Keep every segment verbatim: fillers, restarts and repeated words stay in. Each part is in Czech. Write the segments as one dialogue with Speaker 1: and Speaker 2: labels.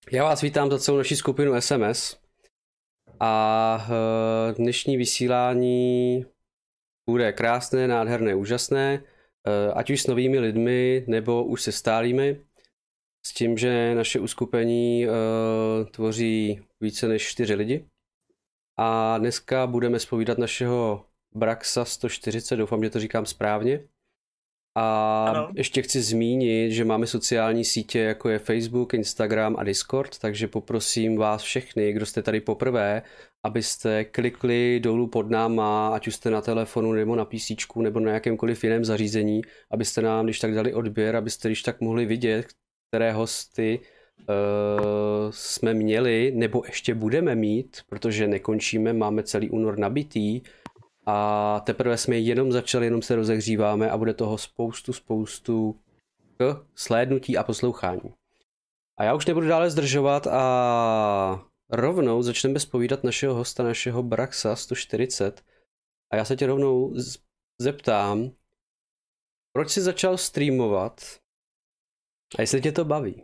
Speaker 1: Já vás vítám za celou naši skupinu S M S a dnešní vysílání bude krásné, nádherné, úžasné, ať už s novými lidmi nebo už se stálými, s tím, že naše uskupení tvoří více než čtyři lidi a dneska budeme zpovídat našeho Braxa sto čtyřicet, doufám, že to říkám správně. A ano. Ještě chci zmínit, že máme sociální sítě, jako je Facebook, Instagram a Discord, takže poprosím vás všechny, kdo jste tady poprvé, abyste klikli dolů pod náma, ať už jste na telefonu nebo na PCčku nebo na jakémkoliv jiném zařízení, abyste nám když tak dali odběr, abyste když tak mohli vidět, které hosty uh, jsme měli nebo ještě budeme mít, protože nekončíme, máme celý únor nabitý. A teprve jsme jenom začali, jenom se rozehříváme a bude toho spoustu, spoustu k slédnutí a poslouchání. A já už nebudu dále zdržovat a rovnou začneme zpovídat našeho hosta, našeho Braxa sto čtyřicet. A já se tě rovnou zeptám, proč jsi začal streamovat a jestli tě to baví?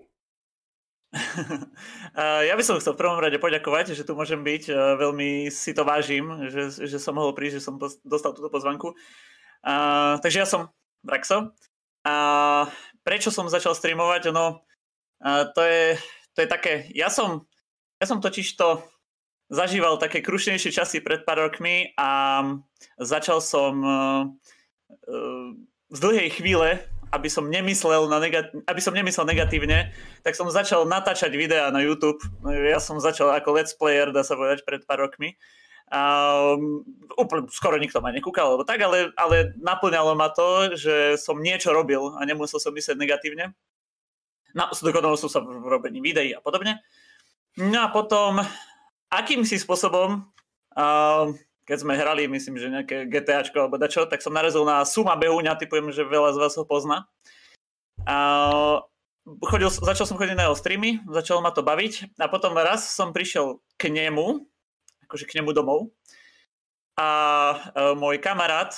Speaker 2: Ja by som chcel v prvom rade poďakovať, že tu môžem byť. Veľmi si to vážim, že, že som mohol prísť, že som dostal túto pozvanku. Uh, takže ja som Braxo. A prečo som začal streamovať? No, uh, to, je, to je také... Ja som, ja som totiž to zažíval také krušnejšie časy pred pár rokmi a začal som uh, uh, z dlhej chvíle aby som nemyslel na negat- aby som nemyslel negatívne, tak som začal natáčať videá na YouTube. Ja som začal ako let's player, dá sa povedať, pred pár rokmi. Um, úplne skoro nikto ma nekúkal, alebo tak, ale, ale naplňalo ma to, že som niečo robil a nemusel som myslieť negatívne. No, dokonal som sa v robení videí a podobne. No a potom, akýmsi spôsobom uh, keď sme hrali, myslím, že nejaké GTAčko alebo dačo, tak som narazil na Suma Behúňa, typujem, že veľa z vás ho pozná. A chodil, začal som chodiť na jeho streamy, začalo ma to baviť a potom raz som prišiel k nemu, akože k nemu domov a môj kamarát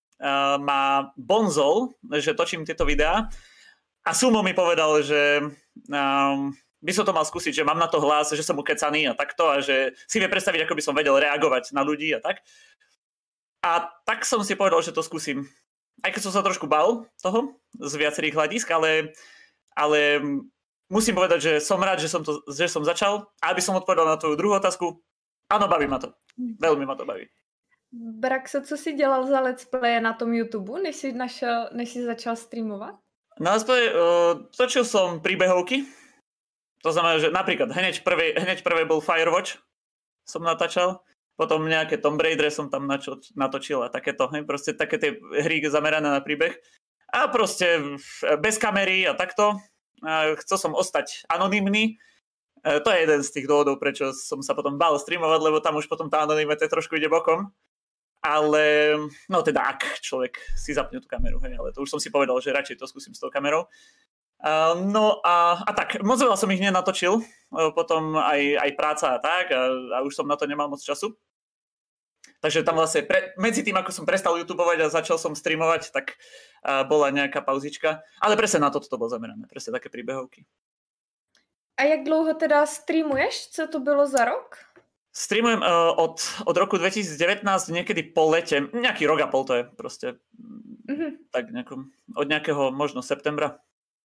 Speaker 2: ma bonzol, že točím tieto videá a Sumo mi povedal, že um, by som to mal skúsiť, že mám na to hlas, že som ukecaný a takto a že si vie predstaviť, ako by som vedel reagovať na ľudí a tak. A tak som si povedal, že to skúsim. Aj keď som sa trošku bal toho z viacerých hľadisk, ale, ale musím povedať, že som rád, že som, to, že som začal. A aby som odpovedal na tvoju druhú otázku, áno, baví ma to. Veľmi ma to baví.
Speaker 3: Braxo, co si dělal za let's play na tom YouTube, než si, našel, než si začal streamovat?
Speaker 2: Na let's play uh, točil som príbehovky. To znamená, že napríklad hneď prvej, hneď prvej bol Firewatch, som natáčal, potom nejaké Tomb Raider som tam načo, natočil a takéto, hej, proste také tie hry zamerané na príbeh. A proste bez kamery a takto. A chcel som ostať anonymný. E, to je jeden z tých dôvodov, prečo som sa potom bál streamovať, lebo tam už potom tá anonymita trošku ide bokom. Ale, no teda ak človek si zapne tú kameru, hej, ale to už som si povedal, že radšej to skúsim s tou kamerou. Uh, no a, a tak, moc veľa som ich nenatočil, uh, potom aj, aj práca a tak a, a už som na to nemal moc času. Takže tam vlastne pre, medzi tým, ako som prestal YouTubeovať a začal som streamovať, tak uh, bola nejaká pauzička. Ale presne na toto to bolo zamerané, presne také príbehovky.
Speaker 3: A jak dlouho teda streamuješ? Co to bylo za rok?
Speaker 2: Streamujem uh, od, od roku dvetisícdevätnásť, niekedy po lete, nejaký rok a pol to je proste, mm-hmm. tak nejakom, od nejakého možno septembra.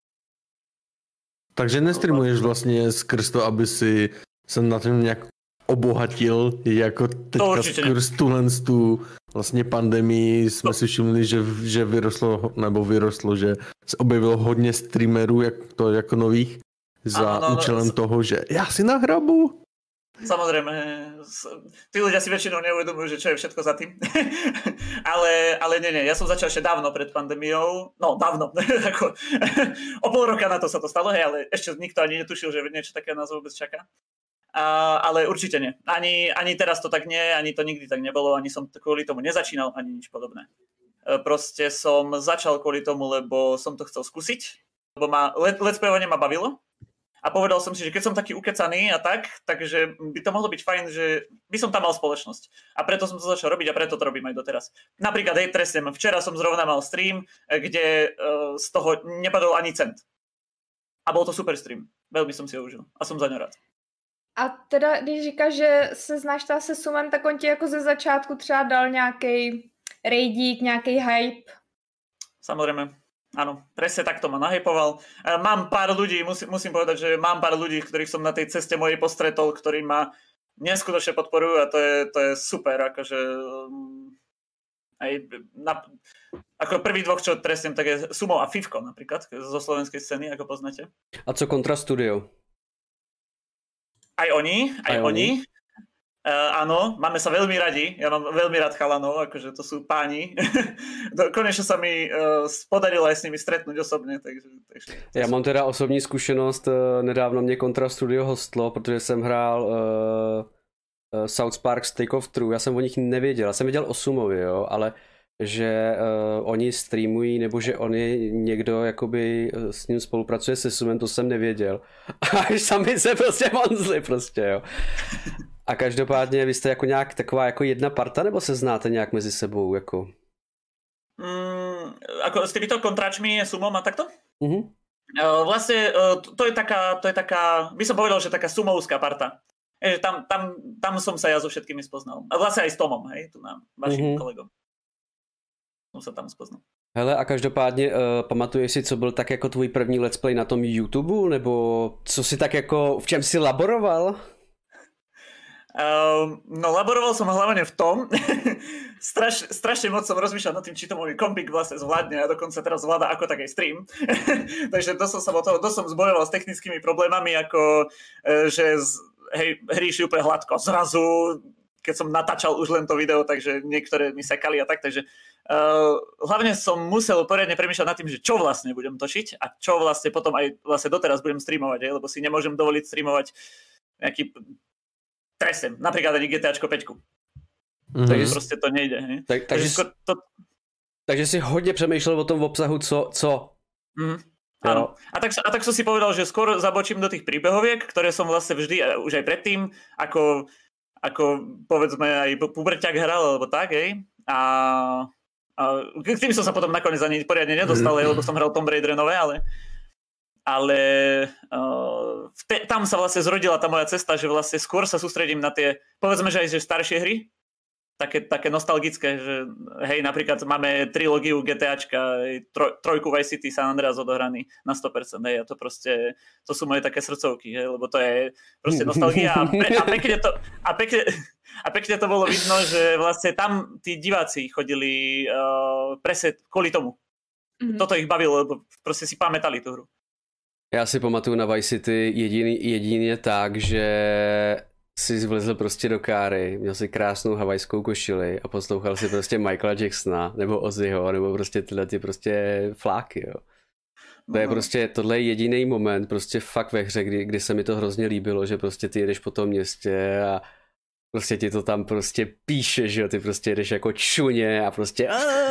Speaker 4: Takže nestreamuješ vlastně skrz to, aby si se na tom nějak obohatil, jako teďka skrz tuhle tu vlastně pandemii jsme to... si všimli, že, že vyrostlo, nebo vyrostlo, že se objevilo hodně streamerů jak to, jako nových za ano, no, účelem no, toho, že já si nahrabu.
Speaker 2: Samozrejme, tí ľudia si väčšinou neuvedomujú, že čo je všetko za tým. ale, ale nie, nie, ja som začal ešte dávno pred pandémiou, no dávno, ako o pol roka na to sa to stalo, hej, ale ešte nikto ani netušil, že niečo také nás vôbec čaká. A, ale určite nie. Ani, ani teraz to tak nie, ani to nikdy tak nebolo, ani som kvôli tomu nezačínal, ani nič podobné. Proste som začal kvôli tomu, lebo som to chcel skúsiť, lebo ma, let, let's playovanie ma bavilo. A povedal som si, že keď som taký ukecaný a tak, takže by to mohlo byť fajn, že by som tam mal spoločnosť. A preto som to začal robiť a preto to robím aj doteraz. Napríklad, hej, presne, včera som zrovna mal stream, kde uh, z toho nepadol ani cent. A bol to super stream. Velmi som si ho užil a som za ňo rád.
Speaker 3: A teda, když říkáš, že se znáš ta se Sumem, tak on ti jako ze začátku třeba dal nějaký rejdík, nějaký hype?
Speaker 2: Samozrejme, áno, presne takto ma nahypoval. Mám pár ľudí, musím, musím povedať, že mám pár ľudí, ktorých som na tej ceste mojej postretol, ktorí ma neskutočne podporujú a to je, to je super, akože aj na, ako prvý dvoch, čo trestnem, tak je Sumo a Fivko napríklad, zo slovenskej scény, ako poznáte.
Speaker 1: A co Kontra Studio?
Speaker 2: Aj oni, aj, aj oni. oni. Uh, áno, máme sa veľmi radi, ja mám veľmi rád chalanov, akože to sú páni. Konečne sa mi uh, podarilo aj s nimi stretnúť osobne. Takže, takže,
Speaker 1: já mám teda osobní zkušenost, nedávno mě Kontra Studio hostlo, protože jsem hrál uh, uh, South Park Take Off True, já jsem o nich nevěděl, já jsem věděl o Sumovi, jo, ale že uh, oni streamují, nebo že oni někdo jakoby s ním spolupracuje se Sumem, to jsem nevěděl. Až sami se prostě vonzli prostě, jo. A každopádně vy jste jako nějak taková jako jedna parta, nebo se znáte nějak mezi sebou, jako?
Speaker 2: Mm, ako s týmito kontráčmi, Sumom a takto?
Speaker 1: Mhm.
Speaker 2: Uh, vlastne uh, to, to je taká, to je taká, by som povedal, že taká sumovská parta. Je, tam, tam, tam som sa ja so všetkými spoznal. A vlastne aj s Tomom, hej, tu nám, vašim mm-hmm. kolegom. Som sa tam spoznal.
Speaker 1: Hele, a každopádně uh, pamatuješ si, co byl tak jako tvůj první let's play na tom YouTube, nebo co si tak jako, v čem si laboroval?
Speaker 2: Uh, no laboroval som hlavne v tom, Straš, strašne moc som rozmýšľal nad tým, či to môj kompik vlastne zvládne a dokonca teraz zvláda ako taký stream. Takže to som sa o toho, to som zbojoval s technickými problémami, ako že z, hej, hry išli úplne hladko. Zrazu, keď som natáčal už len to video, takže niektoré mi sekali a tak, takže uh, hlavne som musel poriadne premýšľať nad tým, že čo vlastne budem točiť a čo vlastne potom aj vlastne doteraz budem streamovať, hej, lebo si nemôžem dovoliť streamovať nejaký tresem, napríklad ani GTAčko päť. Mm-hmm. Takže prostě to nejde. Hej?
Speaker 1: Tak, takže, takže, to... takže si hodně přemýšlel o tom obsahu, co? co?
Speaker 2: Mm, áno. A tak, a tak som si povedal, že skôr zabočím do tých príbehoviek, ktoré som vlastne vždy, už aj predtým, ako, ako povedzme aj puberťák hral, alebo tak, hej. A, a k tým som sa potom nakoniec ani poriadne nedostal, hej, lebo som hral Tomb Raider nové, ale ale uh, te, tam sa vlastne zrodila tá moja cesta, že vlastne skôr sa sústredím na tie, povedzme, že aj že staršie hry, také, také nostalgické, že hej, napríklad máme trilógiu GTAčka, troj, trojku Vice City, San Andreas odohraný na sto percent, hej, a to proste, to sú moje také srdcovky, hej, lebo to je proste nostalgia a, pe, a, pekne to, a, pekne, a pekne to bolo vidno, že vlastne tam tí diváci chodili uh, presne kvôli tomu. Mm-hmm. Toto ich bavilo, lebo proste si pamätali tú hru.
Speaker 1: Já si pamatuju na Vice City jediný, jedině tak, že si vlezl prostě do káry, měl si krásnou havajskou košili a poslouchal si prostě Michaela Jacksona nebo Ozzyho, nebo prostě tyhle ty prostě fláky, jo. To je prostě, tohle je jediný moment prostě fakt ve hře, kdy, kdy se mi to hrozně líbilo, že prostě ty jedeš po tom městě a prostě ti to tam prostě píše, že jo, ty prostě jedeš jako čuně a prostě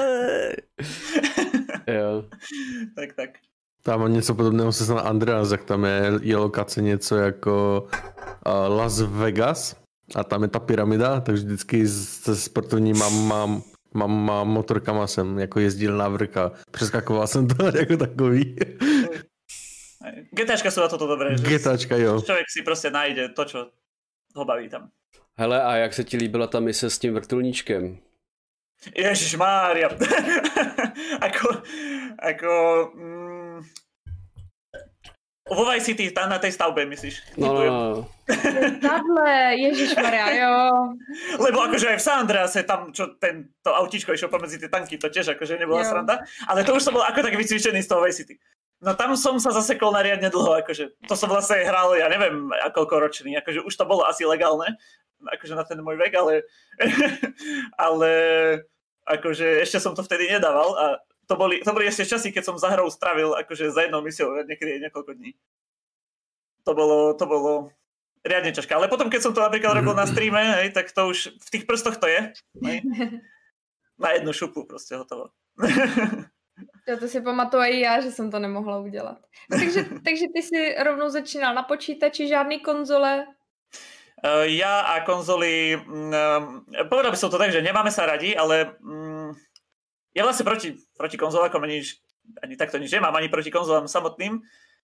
Speaker 1: jo.
Speaker 2: Tak, tak.
Speaker 4: Tam má něco podobného se znamená Andreas, jak tam je, je lokace něco jako uh, Las Vegas a tam je ta pyramida, takže vždycky se sportovníma mám, mám, mám motorkama jsem jako jezdil na vrch a přeskakoval jsem to jako takový.
Speaker 2: GTAčka sú na toto dobré.
Speaker 4: GTAčka, jo.
Speaker 2: Člověk si prostě najde to, čo ho baví tam.
Speaker 1: Hele, a jak se ti líbila ta mise s tím vrtulníčkem?
Speaker 2: Ježišmária. ako, ako... Mm, vo Vice City, tam na tej stavbe, myslíš?
Speaker 1: No, no, no.
Speaker 3: Tadle, ježišmaria, jo.
Speaker 2: Lebo akože aj v San Andrease, tam čo ten, to autíčko išlo pomedzi tie tanky, to tiež akože nebola jo. Sranda. Ale to už som bol ako tak vycvičený z toho Vice City. No tam som sa zasekol na riadne dlho, akože to som vlastne hral, ja neviem, koľko ročný, akože už to bolo asi legálne, akože na ten môj vek, ale ale akože ešte som to vtedy nedával a to boli, to boli ešte časy, keď som za hrou stravil akože za jednou misiou niekedy niekoľko dní. To bolo, to bolo riadne ťažké, ale potom keď som to napríklad robil na streame, hej, tak to už v tých prstoch to je, hej. Na jednu šupu prostě hotovo.
Speaker 3: Jo, to si pamatuju i já, že jsem to nemohla udělat. Takže, takže ty si rovnou začínal na počítači, žádný konzole?
Speaker 2: Uh, ja a konzoly, um, povedal by som to tak, že nemáme sa radi, ale um, ja vlastne proti, proti konzolákom ani, ani takto nič nemám, ani proti konzolám samotným.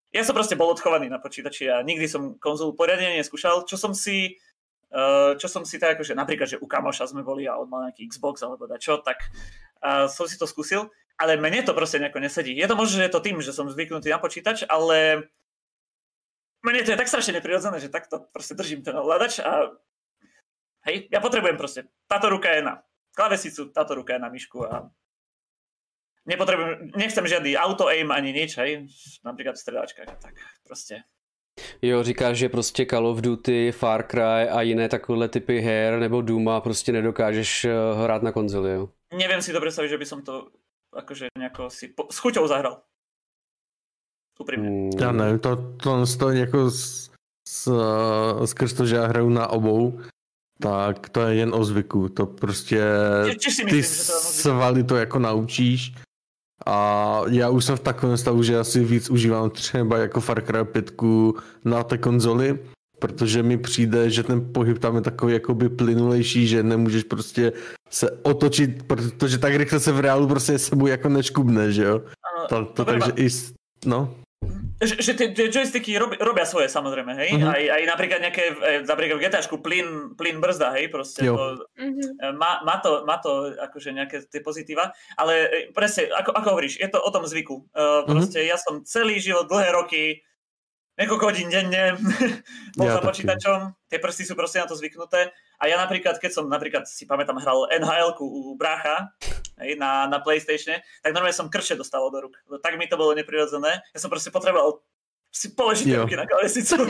Speaker 2: ja som proste bol odchovaný na počítači a nikdy som konzolu poriadne neskúšal, čo som si uh, čo som si tak akože napríklad, že u kamoša sme boli a on mal nejaký Xbox alebo dačo, tak uh, som si to skúsil, ale mne to proste nejako nesedí. Je to možno, že je to tým, že som zvyknutý na počítač, ale mne to je tak strašne neprirodzené, že takto proste držím ten ovládač a hej, ja potrebujem proste, táto ruka je na klávesicu, táto ruka je na myšku a nepotrebujem, nechcem žiadny auto-aim ani nič, hej, napríklad v stredačkách, tak prostě.
Speaker 1: Jo, říkáš, že prostě Call of Duty, Far Cry a jiné takové typy her nebo Duma prostě nedokážeš hrát na konzoli, jo?
Speaker 2: Neviem si to predstaviť, že by som to akože nejako si po, s chuťou zahral. Upřímně.
Speaker 4: Mm. Já nevím, to, to, to jako s, s, skrz to, že já hraju na obou, tak to je jen o zvyku. To prostě ty svaly to jako naučíš. A já už jsem v takovém stavu, že asi víc užívám třeba jako Far Cry pět na té konzoli, protože mi přijde, že ten pohyb tam je takový jakoby plynulejší, že nemůžeš prostě se otočit, protože tak rychle se v reálu prostě sebou jako neškubne, že jo? To, to takže i, no.
Speaker 2: Že, že tie joysticky rob, robia svoje, samozrejme, hej? Uh-huh. Aj, aj napríklad nejaké, napríklad v GTAčku plyn, plyn brzda, hej? Proste to, uh-huh. má, má, to, má to akože nejaké tie pozitíva, ale presne, ako, ako hovoríš, je to o tom zvyku. Uh, proste uh-huh. ja som celý život, dlhé roky, niekoľko hodín denne bol ja za počítačom, tie prsty sú proste na to zvyknuté a ja napríklad, keď som napríklad si pamätám hral en há elku u brácha, hej, na, na PlayStatione, tak normálne som krče dostal do rúk. Tak mi to bolo neprirodzené. Ja som proste potreboval si položiť ruky na klávesicu.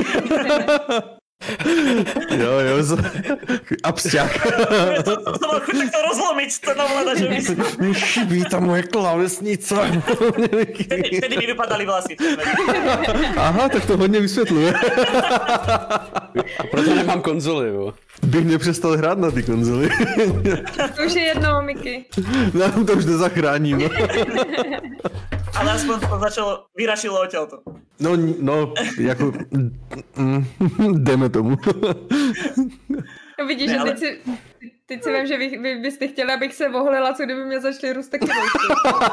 Speaker 4: Jo, jo, a psťák.
Speaker 2: To bol chuť tak to rozlomiť, to navláda, že mi...
Speaker 4: Mi chybí ta moje klávesnica.
Speaker 2: Vtedy, vtedy mi vypadali vlasy.
Speaker 4: Aha, tak to hodně vysvětluje.
Speaker 1: A proto nemám konzoli, jo.
Speaker 4: Bych nepřestal hrát na ty konzoli.
Speaker 3: To už je jedno, Miky.
Speaker 4: No, to už nezachráním. No.
Speaker 2: Ale aspoň to začalo, vyrašilo odtiaľto.
Speaker 4: No, no, jako, mm, jdeme tomu.
Speaker 3: No vidíš, ne, že ale... teď si, teď si vím, že vy, vy byste chtěli, abych se vohlila, co kdyby mě začaly růst taky vojky.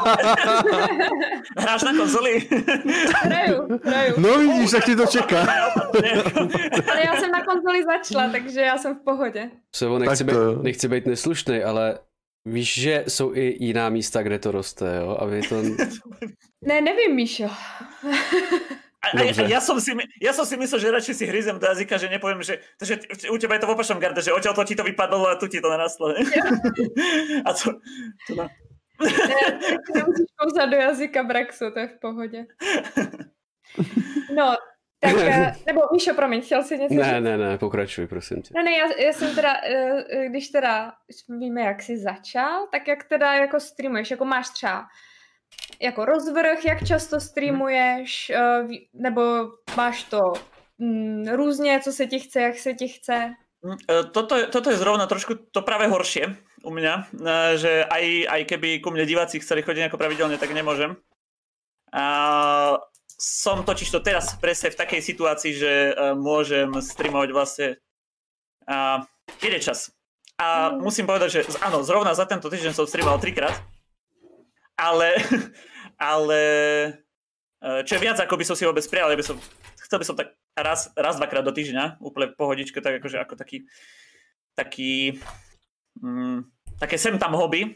Speaker 2: Hráš na konzoli?
Speaker 3: Hraju, hraju.
Speaker 4: No vidíš, tak ti to čeká.
Speaker 3: Ale já jsem na konzoli začala, takže já jsem v pohodě.
Speaker 1: Sebo, nechci, být, nechci být neslušný, ale víš, že jsou i jiná místa, kde to roste, jo? Aby to...
Speaker 3: Ne, nevím, Míšo.
Speaker 2: A, a, a ja, som si, ja som si myslel, že radšej si hryzem do jazyka, že nepoviem, že, že u teba je to v opačnom garde, že odtiaľ to ti to vypadlo a tu ti to narastlo. A to... to no.
Speaker 3: Ne, nemusíš kouzat do jazyka, Braxo, to je v pohodě. No, tak, nebo Míšo, promiň, chtěl jsi něco
Speaker 1: Ne,
Speaker 3: říct?
Speaker 1: ne, ne, pokračuj, prosím tě.
Speaker 3: No ne, já, já jsem teda, když teda víme, jak jsi začal, tak jak teda jako streamuješ, jako máš třeba jako rozvrh, jak často streamuješ, nebo máš to mm, různě, co se ti chce, jak se ti chce?
Speaker 2: Toto, toto je zrovna trošku to práve horšie u mňa, že aj, aj keby ku mne diváci chceli chodiť nejako pravidelne, tak nemôžem. A som totiž to teraz presne v takej situácii, že môžem streamovať vlastne a keď je čas. A mm. musím povedať, že áno, zrovna za tento týždeň som streamoval trikrát, ale, ale čo je viac, ako by som si vôbec prijal, by som, chcel by som tak raz, raz dvakrát do týždňa, úplne pohodičke, tak akože ako taký, taký mm, také sem tam hobby.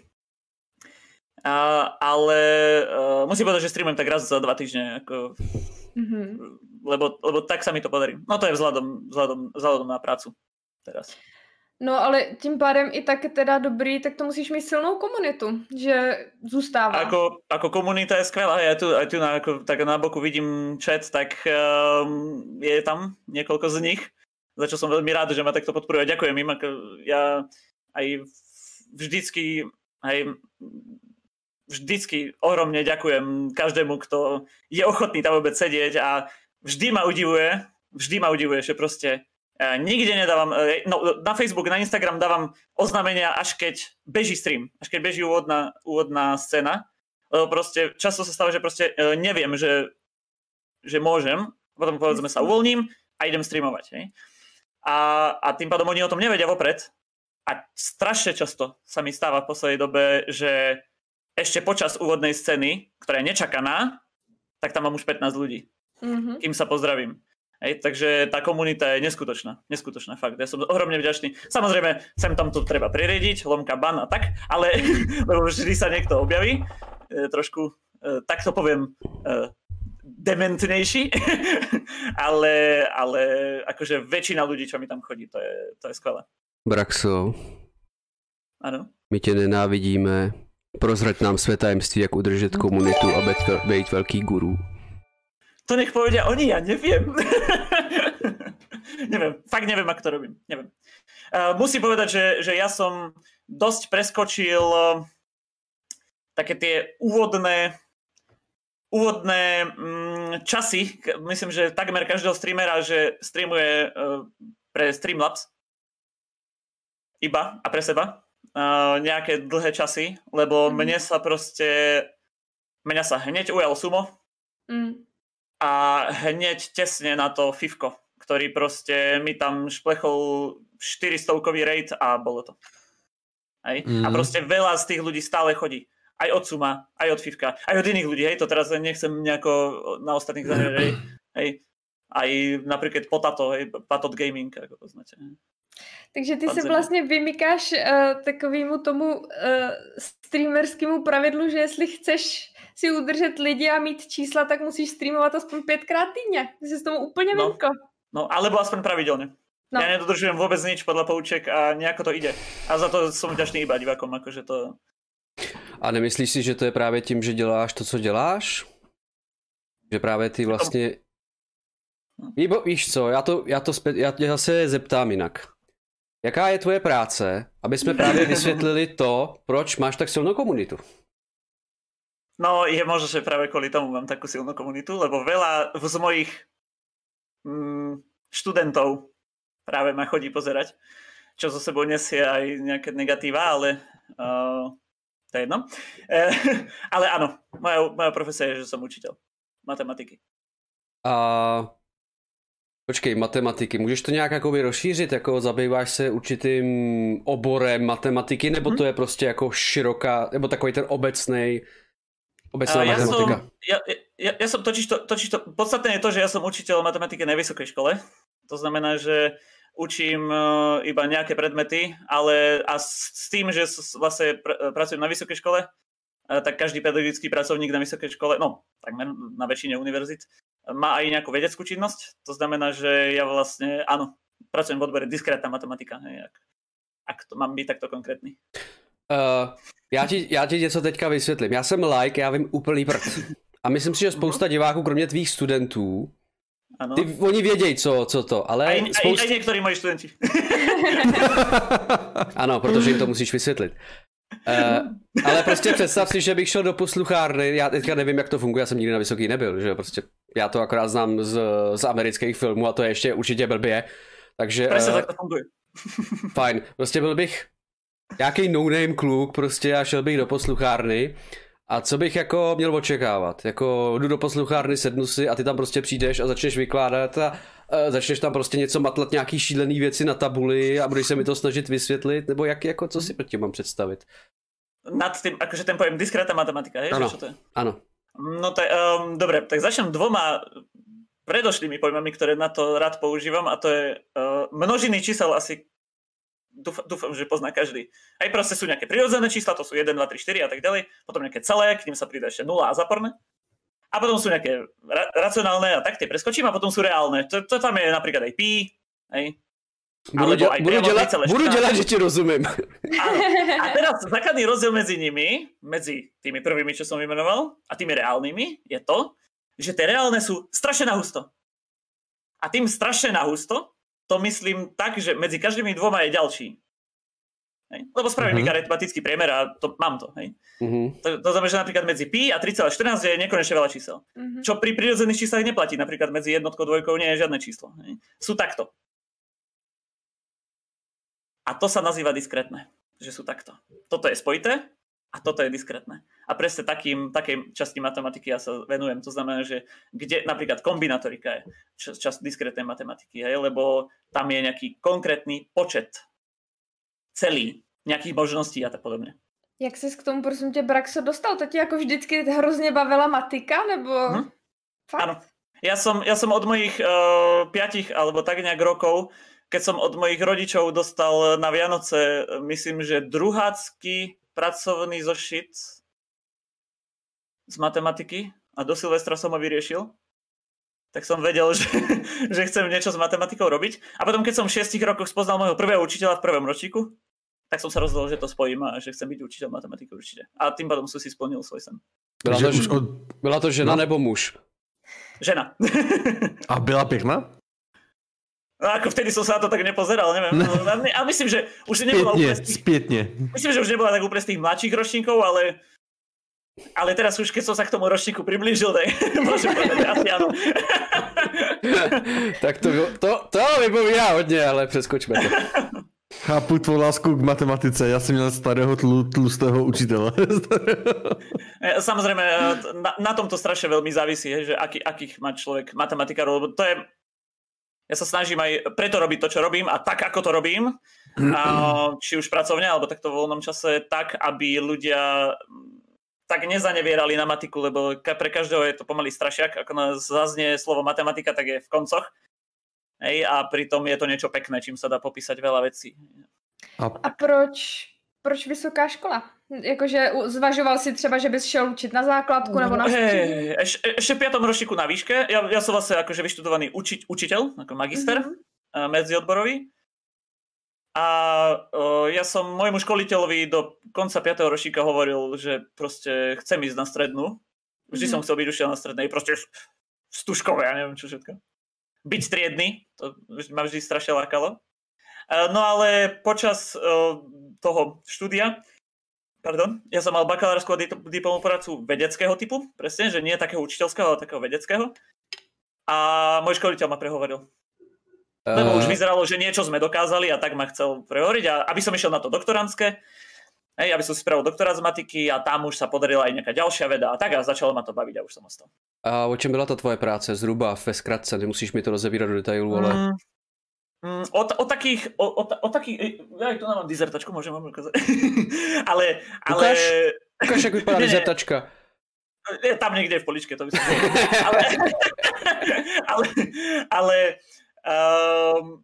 Speaker 2: Uh, ale uh, musím povedať, že streamujem tak raz za dva týždne, ako, mm-hmm. lebo, lebo tak sa mi to podarí. No to je vzhľadom, vzhľadom, vzhľadom na prácu teraz.
Speaker 3: No ale tím pádem i tak teda dobrý, tak to musíš mít silnou komunitu, že zůstává.
Speaker 2: Ako, ako komunita je skvelá, ja tu, aj tu na, ako, tak na boku vidím chat, tak um, je tam niekoľko z nich, za čo som veľmi rád, že ma takto podporujú. Ďakujem im, ako ja aj vždycky, aj vždycky ohromne ďakujem každému, kto je ochotný tam vôbec sedieť a vždy ma udivuje, vždy ma udivuje, že proste nikde nedávam, no na Facebook, na Instagram dávam oznámenia, až keď beží stream, až keď beží úvodná, úvodná scéna. Lebo proste často sa stáva, že proste neviem, že, že môžem, potom povedzme sa uvoľním a idem streamovať. Hej? A, a tým pádom oni o tom nevedia vopred. A strašne často sa mi stáva v poslednej dobe, že ešte počas úvodnej scény, ktorá je nečakaná, tak tam mám už pätnásť ľudí. mm-hmm. kým sa pozdravím. Hej, takže tá komunita je neskutočná, neskutočná, fakt. Ja som ohromne vďačný. Samozrejme, sem tam to treba pririediť, lomka, ban a tak, ale lebo vždy sa niekto objaví, e, trošku, e, tak to poviem, e, dementnejší, ale, ale akože väčšina ľudí, čo mi tam chodí, to je, to je skvelé.
Speaker 1: Braxo,
Speaker 2: ano?
Speaker 1: My tě nenávidíme. Prozrať nám své tajemství, jak udržet komunitu a být velký guru.
Speaker 2: To nech povedia oni, ja neviem. neviem, fakt neviem, ako to robím. Neviem. Uh, musím povedať, že, že ja som dosť preskočil uh, také tie úvodné úvodné um, časy. Myslím, že takmer každého streamera, že streamuje uh, pre Streamlabs. Iba a pre seba. Uh, nejaké dlhé časy, lebo mm. mne sa proste mňa sa hneď ujal sumo. Mm. A hneď tesne na to Fivko, ktorý proste mi tam šplechol štyristovkový raid a bolo to. Hej? Mm. A proste veľa z tých ľudí stále chodí. Aj od Suma, aj od Fivka, aj od iných ľudí. Hej? To teraz nechcem nejako na ostatných zahrať. Hej? Hej? Aj napríklad Potato, hej? Patot Gaming, ako poznáte.
Speaker 3: Takže ty se vlastně vymykáš uh, takovému tomu uh, streamerskému pravidlu, že jestli chceš si udržet lidi a mít čísla, tak musíš streamovat aspoň pětkrát týdně. Ty jsi s tomu úplně
Speaker 2: no,
Speaker 3: vymko.
Speaker 2: No, alebo aspoň pravidelně. No. Ja nedodržujem vôbec nič podľa pouček a nejako to ide. A za to som vďačný iba divákom, akože to...
Speaker 1: A nemyslíš si, že to je právě tím, že děláš to, co děláš? Že právě ty vlastně... Víbo, víš co, já to, já to zpět, já tě zase zeptám jinak. Jaká je tvoje práce, aby jsme právě vysvětlili to, proč máš tak silnou komunitu?
Speaker 2: No, je možno, že práve kvôli tomu mám takú silnú komunitu, lebo veľa z mojich mm, študentov práve ma chodí pozerať, čo zo sebou nesie aj nejaké negatíva, ale uh, to je jedno. E, ale áno, moja, moja profesia je, že som učiteľ matematiky.
Speaker 1: A počkej, matematiky, můžeš to nějak jakoby rozšířit, jako zabýváš se určitým oborem matematiky, nebo hmm. to je prostě jako široká, nebo takový ten obecnej obecná
Speaker 2: ja
Speaker 1: matematika?
Speaker 2: Som, ja, ja, ja som totiž to, totiž to, podstatné je to, že ja som učiteľ matematiky na vysokej škole, to znamená, že učím uh, iba nejaké predmety, ale a s, s tým, že s, vlastne pr- pracujem na vysokej škole, uh, tak každý pedagogický pracovník na vysokej škole, no takmer na väčšine univerzít, má aj nejakú vedeckú činnosť, to znamená, že ja vlastne, áno, pracujem v odbore diskrétna matematika, hej, ak, ak to mám byť takto konkrétny.
Speaker 1: Uh, já, ti, já ti něco teďka vysvětlím. Já jsem like, já vím úplný prd. A myslím si, že spousta diváků, kromě tvých studentů, ano. Ty, oni vědějí, co, co to, ale...
Speaker 2: Aj, spoust... aj, aj některý moji studenti.
Speaker 1: Ano, protože jim to musíš vysvětlit. Uh, ale prostě představ si, že bych šel do posluchárny, já teďka nevím, jak to funguje, já jsem nikdy na vysoký nebyl, že prostě já to akorát znám z, z amerických filmů a to je ještě určitě blbě, takže...
Speaker 2: Presne, uh, tak to funguje.
Speaker 1: Fajn, prostě byl bych nějaký no-name kluk prostě a šel bych do posluchárny a co bych jako měl očekávat, jako jdu do posluchárny, sednu si a ty tam prostě přijdeš a začneš vykládat a uh, začneš tam prostě něco matlat, nějaký šílený věci na tabuli a budeš se mi to snažit vysvětlit, nebo jak, jako co si pod tím mám představit?
Speaker 2: Nad tým, akože ten pojem diskrétna matematika, hej?
Speaker 1: Ano,
Speaker 2: čo to je?
Speaker 1: Áno.
Speaker 2: No tak, um, dobre, tak začnem dvoma predošlými pojmami, ktoré na to rád používam a to je uh, množiny čísel asi dúfam, dúfam, že pozná každý. Aj proste sú nejaké prirodzené čísla, to sú jeden, dva, tri, štyri a tak ďalej, potom nejaké celé, k ním sa pridá ešte nula a záporné. A potom sú nejaké ra- racionálne a tak tie preskočím a potom sú reálne. To, to tam je napríklad aj pi, hej.
Speaker 1: Budu, děla, budu, dělat, budu dělat, že ti rozumím.
Speaker 2: Áno. A teraz základný rozdiel medzi nimi, medzi tými prvými, čo som vymenoval, a tými reálnymi, je to, že tie reálne sú strašne nahusto. A tým strašne nahusto, to myslím tak, že medzi každými dvoma je ďalší. Hej? Lebo spravím uh-huh. aritmetický priemer a to, mám to. Hej? Uh-huh. To, to znamená, že napríklad medzi pi a tri celé štrnásť je nekonečne veľa čísel. Uh-huh. Čo pri prirodzených číslach neplatí. Napríklad medzi jednotkou a dvojkou nie je žiadne číslo. Hej? Sú takto. A to sa nazýva diskrétne, že sú takto. Toto je spojité a toto je diskrétne. A presne takým, takej časti matematiky ja sa venujem. To znamená, že kde napríklad kombinatorika je časť diskrétnej matematiky, hej, lebo tam je nejaký konkrétny počet celý nejakých možností a tak podobne.
Speaker 3: Jak ses k tomu, prosím tě, Braxo, dostal? To ti jako vždycky hrozně bavila matika, nebo...
Speaker 2: Hm? Áno. Ja som, ja som od mojich uh, piatich alebo tak nejak rokov, keď som od mojich rodičov dostal na Vianoce, myslím, že druhácky pracovný zošit z matematiky a do Silvestra som ho vyriešil, tak som vedel, že, že chcem niečo s matematikou robiť. A potom, keď som v šiestich rokoch spoznal môjho prvého učiteľa v prvom ročníku, tak som sa rozhodol, že to spojím a že chcem byť učiteľ matematiky určite. A tým pádom som si splnil svoj sen.
Speaker 1: Byla to, od... byla to žena no. nebo muž?
Speaker 2: Žena.
Speaker 4: A byla pěkná?
Speaker 2: No ako vtedy som sa na to tak nepozeral, neviem. No. Ale myslím, že už nebola
Speaker 4: Spietne,
Speaker 2: úplne z tých...
Speaker 4: spietne.
Speaker 2: Myslím, že už nebola tak úplne z tých mladších ročníkov, ale... Ale teraz už, keď som sa k tomu ročníku priblížil, tak môžem povedať, asi áno.
Speaker 1: Tak to, to, to vypovídá hodně, ale přeskočme to.
Speaker 4: Chápu tvou lásku k matematice, já jsem měl starého tlu, tlustého učitele.
Speaker 2: Samozrejme, na, na tomto strašne veľmi závisí, že aký, akých má človek matematikárov, lebo to je, ja sa snažím aj preto robiť to, čo robím a tak, ako to robím, a, či už pracovne, alebo takto v voľnom čase, tak, aby ľudia tak nezanevierali na matiku, lebo pre každého je to pomaly strašiak, ako nás zaznie slovo matematika, tak je v koncoch. Hej, a pritom je to niečo pekné, čím sa dá popísať veľa vecí.
Speaker 3: A, a proč, proč vysoká škola? Jakože zvažoval si třeba, že bys šel učit na základku nebo na střední?
Speaker 2: Hey, eš, ešte v piatom ročníku na výške. Ja, ja som vlastne akože vyštudovaný uči, učiteľ, ako magister mm-hmm. medziodborový. A o, ja som môjmu školiteľovi do konca piateho ročníka hovoril, že proste chcem ísť na strednú. Vždy mm-hmm. som chcel byť učiteľ na strednej, proste stužkové, ja neviem čo všetko. Byť triedny, to ma vždy strašne lákalo. No ale počas toho štúdia, pardon, ja som mal bakalárskú a diplomovú prácu vedeckého typu, presne, že nie takého učiteľského, ale takého vedeckého. A môj školiteľ ma prehovoril. Uh... Lebo už vyzeralo, že niečo sme dokázali a tak ma chcel prehovoriť. A aby som išiel na to doktorantské, hej, aby som si spravil doktorát z matiky a tam už sa podarila aj nejaká ďalšia veda a tak a začalo ma to baviť a už som ostal.
Speaker 1: A o čem byla ta tvoje práce? Zhruba ve zkratce, nemusíš mi to rozebírat do detailu, ale...
Speaker 2: Mm, mm, o, o takých... O, o, o takých... Ja aj tu mám dizertačku, môžem vám ukázať. ale... ale...
Speaker 1: Ukáž, ukáž, jak vypadá dizertačka.
Speaker 2: Je tam niekde v poličke, to by som povedal. ale... ale... ale um,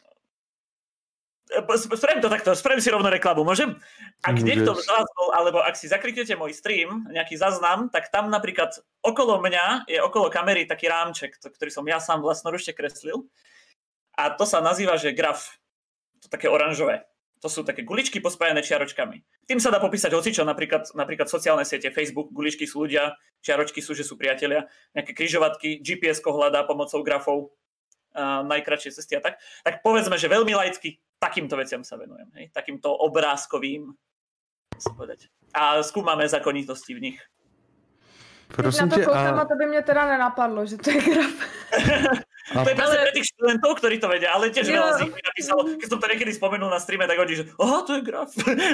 Speaker 2: Spravím to takto, spravím si rovno reklamu, môžem? Ak Môžeš. Niekto z vás bol, alebo ak si zakliknete môj stream, nejaký záznam, tak tam napríklad okolo mňa je okolo kamery taký rámček, ktorý som ja sám vlastnoručne kreslil. A to sa nazýva, že graf. To také oranžové. To sú také guličky pospájané čiaročkami. Tým sa dá popísať hocičo, napríklad, napríklad sociálne siete, Facebook, guličky sú ľudia, čiaročky sú, že sú priatelia, nejaké križovatky, G P S-ko hľadá pomocou grafov, a najkratšie cesty a tak. Tak povedzme, že veľmi laicky takýmto veciam sa venujem, hej? Takýmto obrázkovým, sa povedať. A skúmame zákonitosti v nich.
Speaker 3: Prosím na to koukám a... a to by mne teda nenapadlo, že to je graf.
Speaker 2: A... To je presne pre tých študentov, ktorí to vedia, ale tiež veľa z nich mi napísalo, keď som to niekedy spomenul na streame, tak oni, že aha, to je graf.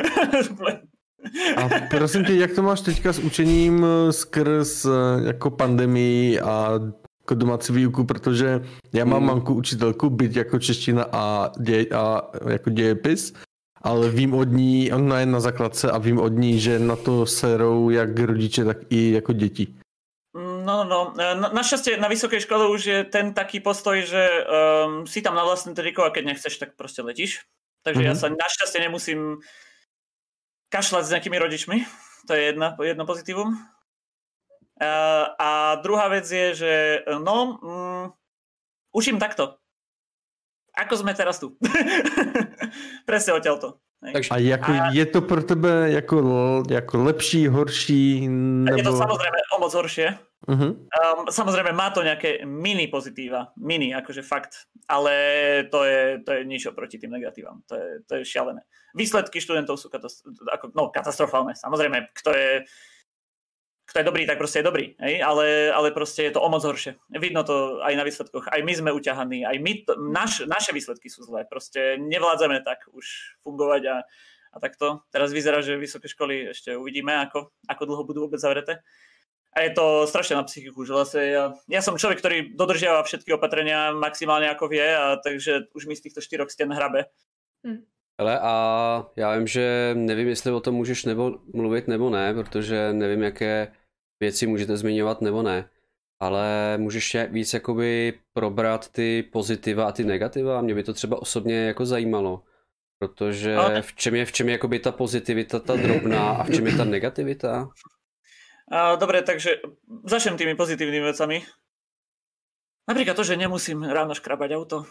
Speaker 4: A prosím tě, jak to máš teďka s učením skrz jako pandemii a jako domácí výuku, protože já mám mm. mamku učitelku, byť jako čeština a, děj, a jako dějepis, ale vím od ní, ona je na základce a vím od ní, že na to serou jak rodiče, tak i jako děti.
Speaker 2: No, no, no. Na, našťastie na vysokej škole už je ten taký postoj, že um, si tam na vlastné triko a keď nechceš, tak proste letíš. Takže mm-hmm. ja sa našťastie nemusím kašľať s nejakými rodičmi. To je jedna, jedno pozitívum. Uh, a druhá vec je, že no, um, učím takto. Ako sme teraz tu. Presne odtiaľto.
Speaker 4: Takže, a, jako, a je to pro tebe jako, jako lepší, horší? Nebo...
Speaker 2: Je to samozrejme o moc horšie.
Speaker 4: Uh-huh.
Speaker 2: Um, samozrejme má to nejaké mini pozitíva. Mini, akože fakt. Ale to je, to je nič oproti tým negatívam. To je, to je šialené. Výsledky študentov sú katastro- ako, no, katastrofálne. Samozrejme, kto je kto je dobrý, tak proste je dobrý, hej? Ale, ale proste je to o moc horšie. Vidno to aj na výsledkoch. Aj my sme uťahaní, aj my to, naš, naše výsledky sú zlé. Proste nevládzame tak už fungovať a, a takto. Teraz vyzerá, že vysoké školy ešte uvidíme, ako, ako dlho budú vôbec zavreté. A je to strašne na psychiku, že vlastne ja, ja som človek, ktorý dodržiava všetky opatrenia maximálne ako vie, a takže už mi z týchto štyroch stien hrabe.
Speaker 1: Hm. Hele, a já vím, že nevím, jestli o tom můžeš nebo mluvit nebo ne, protože nevím, jaké věci můžete zmiňovat nebo ne. ale můžeš víc jakoby probrat ty pozitiva a ty negativa. Mě by to třeba osobně jako zajímalo, protože v čem je, v čem je jakoby ta pozitivita, ta drobná a v čem je ta negativita?
Speaker 2: Dobre, takže začnem tými pozitívnymi vecami. Napríklad to, že nemusím ráno škrabať auto.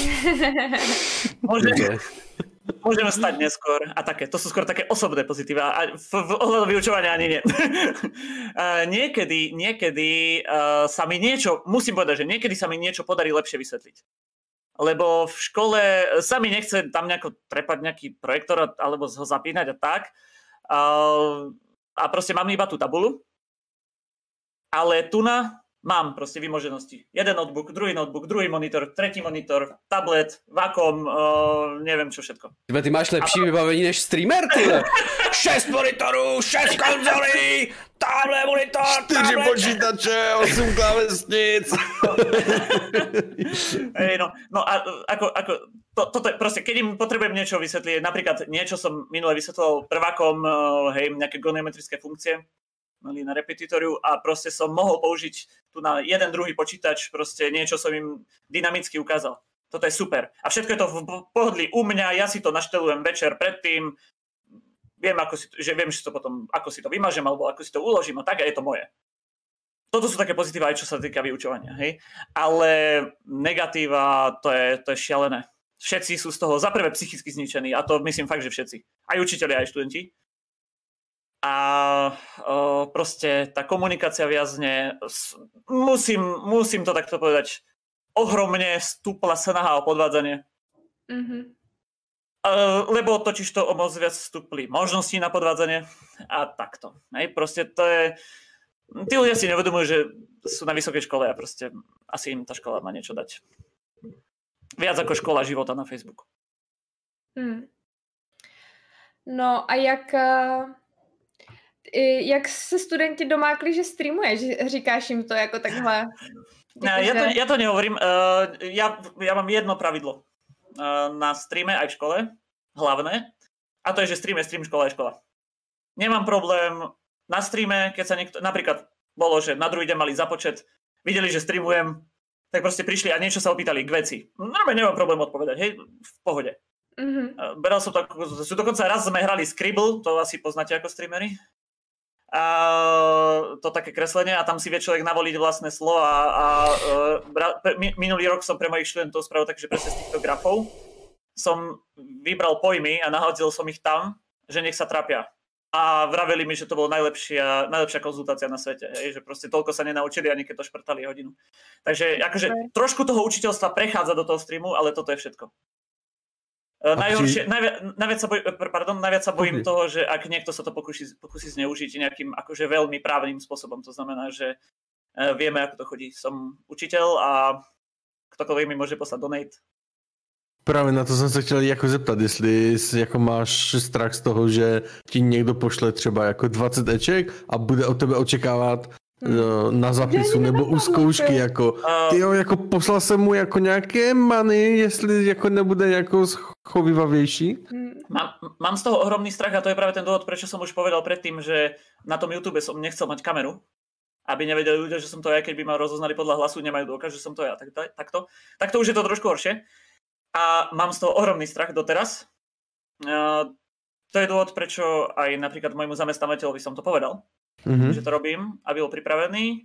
Speaker 2: Môžem, môžeme stať neskôr a také. To sú skôr také osobné pozitíva a v, v ohľadu vyučovania ani nie. niekedy niekedy uh, sa mi niečo, musím povedať, že niekedy sa mi niečo podarí lepšie vysvetliť. Lebo v škole sa mi nechce tam nejako trepať nejaký projektor alebo ho zapínať a tak. Uh, a proste mám iba tú tabulu. Ale tu na mám proste vymoženosti. Jeden notebook, druhý notebook, druhý monitor, tretí monitor, tablet, Wacom, uh, neviem čo všetko.
Speaker 1: Tyhle, ty máš lepší to... vybavení než streamer, tyhle. šest monitorů, šest konzolí, tamhle monitor,
Speaker 4: čtyři počítače, osm klávesnic.
Speaker 2: Hey, no, no a ako, ako to, toto je proste, keď im potrebujem niečo vysvetliť, napríklad niečo som minule vysvetloval prvákom, uh, hej, nejaké goniometrické funkcie, mali na repetitoriu a proste som mohol použiť tu na jeden druhý počítač, proste niečo som im dynamicky ukázal. Toto je super. A všetko je to v pohodlí u mňa, ja si to naštelujem večer predtým, viem, ako si to, že viem, že to potom, ako si to vymažem, alebo ako si to uložím, a tak, a je to moje. Toto sú také pozitíva, aj čo sa týka vyučovania, hej. Ale negatíva, to je, to je šialené. Všetci sú z toho za prvé psychicky zničení, a to myslím fakt, že všetci. Aj učitelia, aj študenti. A o, proste tá komunikácia viazne, musím, musím to takto povedať, ohromne stúpla snaha o podvádzanie. Mm-hmm. E, lebo totiž to o moc viac stúpli možnosti na podvádzanie a takto. Hej, proste to je... Tí ľudia si nevedomujú, že sú na vysokej škole a proste asi im tá škola má niečo dať. Viac ako škola života na Facebooku.
Speaker 3: Hmm. No a jak... Uh... Jak se studenti domákli, že streamuješ? Říkáš jim to jako takhle?
Speaker 2: Ja, ja, to, ja to nehovorím. Uh, ja, ja mám jedno pravidlo uh, na streame aj v škole, hlavné, a to je, že stream je stream, škola je škola. Nemám problém na streame, keď sa niekto, napríklad bolo, že na druhý deň mali započet, videli, že streamujem, tak proste prišli a niečo sa opýtali k veci. Normálne nemám problém odpovedať, hej, v pohode. Mm-hmm. Uh, beral som to, dokonca raz sme hrali Scribble, to asi poznáte ako streamery. A to také kreslenie a tam si vie človek navoliť vlastné slova a, a, a minulý rok som pre mojich študentov spravil takže presne z týchto grafov som vybral pojmy a nahodil som ich tam, že nech sa trápia. A vraveli mi, že to bolo najlepšia, najlepšia konzultácia na svete, hej, že proste toľko sa nenaučili ani keď to šprtali hodinu. Takže akože trošku toho učiteľstva prechádza do toho streamu, ale toto je všetko. Najhoršie, najviac, najviac, sa boj, pardon, najviac sa bojím okay. toho, že ak niekto sa to pokusí, pokusí zneužiť nejakým akože veľmi právnym spôsobom, to znamená, že vieme, ako to chodí. Som učiteľ a ktokoľvek mi môže poslať donate.
Speaker 4: Právě na to jsem se chtěl jako zeptat, jestli jako máš strach z toho, že ti někdo pošle třeba jako dvacet eček a bude od tebe očekávat Hmm. na zapisu nebo u zkoušky, jako uh, tyjo, jako poslal jsem mu jako nějaké money, jestli jako nebude jako schovivavější.
Speaker 2: Mám, mám z toho ohromný strach a to je práve ten dôvod, prečo som už povedal predtým, že na tom YouTube som nechcel mať kameru, aby nevedeli ľudia, že som to ja, keď by ma rozoznali podľa hlasu, nemajú dôkaz, že som to ja. Tak, tak, takto. Takto už je to trošku horšie. A mám z toho ohromný strach doteraz. Uh, to je dôvod, prečo aj napríklad môjmu zamestnávateľovi som to povedal. Mm-hmm. Že to robím, aby bol pripravený.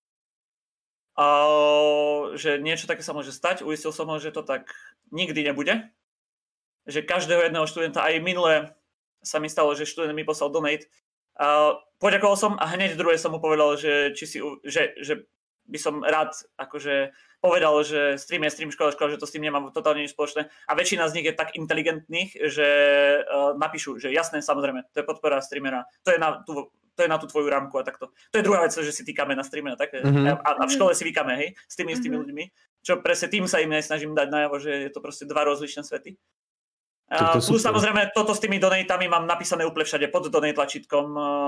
Speaker 2: A, že niečo také sa môže stať. Uistil som ho, že to tak nikdy nebude. Že každého jedného študenta, aj minule sa mi stalo, že študent mi poslal donate. A poďakoval som a hneď druhé som mu povedal, že, či si, že, že by som rád akože povedal, že stream je stream, škola, škola, že to s tým nemám totálne nič spoločné. A väčšina z nich je tak inteligentných, že uh, napíšu, že jasné, samozrejme, to je podpora streamera. To je na tú to je na tú tvoju rámku a takto. To je druhá vec, že si týkame na streame a tak. Mm-hmm. A, a v škole si vykáme, hej, s tými istými mm-hmm. ľuďmi. Čo presne tým sa im aj snažím dať najavo, že je to proste dva rozličné svety. A plus super. Samozrejme, toto s tými donatami mám napísané úplne všade pod donate tlačítkom.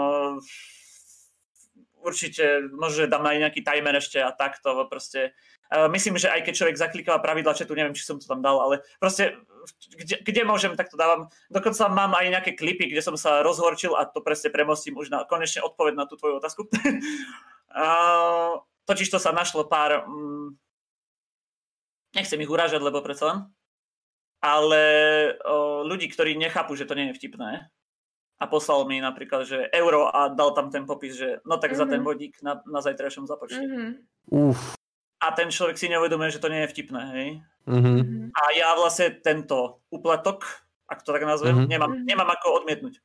Speaker 2: Určite, možno dám aj nejaký timer ešte a takto. Proste. Myslím, že aj keď človek zaklikáva pravidla chatu, neviem, či som to tam dal, ale proste Kde, kde môžem, tak to dávam. Dokonca mám aj nejaké klipy, kde som sa rozhorčil a to presne premostím už na konečne odpoveď na tú tvoju otázku. a, totiž to sa našlo pár, mm, nechcem ich urážať, lebo predsa len, ale o, ľudí, ktorí nechápu, že to nie je vtipné. A poslal mi napríklad, že euro a dal tam ten popis, že no tak mm-hmm. za ten vodík na, na zajtrajšom započte. Mm-hmm.
Speaker 4: Uf.
Speaker 2: A ten človek si neuvedomuje, že to nie je vtipné, hej.
Speaker 4: Mm-hmm.
Speaker 2: A ja vlastne tento úplatok, ak to tak nazvem, mm-hmm. nemám, nemám ako odmietnúť.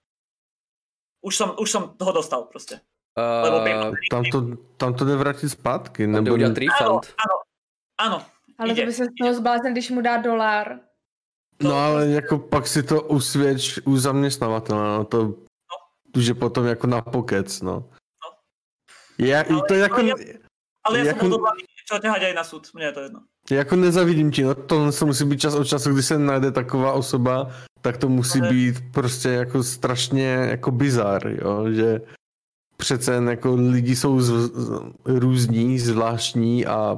Speaker 2: Už som, už som toho dostal proste.
Speaker 1: Uh,
Speaker 2: Lebo
Speaker 4: tam, to, tam to jde vrátit zpátky.
Speaker 1: Nebo udělat refund.
Speaker 2: Áno, áno, áno.
Speaker 3: Ale
Speaker 2: ide,
Speaker 3: to by se z toho zbláznil, když mu dá dolar.
Speaker 4: No ale jako pak si to usvědč u zaměstnavatele, no to no. Už je potom jako na pokec, no. no. Já, ale, to jako,
Speaker 2: ale ja, ale ja
Speaker 4: jako,
Speaker 2: som odhodlaný čo ťahať aj na súd, mne je to jedno.
Speaker 4: Jako nezavidím ti, no to musí být čas od času, když se najde taková osoba, tak to musí ale... být prostě jako strašně jako bizár, jo, že přece jen jako lidi jsou z, z, různí, zvláštní a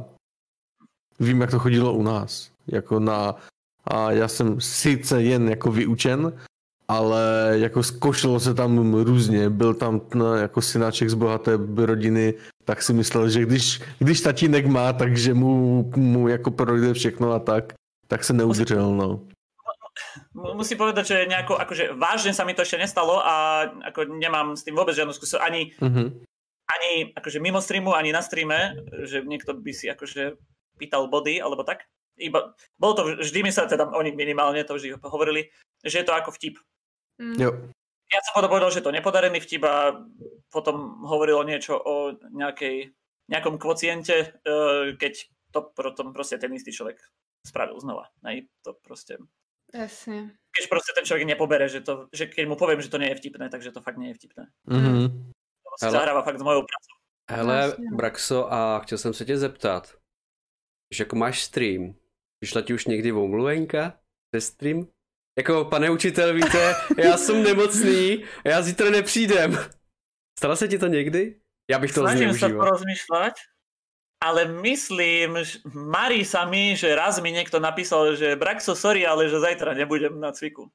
Speaker 4: vím, jak to chodilo u nás, jako na a já jsem sice jen jako vyučen, ale jako zkoušelo se tam různě, byl tam no, jako synáček z bohaté rodiny, tak si myslel, že když, když tatínek má, takže mu, mu jako projde všechno a tak, tak se neudržel, no.
Speaker 2: Musím povedať, že nejako, akože vážne sa mi to ešte nestalo a ako nemám s tým vôbec žiadnu skúsenosť, ani, uh-huh. ani akože mimo streamu, ani na streame, že niekto by si akože pýtal body, alebo tak. Iba, bolo to, vždy mi sa teda, oni minimálne to vždy hovorili, že je to ako vtip.
Speaker 4: Mm. Jo.
Speaker 2: Ja som potom povedal, že to nepodarený vtip a potom hovorilo niečo o nejakej, nejakom kvociente, keď to potom proste ten istý človek spravil znova. Nej, to proste...
Speaker 3: Jasne.
Speaker 2: Keď proste ten človek nepobere, že, to, že keď mu poviem, že to nie je vtipné, takže to fakt nie je vtipné.
Speaker 4: Mm-hmm.
Speaker 2: To sa zahráva fakt s mojou prácou.
Speaker 1: Hele, Braxo, a chtěl jsem se tě zeptat, že jako máš stream, přišla ti už někdy omluvenka ze stream? Jako, pane učitel, víte, já jsem nemocný a já zítra nepřijdem. Stalo se ti to někdy? Já bych to zneužíval.
Speaker 2: Snažím sa porozmýšľať, ale myslím, že marí sa mi, že raz mi niekto napísal, že Braxo, sorry, ale že zajtra nebudem na cviku.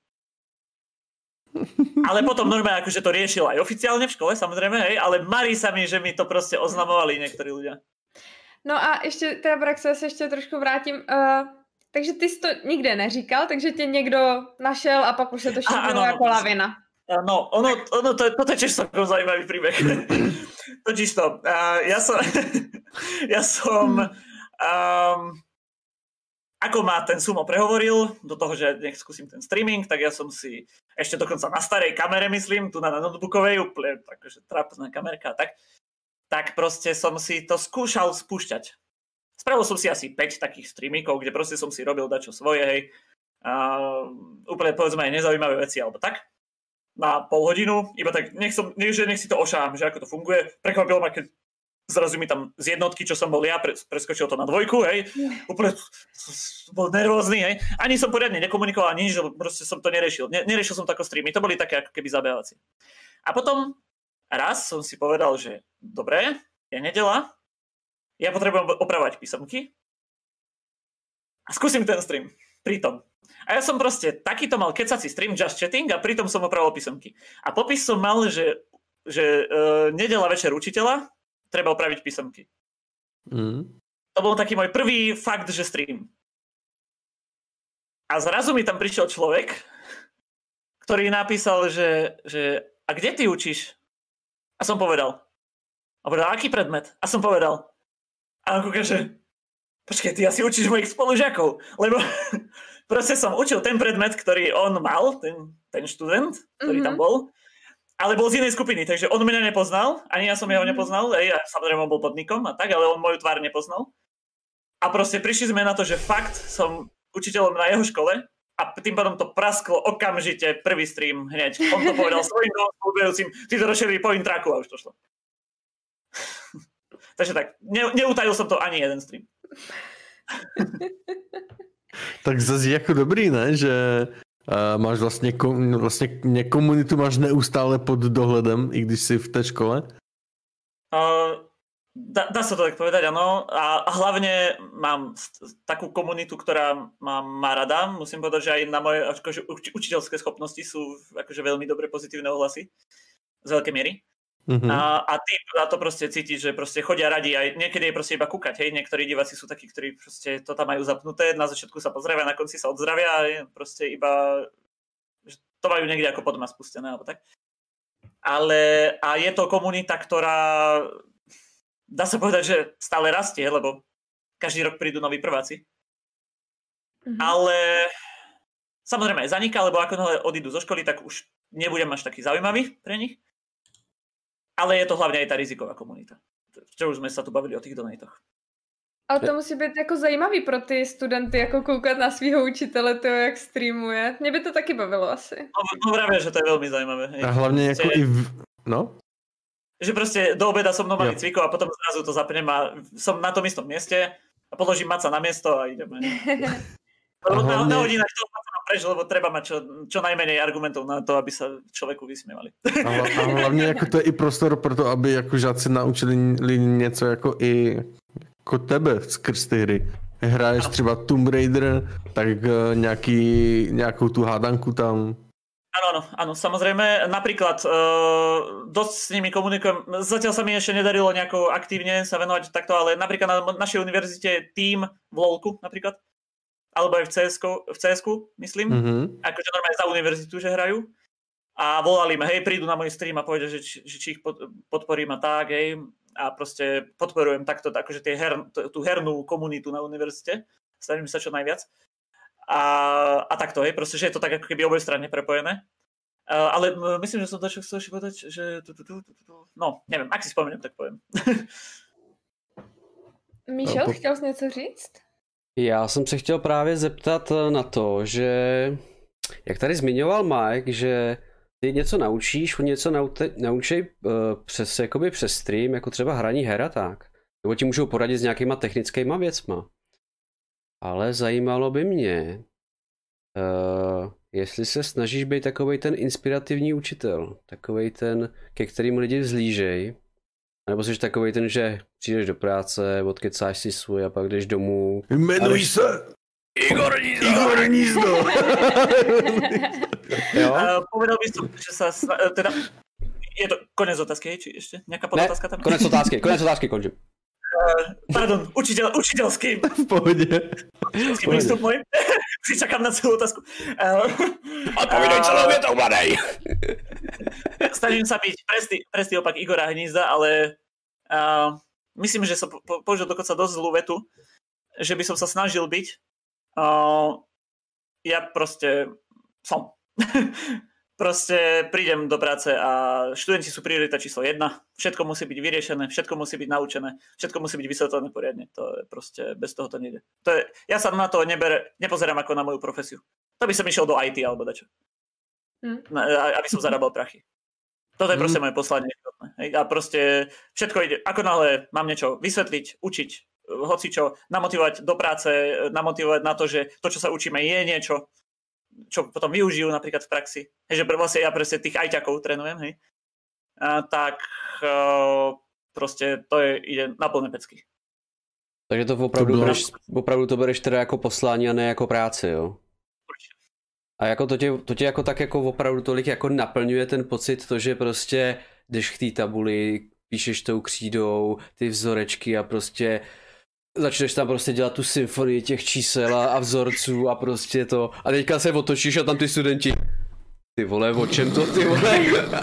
Speaker 2: Ale potom normálne akože to riešil aj oficiálne v škole, samozrejme, hej, ale marí sa mi, že mi to proste oznamovali niektorí ľudia.
Speaker 3: No a ještě, teda Braxo, já se ještě trošku vrátím. Uh, takže ty jsi to nikde neříkal, takže tě někdo našel a pak už se to šířilo jako lavina.
Speaker 2: No, ono, ono to, toto je tiež celkom zaujímavý príbeh. Totiž to, uh, ja som, ja som um, ako ma ten Sumo prehovoril do toho, že nech skúsim ten streaming, tak ja som si ešte dokonca na starej kamere, myslím, tu na notebookovej, úplne takže trápna kamerka, tak, tak proste som si to skúšal spúšťať. Spravil som si asi päť takých streamíkov, kde proste som si robil dačo svoje, hej, uh, úplne povedzme aj nezaujímavé veci, alebo tak. Na pol hodinu, iba tak, nech, som, nech, nech si to ošám, že ako to funguje. Prekvapilo ma, keď zrazu mi tam z jednotky, čo som bol ja, preskočil to na dvojku, hej. Úplne bol nervózny, hej. Ani som poriadne nekomunikoval, ani nič, proste som to neriešil. Ne, neriešil som to ako streamy, to boli také ako keby zabávacie. A potom raz som si povedal, že dobre, je nedeľa, ja potrebujem opravovať písomky a skúsim ten stream pritom. A ja som proste takýto mal kecací stream, just chatting a pritom som opravoval písomky. A popis som mal, že, že uh, nedeľa večer učiteľa, treba opraviť písomky. Mm. To bol taký môj prvý fakt, že stream. A zrazu mi tam prišiel človek, ktorý napísal, že, že a kde ty učíš? A som povedal. A povedal, aký predmet? A som povedal. A on kúka, že počkej, ty asi učíš mojich spolužiakov, lebo proste som učil ten predmet, ktorý on mal, ten, ten študent, ktorý mm-hmm. tam bol, ale bol z inej skupiny, takže on mňa nepoznal, ani ja som jeho nepoznal, aj, samozrejme on bol pod nikom a tak, ale on moju tvár nepoznal. A proste prišli sme na to, že fakt som učiteľom na jeho škole a tým pádom to prasklo okamžite, prvý stream hneď. On to povedal svojim spolubehujúcim, ty to rozšerili po intraku a už to šlo. Takže tak, ne, neutajil som to ani jeden stream.
Speaker 4: Tak zase jako dobrý, ne? Že uh, máš vlastně, kom, vlastně komunitu máš neustále pod dohledem, i když jsi v té škole?
Speaker 2: Uh, dá, dá sa to tak povedať, áno. A, a hlavne mám takú komunitu, ktorá má, má rada. Musím povedať, že aj na moje akože, uč, učiteľské schopnosti sú akože veľmi dobre pozitívne ohlasy. Z veľkej miery. Mm-hmm. A, a ty na to proste cítiš, že proste chodia radi aj niekedy je proste iba kúkať, hej, niektorí diváci sú takí, ktorí proste to tam majú zapnuté, na začiatku sa pozdravia, na konci sa odzdravia a je proste iba, že to majú niekde ako pod doma spustené, alebo tak. Ale a je to komunita, ktorá dá sa povedať, že stále rastie, lebo každý rok prídu noví prváci. Mm-hmm. Ale samozrejme aj zaniká, lebo ako náhle odídu zo školy, tak už nebudem až taký zaujímavý pre nich. Ale je to hlavne aj tá riziková komunita. Čo už sme sa tu bavili o tých donatoch.
Speaker 3: Ale to musí být jako zajímavý pro ty studenty, jako koukat na svého učitele, to jak streamuje. Mě by to taky bavilo asi.
Speaker 2: No, no právě, že to je velmi zajímavé. Hej.
Speaker 4: A hlavně jako i v... No?
Speaker 2: Že prostě do obeda som mnou cvikol a potom zrazu to zapnem a som na tom istom mieste a položím maca na miesto a ideme. Hlavne... Na hodinách toho maca preč, lebo treba mať čo, čo najmenej argumentov na to, aby sa človeku vysmievali.
Speaker 4: A, a hlavně jako to je i prostor pro to, aby jako žáci naučili něco jako i jako tebe skrz ty hry. Hraješ třeba Tomb Raider, tak nějaký, nějakou tu hádanku tam.
Speaker 2: Áno, áno, áno, samozrejme. Napríklad uh, dosť s nimi komunikujem. Zatiaľ sa mi ešte nedarilo nejako aktívne sa venovať takto, ale napríklad na našej univerzite je tím v LOLku napríklad, alebo aj v cé esku, v cé esku myslím, mm-hmm. akože normálne za univerzitu, že hrajú. A volali ma, hej, prídu na môj stream a povedia, že, že či ich podporím a tak, hej. A proste podporujem takto, akože tie her, tú hernú komunitu na univerzite. Snažím sa čo najviac. A, a takto, hej, proste, že je to tak ako keby obojstranne prepojené. Uh, ale myslím, že som to čo chcel ešte povedať, že tu, tu, tu, tu, tu. No, neviem, ak si spomeniem, tak poviem.
Speaker 3: Míšo, chtěl jsi něco říct?
Speaker 1: Já jsem se chtěl právě zeptat na to, že jak tady zmiňoval Mike, že ty něco naučíš, oni něco naute, naučí uh, přes, jakoby přes stream, jako třeba hraní her a tak. Nebo ti můžou poradit s nějakýma technickýma věcma. Ale zajímalo by mě, uh, jestli se snažíš být takovej ten inspirativní učitel, takovej ten, ke kterému lidi vzlížej, nebo jsi takovej ten, že přijdeš do práce, odkecáš si svůj a pak jdeš domů.
Speaker 4: Jmenuj jdeš... se Igor Nízdo. Igor Nízdo.
Speaker 2: Jo? Uh, povedal by som, že sa, teda, je to konec otázky, či ešte nejaká podotázka tam?
Speaker 1: Konec otázky, konec otázky, končím.
Speaker 2: Uh, pardon, učiteľ, učiteľský.
Speaker 4: V pohode.
Speaker 2: Učiteľský prístup môj. Si čakám na celú otázku. Uh,
Speaker 1: Odpovídaj uh, celou vietou, mladej.
Speaker 2: Snažím sa byť presný, presný opak Igora Hnízda, ale uh, myslím, že som po, použil dokonca dosť zlú vetu, že by som sa snažil byť. Uh, ja proste som. Proste prídem do práce a študenti sú priorita číslo jedna. Všetko musí byť vyriešené, všetko musí byť naučené, všetko musí byť vysvetlené poriadne. To je proste, bez toho to nejde. To je, ja sa na to nebere, nepozerám ako na moju profesiu. To by som išiel do í té alebo dačo. Mm. Aby som zarábal prachy. Toto je proste mm. moje poslanie. A proste všetko ide, ako náhle mám niečo vysvetliť, učiť, hocičo, namotivovať do práce, namotivovať na to, že to, čo sa učíme, je niečo, čo potom využijú napríklad v praxi. Hej, že vlastne ja presne tých ajťakov trénujem, hej. A, tak uh, proste to je, ide na plné pecky.
Speaker 1: Takže to opravdu, to bereš, opravdu to bereš teda jako poslání a ne jako práci, jo?
Speaker 2: Určitě.
Speaker 1: A jako to tě, to tě jako tak jako opravdu tolik jako naplňuje ten pocit, to, že prostě jdeš k té tabuli, píšeš tou křídou ty vzorečky a prostě začneš tam prostě dělat tu symfonii těch čísel a, a vzorců a prostě to. A teďka se otočíš a tam ty studenti. Ty vole, o čem to, ty vole?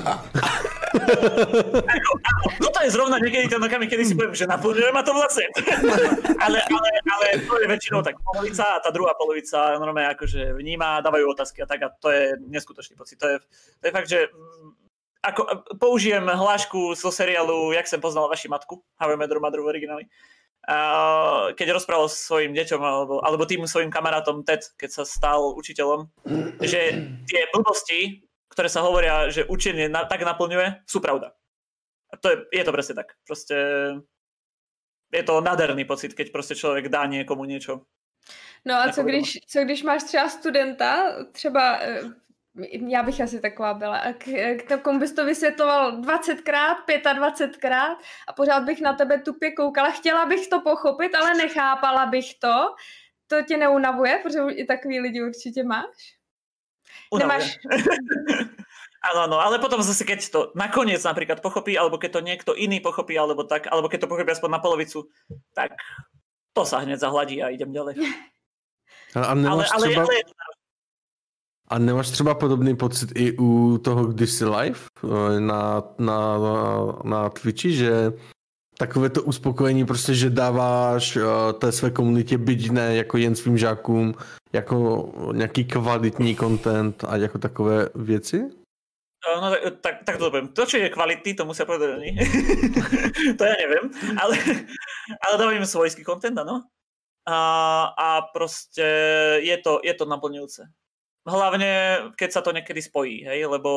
Speaker 2: Toto je zrovna niekedy ten okamih, kedy si poviem, že naplňujem a to vlastne. ale, ale, ale to je väčšinou tak polovica a tá druhá polovica normálne akože vníma, dávajú otázky a tak a to je neskutočný pocit. To je, to je fakt, že ako, použijem hlášku zo seriálu Jak som poznal vaši matku, How I Met Your Mother v origináli. Uh, keď rozprával svojim deťom alebo, alebo tým svojim kamarátom Ted, keď sa stal učiteľom, že tie blbosti, ktoré sa hovoria, že učenie na, tak naplňuje, sú pravda. A to je, je to presne tak. Proste je to nádherný pocit, keď proste človek dá niekomu niečo.
Speaker 3: No a co když, co když máš třeba studenta, třeba já bych asi taková byla, k tomu bys to vysvětloval dvacetkrát, dvacetpětkrát a pořád bych na tebe tupě koukala. Chtěla bych to pochopit, ale nechápala bych to. To tě neunavuje, protože i takový lidi určitě máš?
Speaker 2: Unavuje. Nemáš... Áno, áno, ale potom zase keď to nakoniec napríklad pochopí, alebo keď to niekto iný pochopí, alebo tak, alebo keď to pochopí aspoň na polovicu, tak to sa hneď zahladí a idem ďalej.
Speaker 4: A, a nemáš
Speaker 2: ale,
Speaker 4: třeba...
Speaker 2: ale, ale...
Speaker 4: A nemáš třeba podobný pocit i u toho kdysi live na, na, na Twitchi, že takové to uspokojení prostě, že dáváš uh, té své komunitě, byť ne jako jen svým žákům, jako nějaký kvalitní content a jako takové věci?
Speaker 2: No tak, tak to poviem. To, čo je kvalitný, to musia povedať oni. To ja neviem. Ale, ale dávam im svojský content, áno. A, a proste je to, je to naplňujúce. Hlavne, keď sa to niekedy spojí, hej, lebo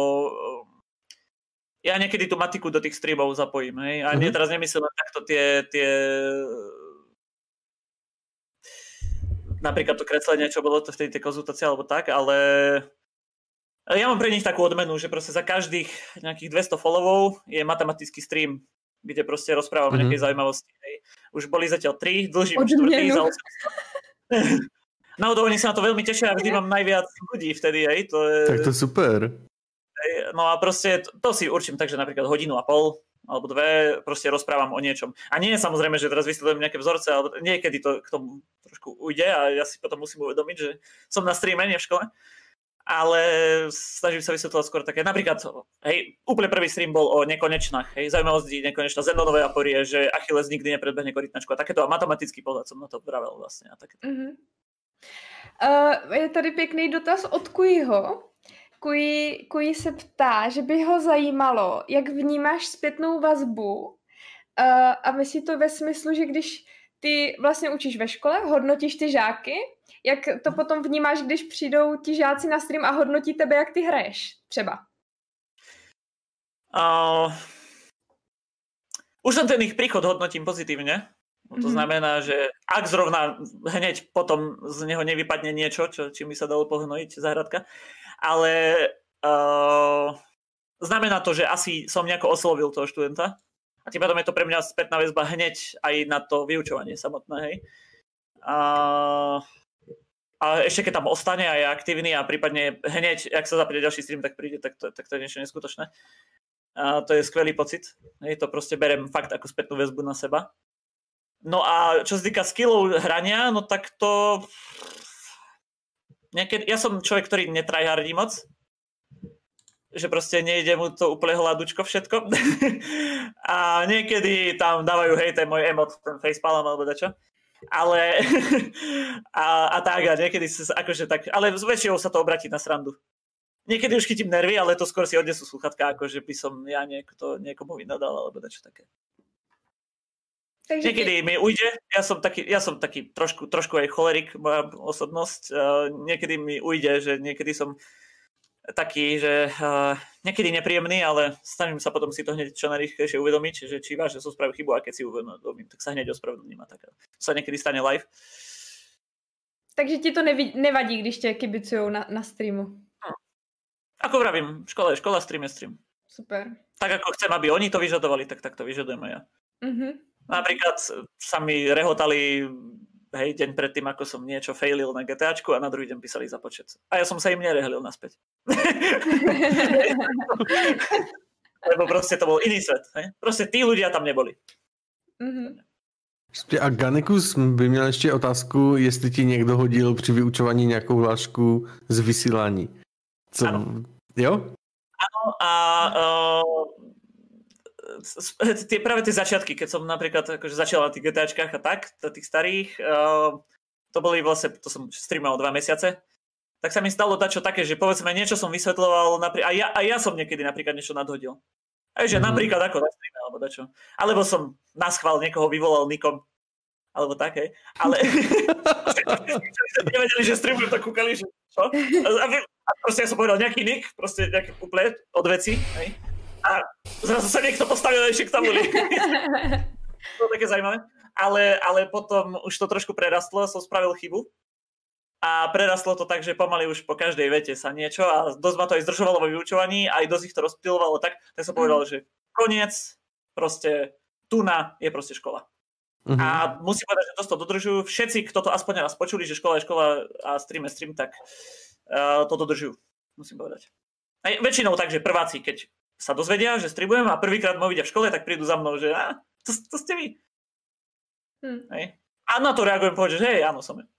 Speaker 2: ja niekedy tú matiku do tých streamov zapojím, hej. A mm-hmm. nie, teraz nemyslím len takto tie, tie napríklad to kreslenie, čo bolo to v tej, tej konzultácii alebo tak, ale ja mám pre nich takú odmenu, že proste za každých nejakých dvesto followov je matematický stream, kde proste rozprávam mm-hmm. nejakej zaujímavosti. Hej. Už boli zatiaľ tri, dlžím štvrtý za osemsto. Náhodou oni sa na to veľmi tešia a vždy mám najviac ľudí vtedy. Hej. To je...
Speaker 4: Tak to je super.
Speaker 2: Hej. No a proste to, to si určím tak, že napríklad hodinu a pol alebo dve proste rozprávam o niečom. A nie je samozrejme, že teraz vysvetľujem nejaké vzorce, alebo niekedy to k tomu trošku ujde a ja si potom musím uvedomiť, že som na streame, nie v škole. Ale snažím sa vysvetľovať skôr také, napríklad, hej, úplne prvý stream bol o nekonečnách, hej, zaujímavosti nekonečná, Zenonové aporie, že Achilles nikdy nepredbehne korytnačku a takéto, a matematický pohľad som na to vravel vlastne. A takéto. Uh-huh.
Speaker 3: Uh, je tady pěkný dotaz od Kujiho. Kuji, Kuji se ptá, že by ho zajímalo, jak vnímáš zpětnou vazbu uh, a myslí to ve smyslu, že když ty vlastně učíš ve škole, hodnotíš ty žáky, jak to potom vnímáš, když přijdou ti žáci na stream a hodnotí tebe, jak ty hraješ třeba?
Speaker 2: Uh, už len ten ich príchod hodnotím pozitívne. To mm-hmm. znamená, že ak zrovna hneď potom z neho nevypadne niečo, čo, čím by sa dalo pohnojiť záhradka, ale uh, znamená to, že asi som nejako oslovil toho študenta a tým pádom je to pre mňa spätná väzba hneď aj na to vyučovanie samotné. Hej. Uh, A ešte keď tam ostane a je aktívny a prípadne hneď, ak sa zapne ďalší stream, tak príde, tak to, tak to je niečo neskutočné. A to je skvelý pocit. Hej, to proste berem fakt ako spätnú väzbu na seba. No a čo sa týka skillov hrania, no tak to... Niekedy... Ja som človek, ktorý netryhardí moc. Že proste nejde mu to úplne hľadučko všetko. A niekedy tam dávajú, hej, ten môj emot, ten facepalm alebo dačo. Ale a, a tak a niekedy sa akože tak, ale s väčšinou sa to obratí na srandu. Niekedy už chytím nervy, ale to skôr si odnesú sluchatka, akože by som ja niekto, niekomu vynadal alebo dačo také. Takže niekedy ty... mi ujde, ja som taký, ja som taký trošku, trošku aj cholerik, moja osobnosť, uh, niekedy mi ujde, že niekedy som taký, že uh, niekedy nepríjemný, ale snažím sa potom si to hneď čo najrýchlejšie uvedomiť, že či vážne som spravil chybu a keď si uvedomím, tak sa hneď ospravedlním a tak. To sa niekedy stane live.
Speaker 3: Takže ti to nevi- nevadí, když tě kibicujou na, na streamu?
Speaker 2: Hm. Ako vravím, škola je škola, stream je stream.
Speaker 3: Super.
Speaker 2: Tak ako chcem, aby oni to vyžadovali, tak tak to vyžadujem aj ja.
Speaker 3: Mhm.
Speaker 2: Napríklad sa mi rehotali hej, deň predtým, ako som niečo failil na GTAčku a na druhý deň písali za počet. A ja som sa im nerehlil naspäť. Lebo proste to bol iný svet. Hej? Proste tí ľudia tam neboli.
Speaker 3: Mm-hmm.
Speaker 4: A Ganekus by měl ještě otázku, jestli ti někdo hodil při vyučování nějakou hlášku z vysílání. Co? Ano. Jo?
Speaker 2: Áno a uh, tie, práve tie začiatky, keď som napríklad akože začal na tých GTAčkách a tak, na tých starých, uh, to boli vlastne, to som streamoval dva mesiace, tak sa mi stalo dačo také, že povedzme niečo som vysvetľoval, naprí- a, ja, a ja som niekedy napríklad niečo nadhodil. Aj že mm. napríklad ako na streame, alebo dačo. Alebo som naschvál niekoho vyvolal nikom, alebo tak, hej. Ale nevedeli, že streamujem, tak kúkali, že čo? A proste ja som povedal nejaký nick, proste nejaký úplne od veci, hej. A zrazu sa niekto postavil ešte k tabuli. To je také zaujímavé. Ale, ale potom už to trošku prerastlo, som spravil chybu. A prerastlo to tak, že pomaly už po každej vete sa niečo a dosť ma to aj zdržovalo vo vyučovaní, aj dosť ich to rozptylovalo tak, tak som povedal, že koniec, proste tuna je proste škola. Uh-huh. A musím povedať, že dosť to dodržujú. Všetci, kto to aspoň raz počuli, že škola je škola a stream je stream, tak uh, to dodržujú, musím povedať. Aj väčšinou tak, že prváci, keď sa dozvedia, že streamujem a prvýkrát ma vidia v škole, tak prídu za mnou, že a, to, to ste vy. Hm. Hej. A na to reagujem povedať, že hej, áno, som.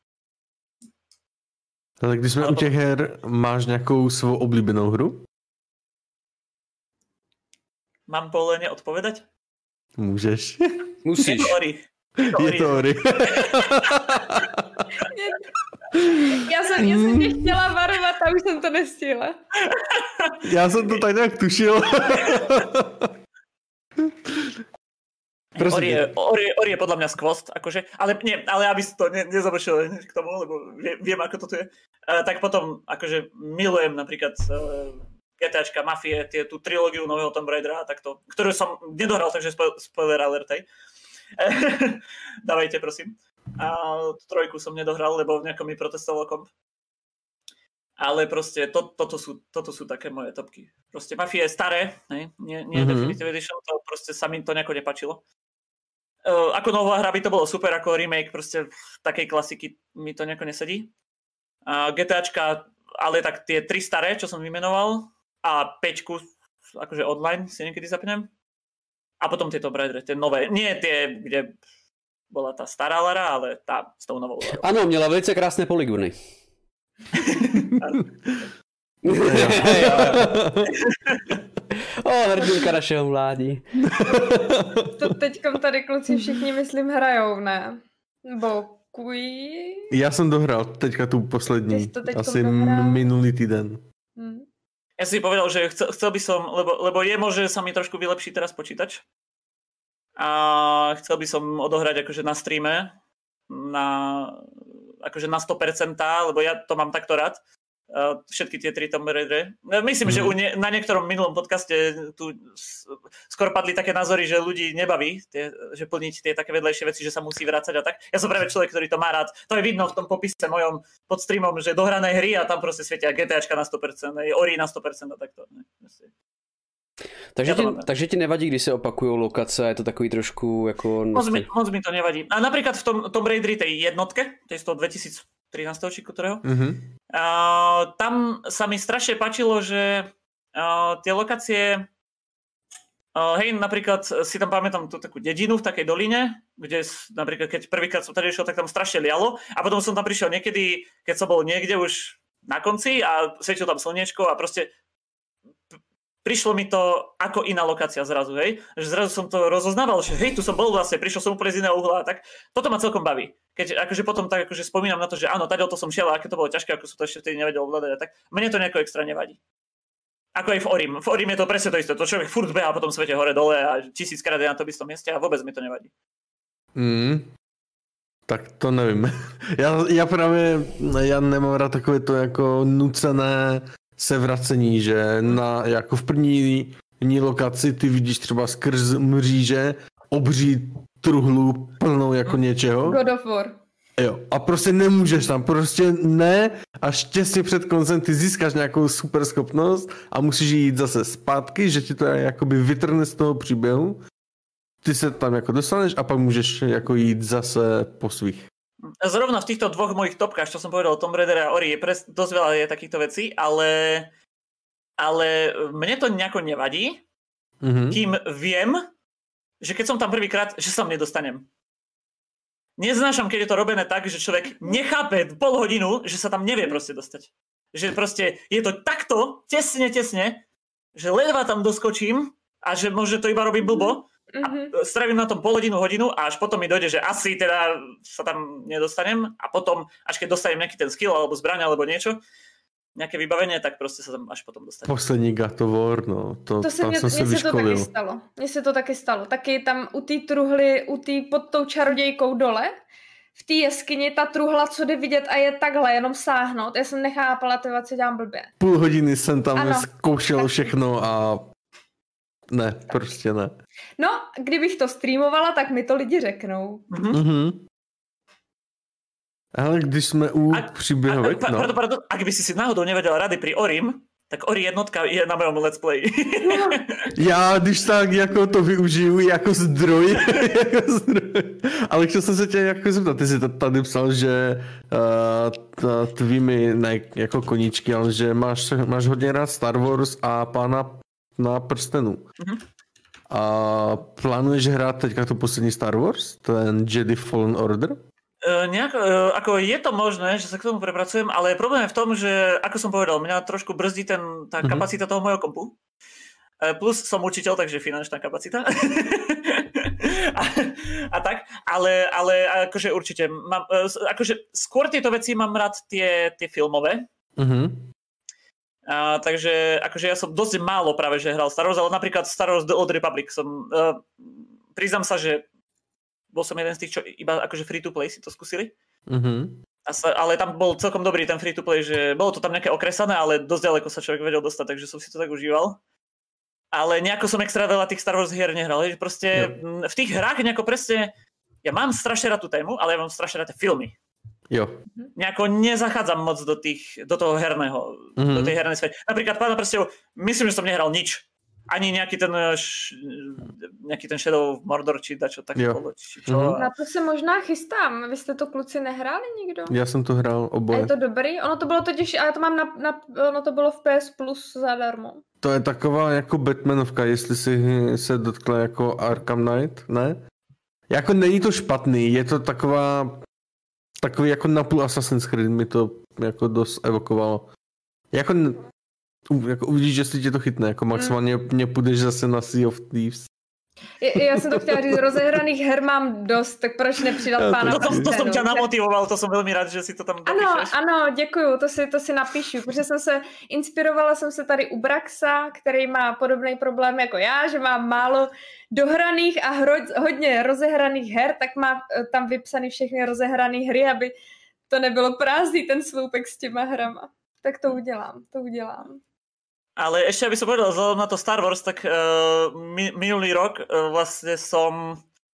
Speaker 4: Ale když jsme u těch her, máš nějakou svou oblíbenou hru?
Speaker 2: Mám povolenie odpovedať?
Speaker 4: Můžeš.
Speaker 1: Musíš.
Speaker 2: Je to Ori.
Speaker 4: Je to Ori. Je to Ori.
Speaker 3: Já jsem, já jsem tě chtěla varovat a už jsem to nestihla.
Speaker 4: Já jsem to tak nějak tušil.
Speaker 2: Ori je, Ori, Ori je podľa mňa skvost, akože, ale, nie, ale aby si to ne, nezavršil k tomu, lebo vie, viem, ako to tu je. Uh, tak potom, akože milujem napríklad uh, GTAčka, Mafie, tie, tú trilógiu nového Tomb Raidera, takto, ktorú som nedohral, takže spo, spoiler alert, hej. Dávajte, prosím. A trojku som nedohral, lebo nejako mi protestoval komp. Ale proste to, toto, sú, toto sú také moje topky. Proste Mafia je staré, ne? Nie, nie mm-hmm. Definitive Edition, to proste sa mi to nejako nepačilo. Uh, ako nová hra by to bolo super, ako remake proste takej klasiky mi to nejako nesedí. Uh, GTAčka, ale tak tie tri staré, čo som vymenoval, a päťku, akože online si niekedy zapnem. A potom tieto Tomb tie nové, nie tie, kde bola tá stará Lara, ale tá s tou novou Larou.
Speaker 1: Ano, měla velice krásné polygony. O, hrdinka našeho mládí.
Speaker 3: To teďkom tady kluci všichni, myslím, hrajou, ne? Nebo kují?
Speaker 4: Já jsem dohral teďka tu poslední, asi dohral? minulý týden. Hmm.
Speaker 2: Ja si povedal, že chcel, chcel by som, lebo, lebo je možné, že sa mi trošku vylepší teraz počítač. A chcel by som odohrať akože na streame, na, akože na sto percent, lebo ja to mám takto rád. Všetky tie tri Tomb Raidery. Myslím, mm. že nie, na niektorom minulom podcaste tu skoro padli také názory, že ľudí nebaví, tie, že plniť tie také vedlejšie veci, že sa musí vrácať a tak. Ja som práve človek, ktorý to má rád. To je vidno v tom popise mojom pod streamom, že dohrané hry a tam proste svietia GTAčka na sto percent, Ori na sto percent a takto.
Speaker 1: Takže, ja ti, takže ti nevadí, když se opakují lokace, je to takový trošku jako...
Speaker 2: Moc mi, moc mi to nevadí. A napríklad v tom Tomb Raideri tej jednotke, tej z toho dvetisíctrinásť či ktorého, mm-hmm. uh, tam sa mi strašne páčilo, že uh, tie lokácie, uh, hej, napríklad si tam pamätám tú takú dedinu v takej doline, kde napríklad keď prvýkrát som tady išiel, tak tam strašne lialo a potom som tam prišiel niekedy, keď som bol niekde už na konci a svietilo tam slniečko a proste prišlo mi to ako iná lokácia zrazu, hej. Že zrazu som to rozoznával, že hej, tu som bol vlastne, prišiel som úplne z iného uhla, tak toto ma celkom baví. Keď akože potom tak akože spomínam na to, že áno, tady to som šiel a aké to bolo ťažké, ako som to ešte vtedy nevedel ovládať a tak, mne to nejako extra nevadí. Ako aj v Orim. V Orim je to presne to isté, to človek furt behá po tom svete hore dole a tisíckrát je na tom istom mieste a vôbec mi to nevadí.
Speaker 4: Mm. Tak to nevím. Já, já právě, já nemám rád takové to jako nucené se vracení, že na, jako v první, první lokaci ty vidíš třeba skrz mříže obří truhlu plnou jako něčeho.
Speaker 3: God of War.
Speaker 4: Jo, a prostě nemůžeš tam, prostě ne, až těsně před koncem ty získáš nějakou super schopnost a musíš jít zase zpátky, že ti to jakoby vytrhne z toho příběhu. Ty se tam jako dostaneš a pak můžeš jako jít zase po svých.
Speaker 2: Zrovna v týchto dvoch mojich topkách, čo som povedal o Tomb Raider a Ori, je pres, dosť veľa je takýchto vecí, ale, ale mne to nejako nevadí, mm-hmm. kým viem, že keď som tam prvýkrát, že sa mne dostanem. Neznášam, keď je to robené tak, že človek nechápe pol hodinu, že sa tam nevie proste dostať. Že proste je to takto, tesne, tesne, že ledva tam doskočím a že možno to iba robí blbo, a strávim na tom pol hodinu, hodinu a až potom mi dojde, že asi teda sa tam nedostanem a potom, až keď dostanem nejaký ten skill alebo zbraň alebo niečo, nejaké vybavenie, tak proste sa tam až potom dostanem.
Speaker 4: Poslední God of War, no, to,
Speaker 3: to se
Speaker 4: tam
Speaker 3: mě,
Speaker 4: jsem se vyškolil.
Speaker 3: Mně se to taky stalo. Mně se to taky stalo. Taky tam u té truhly, u té pod tou čarodějkou dole, v té jeskyni, ta truhla, co jde vidět a je takhle, jenom sáhnout. Já jsem nechápala, tyva, co dělám blbě.
Speaker 4: Půl hodiny jsem tam ano, zkoušel tak... všechno a ne, prostě ne.
Speaker 3: No, kdybych to streamovala, tak mi to lidi řeknou.
Speaker 4: Mm-hmm. Ale když jsme u příběhovek, no.
Speaker 2: Pardon, pardon, ak by si si náhodou nevedel rady pri Orim, tak Ori jednotka je na mém let's play.
Speaker 4: Já když tak jako to využiju jako zdroj, jako zdroj. Ale chtěl jsem se tě jako zeptat, ty jsi tady psal, že uh, tvými, ne jako koníčky, ale že máš, máš hodně rád Star Wars a Pána na prstenu. Mm-hmm. A plánuješ hrát teďka tu poslední Star Wars, ten Jedi Fallen Order?
Speaker 2: Uh, nejako, uh, ako je to možné, že sa k tomu prepracujem, ale problém je v tom, že, ako som povedal, mňa trošku brzdí ten, tá mm-hmm. kapacita toho mojho kompu. Uh, plus som učiteľ, takže finančná kapacita. a, a tak, ale, ale akože určite, mám, uh, akože skôr tieto veci mám rád tie, tie filmové. Mm-hmm. Uh, takže akože ja som dosť málo práve, že hral Star Wars, ale napríklad Star Wars The Old Republic som, uh, priznám sa, že bol som jeden z tých, čo iba akože free-to-play si to skúsili. Mm-hmm. A sa, ale tam bol celkom dobrý ten free-to-play, že bolo to tam nejaké okresané, ale dosť ďaleko sa človek vedel dostať, takže som si to tak užíval. Ale nejako som extra veľa tých Star Wars hier nehral. Proste jo. V tých hrách nejako presne, ja mám strašne rád tú tému, ale ja mám strašne rád tie filmy.
Speaker 4: Jo.
Speaker 2: Nejako nezachádzam moc do, tých, do toho herného, mm-hmm. do tej hernej sféry. Napríklad Pána prstov, myslím, že som nehral nič. Ani nejaký ten, š, nejaký ten Shadow of Mordor, či dačo tak bolo. Či čo.
Speaker 3: Mm-hmm. Na to se možná chystám. Vy jste to kluci nehráli nikdo?
Speaker 4: Já jsem to hrál oboje.
Speaker 3: A je to dobrý? Ono to bylo totiž, ale to mám na, na ono to bylo v P S Plus zadarmo.
Speaker 4: To je taková jako Batmanovka, jestli si se dotkla jako Arkham Knight, ne? Jako není to špatný, je to taková takový jako napůl Assassin's Creed, mi to jako dost evokovalo. Jako Jako uvidíš, že si tě to chytne, jako maximálně mm. mě půjdeš zase na Sea of Thieves.
Speaker 3: Je, já jsem to chtěla říct, rozehraných her mám dost, tak proč nepřidat ja, Pána prstenů?
Speaker 2: To, to, to jsem tě namotivoval, to jsem velmi rád, že si to tam dopíšeš.
Speaker 3: Ano, ano, děkuju, to si, to si napíšu, protože jsem se, inspirovala jsem se tady u Braxa, který má podobný problém jako já, že má málo dohraných a hro, hodně rozehraných her, tak má tam vypsaný všechny rozehrané hry, aby to nebylo prázdný ten sloupek s těma hrama. Tak to udělám, to udělám.
Speaker 2: Ale ešte, aby som povedal, vzhľadom na to Star Wars, tak uh, mi, minulý rok uh, vlastne som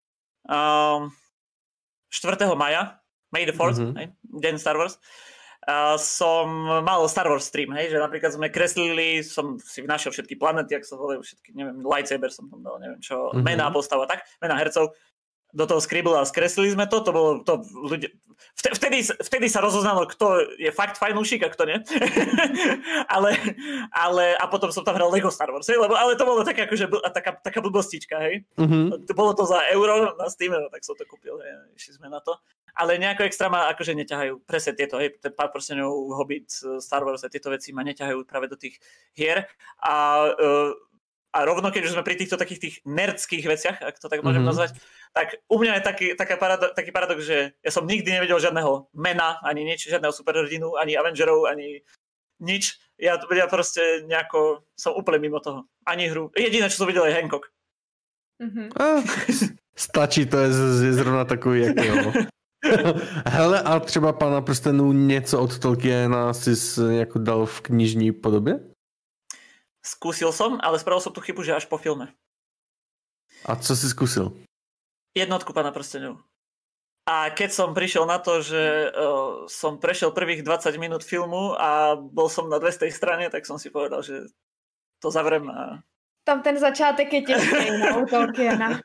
Speaker 2: uh, štvrtého maja, May the fourth, mm-hmm. hej, deň Star Wars, uh, som mal Star Wars stream, hej, že napríklad sme kreslili, som si našiel všetky planety, ak sa volajú všetky, neviem, lightsaber som tam dal, neviem čo, mm-hmm. mená postava, tak, mená hercov, do toho Scribble a skreslili sme to, to bolo to ľudia, vtedy, vtedy sa rozoznalo, kto je fakt fajnúšik a kto nie. ale, ale, a potom som tam hral Lego Star Wars, hej, lebo, ale to bolo také akože, taká, taká blbostička, hej. Mm-hmm. Bolo to za euro na Steam, tak som to kúpil, hej, išli sme na to. Ale nejako extra ma akože neťahajú presne tieto, hej, ten Pán prstenov, Hobbit, Star Wars a tieto veci ma neťahajú práve do tých hier. A uh, A rovno, keď už sme pri týchto takých tých nerdských veciach, ak to tak môžem mm-hmm. nazvať, tak u mňa je taký, taká parado- taký paradox, že ja som nikdy nevedel žiadneho mena, ani nič, žiadneho superhrdinu, ani Avengerov, ani nič. Ja, ja proste nejako som úplne mimo toho. Ani hru. Jediné, čo som videl, je Hancock.
Speaker 4: Mm-hmm. Ah, stačí, to je, je zrovna takový, jak jo. Hele, a třeba Pána prstenů něco od Tolkiena si jako dal v knižní podobě?
Speaker 2: Skúsil som, ale spravil som tú chybu, že až po filme.
Speaker 4: A co si skúsil?
Speaker 2: Jednotku Pána prstenov. A keď som prišiel na to, že uh, som prešiel prvých dvadsať minút filmu a bol som na dvestej strane, tak som si povedal, že to zavrem a...
Speaker 3: Tam ten začátek je těžký na u Tolkiena.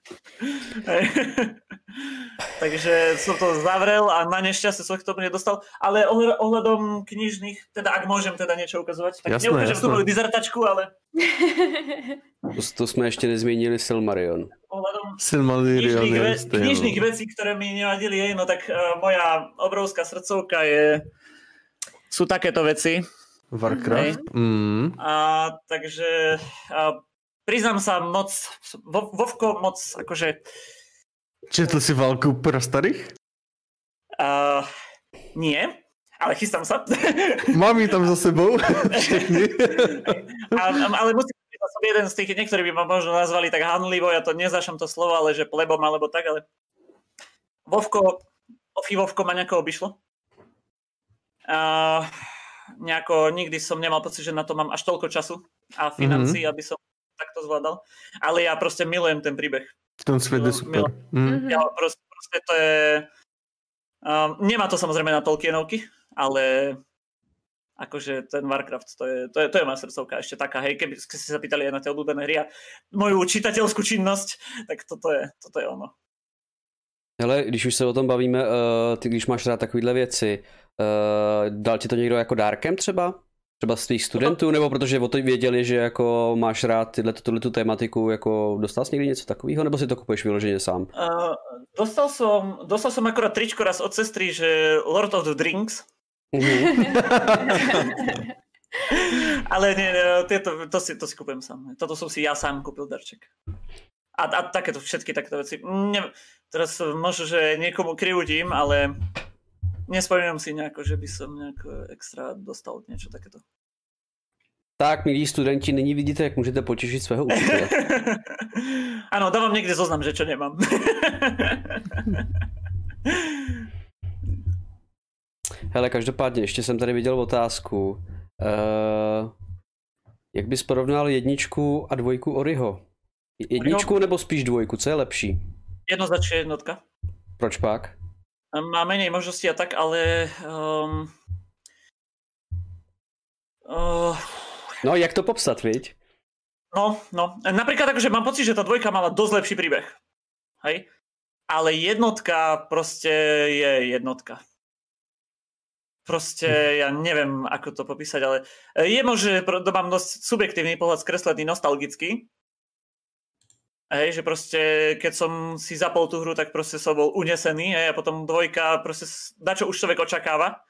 Speaker 2: Takže som to zavrel a na nešťastie som k tomu nedostal. Ale ohľadom knižných, teda ak môžem teda niečo ukazovať, tak neukážem tú moju dizertačku, ale...
Speaker 1: To, to sme ešte nezmínili Silmarillion.
Speaker 2: Ohľadom
Speaker 4: Silmarillion
Speaker 2: knižných, ve- knižných vecí, ktoré mi nevadili, je, no tak uh, moja obrovská srdcovka je... sú takéto veci.
Speaker 4: Warcraft. Mm.
Speaker 2: A takže... A, priznám sa moc, vo, Vovko moc, akože...
Speaker 4: Četl si Válku pro starých?
Speaker 2: Uh, nie, ale chystám sa.
Speaker 4: Mám ju tam za sebou, všechny.
Speaker 2: a, ale musím povedať, že som jeden z tých, niektorí by ma možno nazvali tak hanlivo, ja to nezašam to slovo, ale že plebom alebo tak, ale Vovko, Ofi Vovko ma nejako obišlo. Uh, nejako nikdy som nemal pocit, že na to mám až toľko času a financií, mm-hmm. aby som tak to zvládal. Ale ja proste milujem ten príbeh.
Speaker 4: Ten svet je super.
Speaker 2: Mm. Ja proste, proste to je... Um, nemá to samozrejme na Tolkienovky, ale, akože ten Warcraft, to je, to je, to je moja srdcovka ešte taká, hej, keby ste sa pýtali aj na tie obľúbené hry a moju čitateľskú činnosť, tak toto je, toto je ono.
Speaker 1: Hele, když už se o tom bavíme, uh, ty když máš rád takovýhle věci, uh, dal ti to někdo jako dárkem třeba? Třeba z tvých studentů, nebo protože o to věděli, že jako máš rád tyhle, tu tematiku, jako dostal jsi někdy něco takového, nebo si to kupuješ vyloženě sám?
Speaker 2: Uh, dostal som, dostal som akorát tričko raz od sestry, že Lord of the Drinks. Mm-hmm. Ale nie, to, to, si, to si kupujem sám. Toto som si ja sám kúpil darček. A, a takéto, všetky takéto veci. Ne, teraz možno, že niekomu krivdím, ale nespomínam si nejako, že by som nejako extra dostal niečo takéto.
Speaker 1: Tak, milí studenti, nyní vidíte, jak můžete potěšit svého učitele.
Speaker 2: Áno, dávam niekde zoznam, že čo nemám.
Speaker 1: Hele, každopádně, ještě jsem tady viděl otázku. Uh, jak bys porovnal jedničku a dvojku Oriho? Jedničku nebo spíš dvojku, co je lepší?
Speaker 2: Jednoznačne jednotka.
Speaker 1: Proč pak?
Speaker 2: Má menej možností a tak, ale... Um, uh,
Speaker 1: no, jak to popsat, viď?
Speaker 2: No, no. Napríklad akože mám pocit, že tá dvojka mala dosť lepší príbeh. Hej? Ale jednotka proste je jednotka. Proste, ja neviem, ako to popísať, ale je možné, že mám dosť subjektívny pohľad skreslený, nostalgický. Hej, že proste, keď som si zapol tú hru, tak proste som bol unesený, hej, a potom dvojka, proste dačo už človek očakáva.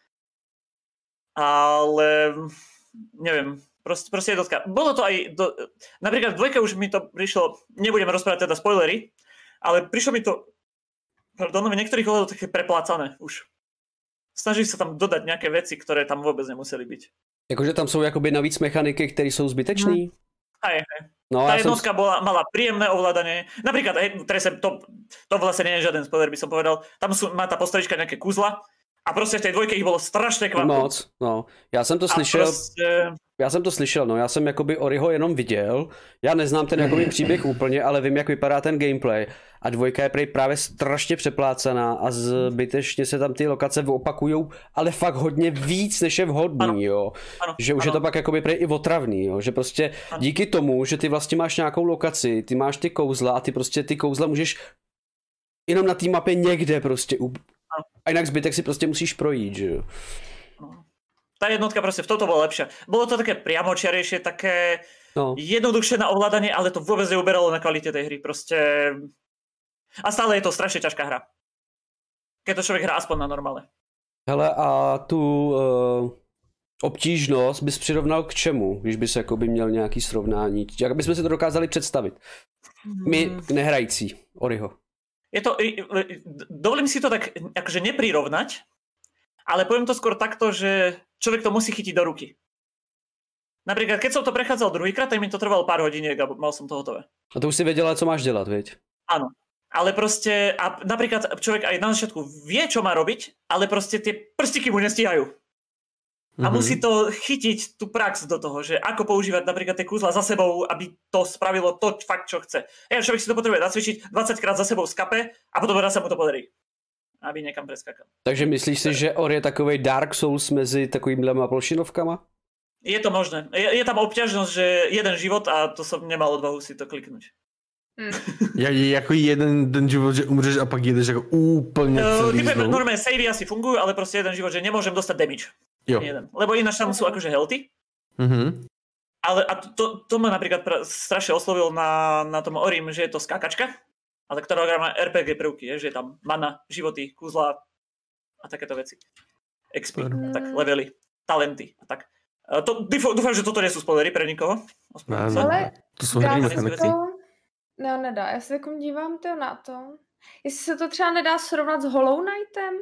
Speaker 2: Ale, neviem, proste, proste jednotka. Bolo to aj, do, napríklad dvojka už mi to prišlo, nebudem rozprávať teda spoilery, ale prišlo mi to, pardon, v niektorých ohľadoch také preplácané už. Snaží sa tam dodať nejaké veci, ktoré tam vôbec nemuseli byť.
Speaker 1: Jakože tam sú jakoby navíc mechaniky, které sú zbytečné?
Speaker 2: Hmm. Hej, hej.
Speaker 1: No,
Speaker 2: tá
Speaker 1: ja
Speaker 2: jednotka
Speaker 1: som...
Speaker 2: bola, mala príjemné ovládanie. Napríklad, hej, to, to vlastne nie je žiaden spoiler, by som povedal. Tam sú, má tá postavička nejaké kuzla a proste v tej dvojke ich bolo strašne kvantum.
Speaker 1: Moc, no. Já jsem to slyšel... Proste... Já jsem to slyšel, no, já jsem jakoby Oriho jenom viděl, já neznám ten jakoby příběh úplně, ale vím, jak vypadá ten gameplay a dvojka je prej právě strašně přeplácaná a zbytečně se tam ty lokace opakujou, ale fakt hodně víc, než je vhodný, ano. jo.
Speaker 2: Ano.
Speaker 1: Že už ano. je to pak jakoby prej i otravný, jo, že prostě ano. díky tomu, že ty vlastně máš nějakou lokaci, ty máš ty kouzla a ty prostě ty kouzla můžeš jenom na té mapě někde prostě up... a jinak zbytek si prostě musíš projít, že jo.
Speaker 2: Tá jednotka proste v toto bola lepšia. Bolo to také priamočiarejšie, také no. jednoduchšie na ovládanie, ale to vôbec neuberalo na kvalite tej hry. Proste... A stále je to strašne ťažká hra. Keď to človek hrá aspoň na normále.
Speaker 1: Hele, a tu uh, obtížnost bys přirovnal k čemu, když bys jakoby měl nějaký srovnání? Jak bychom si to dokázali představit? My nehrající Oriho.
Speaker 2: Je to... Dovolím si to tak akože neprirovnať, ale poviem to skôr takto, že človek to musí chytiť do ruky. Napríklad, keď som to prechádzal druhýkrát, tak mi to trvalo pár hodiniek a mal som to hotové.
Speaker 1: A to už si vedela, co máš dělat, viď?
Speaker 2: Áno. Ale proste, a napríklad človek aj na začiatku vie, čo má robiť, ale proste tie prstiky mu nestíhajú. A mm-hmm. musí to chytiť tú prax do toho, že ako používať napríklad tie kúzla za sebou, aby to spravilo to fakt, čo chce. Ja, človek si to potrebuje nacvičiť dvadsaťkrát za sebou v skape a potom raz sa mu to podarí. Aby někam preskakal.
Speaker 1: Takže myslíš si, že Ori je takovej Dark Souls mezi takovýmhle plošinovkama?
Speaker 2: Je to možné. Je, je tam obťažnosť, že jeden život a to som nemal odvahu si to kliknúť.
Speaker 4: Hmm. Jak, jako jeden ten život, že umřeš a pak jedeš jako úplně celý
Speaker 2: uh, normálne savey asi fungujú, ale proste jeden život, že nemôžem dostať damage. Jo. Jeden. Lebo ináč tam sú akože healthy. Mm-hmm. Ale a to, to ma napríklad pra, strašne oslovil na, na tom Orim, že je to skákačka. Ale ktorá má er pé gé prvky, je, že je tam mana, životy, kúzla a takéto veci. X P, mm. tak levely, talenty a tak. To, dúfam, že toto nie sú spoilery pre nikoho.
Speaker 3: Ale to jsou dá se to... No, nedá, já se takom dívám to na to. Jestli se to třeba nedá srovnat s Hollow Knightem?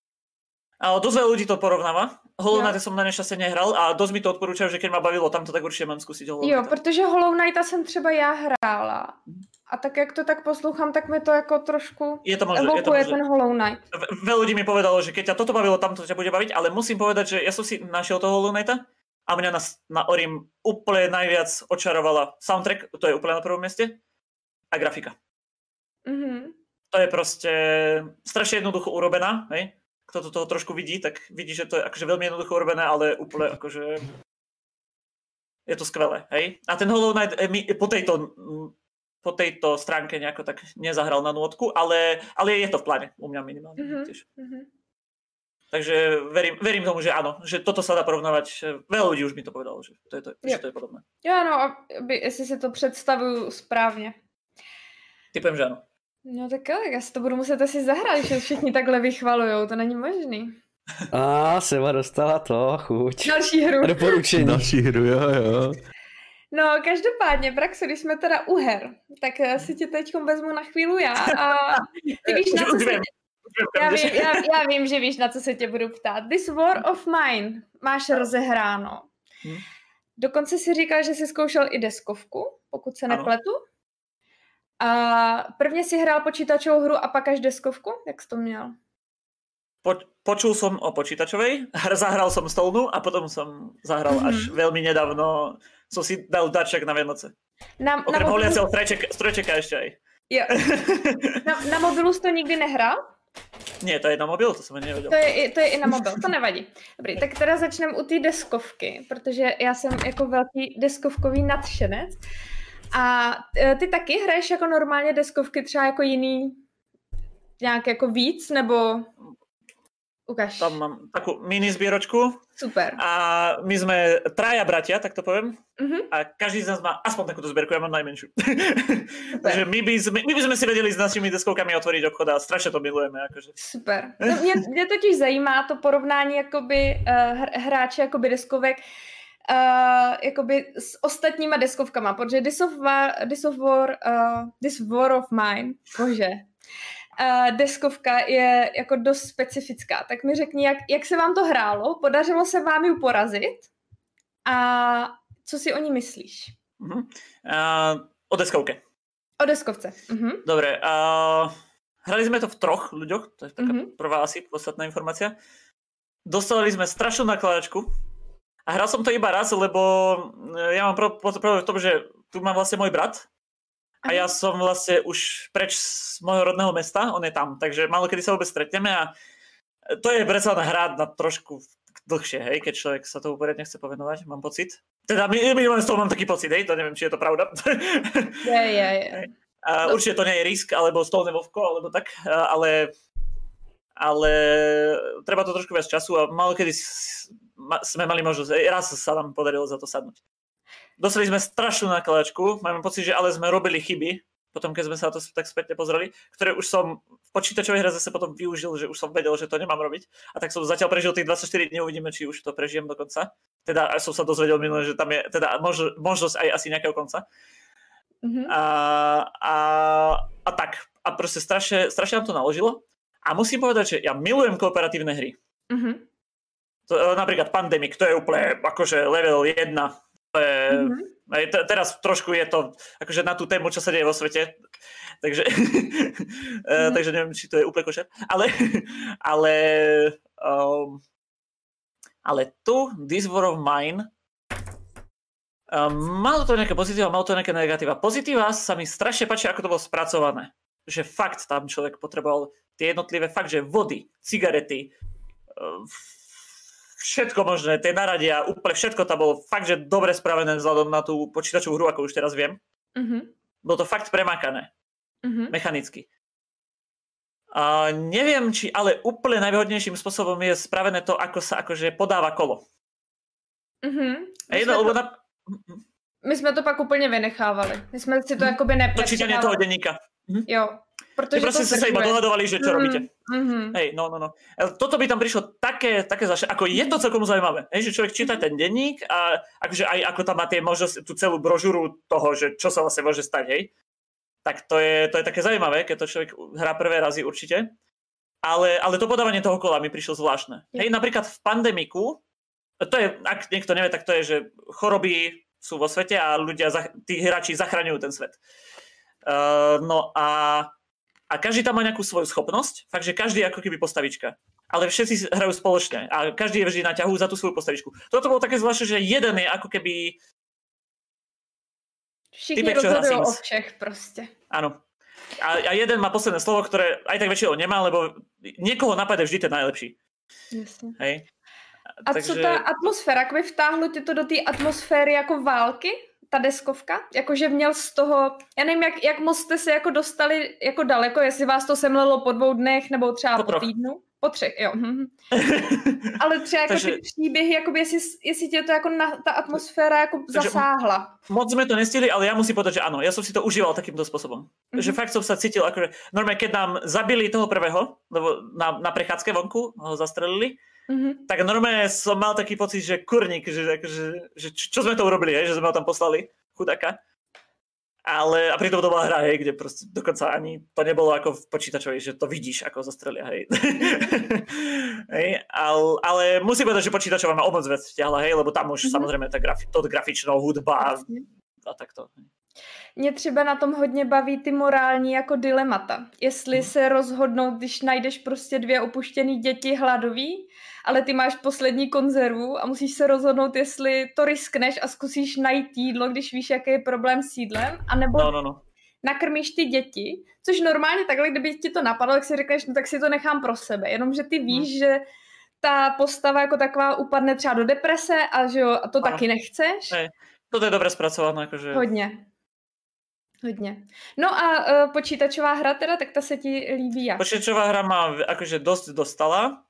Speaker 2: Ale dosť veľa ľudí to porovnáva. Hollow Knight som na nešťastie nehral a dosť mi to odporúčajú, že keď ma bavilo tamto, tak určite mám skúsiť Hollow Knighta.
Speaker 3: Jo, protože Hollow Knighta jsem třeba já hrála. A tak jak to tak poslouchám, tak mi to jako trošku
Speaker 2: je to možné,
Speaker 3: evokuje
Speaker 2: je to
Speaker 3: ten Hollow Knight.
Speaker 2: Veľa ľudí mi povedalo, že keď ťa toto bavilo, tamto ťa bude baviť, ale musím povedať, že ja som si našiel toho Hollow Knighta a mňa na, na Orim úplne najviac očarovala soundtrack, to je úplne na prvom mieste, a grafika. Mm-hmm. To je proste strašne jednoducho urobená, hej? kto to toho trošku vidí, tak vidí, že to je akože veľmi jednoducho urobené, ale úplne akože je to skvelé, hej? A ten Hollow Knight mi po tejto, po tejto stránke nejako tak nezahral na nôtku, ale, ale je to v pláne, u mňa minimálne mm-hmm. tiež. Mm-hmm. Takže verím, verím tomu, že áno, že toto sa dá porovnávať. Veľa ľudí už mi to povedalo, že to je, to, že to je podobné.
Speaker 3: Jo, no, aby, jestli si to představuju správně.
Speaker 2: Typem, že ano.
Speaker 3: No tak jo, tak já si to budu muset asi zahrát, že všichni takhle vychvalujou, to není možný.
Speaker 1: A Seba dostala to, chuť.
Speaker 3: Další hru.
Speaker 1: Doporučení.
Speaker 4: Další hru, jo, jo.
Speaker 3: No, každopádně, Braxo, když jsme teda u her, tak si tě teď vezmu na chvíli já a ty víš, na co se... Já vím, já, já vím, že víš, na co se tě budu ptát. This War of Mine máš rozehráno. Hmm. Dokonce si říkal, že jsi zkoušel i deskovku, pokud se ano. nepletu. A prvně si hrál počítačovou hru a pak až deskovku? Jak jsi to měl?
Speaker 2: Po, počul som o počítačovej, zahral som stolnú a potom som zahral mm-hmm. až veľmi nedávno. Som si dal darček na Vianoce. Na, Okrem holiaceho strojčeka, strojčeka ešte aj.
Speaker 3: Jo. Na, na mobilu jsi to nikdy nehrál?
Speaker 2: Nie, to je na mobil, to jsem ani nevěděl.
Speaker 3: To je, to je i na mobil, to nevadí. Dobrý, tak teda začneme u té deskovky, protože já jsem jako velký deskovkový nadšenec. A ty taky hraješ jako normálně deskovky třeba jako jiný, nějak jako víc, nebo... Ukáž.
Speaker 2: Tam mám takú mini zbieročku.
Speaker 3: Super.
Speaker 2: A my sme traja bratia, tak to poviem. Uh-huh. A každý z nás má aspoň takúto zbierku, ja mám najmenšiu. Takže my by, sme, my by sme si vedeli s našimi deskovkami otvoriť obchod a strašne to milujeme. Akože.
Speaker 3: Super. No, mě, mě totiž zajímá to porovnání jakoby, uh, hráče jakoby deskovek uh, jakoby s ostatníma deskovkama, protože This of War, This of War, uh, This War of Mine, bože, Uh, deskovka je jako dost specifická. Tak mi řekni, jak, jak se vám to hrálo? Podařilo se vám ju porazit? A co si o ní myslíš?
Speaker 2: Uh-huh. Uh, o deskovke.
Speaker 3: O deskovce. Uh-huh.
Speaker 2: Dobre. Uh, hrali sme to v troch ľuďoch. To je taká uh-huh. prvá asi podstatná informácia. Dostali sme strašnú nakladačku. A hral som to iba raz, lebo ja mám problém v tom, že tu mám vlastne môj brat. A ja som vlastne už preč z môjho rodného mesta, on je tam, takže málo kedy sa vôbec stretneme a to je predsa len hrať na trošku dlhšie, hej, keď človek sa tomu poriadne chce povenovať, mám pocit. Teda minimálne z toho mám taký pocit, hej, to neviem, či je to pravda.
Speaker 3: Je, je, je.
Speaker 2: A určite to nie je Risk, alebo Stolné vovko, alebo tak, ale, ale treba to trošku viac času a málo kedy sme mali možnosť, raz sa nám podarilo za to sadnúť. Dostali sme strašnú nakladačku, máme pocit, že ale sme robili chyby, potom keď sme sa to tak spätne pozreli, ktoré už som v počítačovej hre zase potom využil, že už som vedel, že to nemám robiť. A tak som zatiaľ prežil tých dvadsaťštyri dní, uvidíme, či už to prežijem do konca. Teda aj som sa dozvedel minulé, že tam je teda mož, možnosť aj asi nejakého konca. Mm-hmm. A, a, a tak. A proste strašne, strašne nám to naložilo. A musím povedať, že ja milujem kooperatívne hry. Mm-hmm. To, napríklad Pandemic, to je úplne akože level jedna. Mm-hmm. T- teraz trošku je to akože na tú tému, čo sa deje vo svete, takže, mm-hmm. takže neviem, či to je úplne košer, ale ale, um, ale tu This War of Mine um, malo to nejaké pozitíva, malo to nejaké negatíva. Pozitíva sa mi strašne páči, ako to bolo spracované, že fakt tam človek potreboval tie jednotlivé fakt, že vody, cigarety, um, všetko možné, tie naradia, úplne všetko tam bolo fakt, že dobre spravené vzhľadom na tú počítačovú hru, ako už teraz viem. Uh-huh. Bolo to fakt premakané. Uh-huh. Mechanicky. A neviem, či ale úplne najvhodnejším spôsobom je spravené to, ako sa akože podáva kolo. Uh-huh. My,
Speaker 3: sme
Speaker 2: to,
Speaker 3: na... my sme to pak úplne vynechávali. My sme si to uh-huh. akoby nepřehávali.
Speaker 2: To čítanie toho denníka. Uh-huh.
Speaker 3: Jo. Protože
Speaker 2: proste ste sa iba dohadovali, že čo mm, robíte.
Speaker 3: Mm-hmm.
Speaker 2: Hej, no, no, no. Toto by tam prišlo také, také zaš... ako je to celkom zaujímavé. Hej, že človek číta ten denník a akože aj ako tam má tie možnosť, tú celú brožúru toho, že čo sa vlastne môže stať, hej. Tak to je, to je také zaujímavé, keď to človek hrá prvé razy určite. Ale, ale to podávanie toho kola mi prišlo zvláštne. Hej, napríklad v Pandemiku, to je, ak niekto nevie, tak to je, že choroby sú vo svete a ľudia, tí hráči zachraňujú ten svet. Uh, no a A každý tam má nejakú svoju schopnosť, fakt, že každý je ako keby postavička. Ale všetci hrajú spoločne a každý je vždy na ťahu za tú svoju postavičku. Toto bolo také zvláštne, že jeden je ako keby...
Speaker 3: Všichni rozhodujú o všech proste.
Speaker 2: Áno. A, a jeden má posledné slovo, ktoré aj tak väčšinou nemá, lebo niekoho napadne vždy ten najlepší.
Speaker 3: Jasně.
Speaker 2: Hej.
Speaker 3: A takže... co ta atmosféra? Jakoby vtáhlo tě to do té atmosféry jako války? Ta deskovka? Jakože měl z toho... Já nevím, jak, jak moc jste se jako dostali jako daleko, jestli vás to semlelo po dvou dnech nebo třeba po, po týdnu? Po třech, jo. Ale třeba jako takže... ty příběhy, jakoby jestli, jestli tě to jako na, ta atmosféra jako takže zasáhla.
Speaker 2: Moc sme to nestihli, ale ja musím povedať, že áno, ja som si to užíval takýmto spôsobom. Mm-hmm. Že fakt som sa cítil, akože normálne, keď nám zabili toho prvého, lebo na, na prechádzke vonku ho zastrelili, mm-hmm. tak normálne som mal taký pocit, že kurník, že, že, že čo sme to urobili, hej, že sme ho tam poslali, chudáka. Ale, a pritom to bola hra, hej, kde proste dokonca ani to nebolo ako v počítačovi, že to vidíš, ako zastrelia, hej. hej ale, ale musím povedať, že počítačová ma o moc vec vťahla, hej, lebo tam už mm-hmm. samozrejme tá grafi- to grafičnou hudba a takto.
Speaker 3: Mě třeba na tom hodně baví ty morální jako dilemata. Jestli hmm. se rozhodnout, když najdeš prostě dvě opuštěný děti hladový, ale ty máš poslední konzervu a musíš se rozhodnout, jestli to riskneš a zkusíš najít jídlo, když víš, jaký je problém s jídlem, anebo
Speaker 2: no, no, no.
Speaker 3: nakrmíš ty děti, což normálně takhle, kdyby ti to napadlo, tak si řekneš, no tak si to nechám pro sebe, jenomže ty víš, hmm. že ta postava jako taková upadne třeba do deprese a že jo, a to ano. taky nechceš.
Speaker 2: Hej. To je dobre spracované. Akože...
Speaker 3: Hodně. Hodně. No a uh, počítačová hra teda, tak ta se ti líbí jak?
Speaker 2: Počítačová hra ma akože dosť dostala.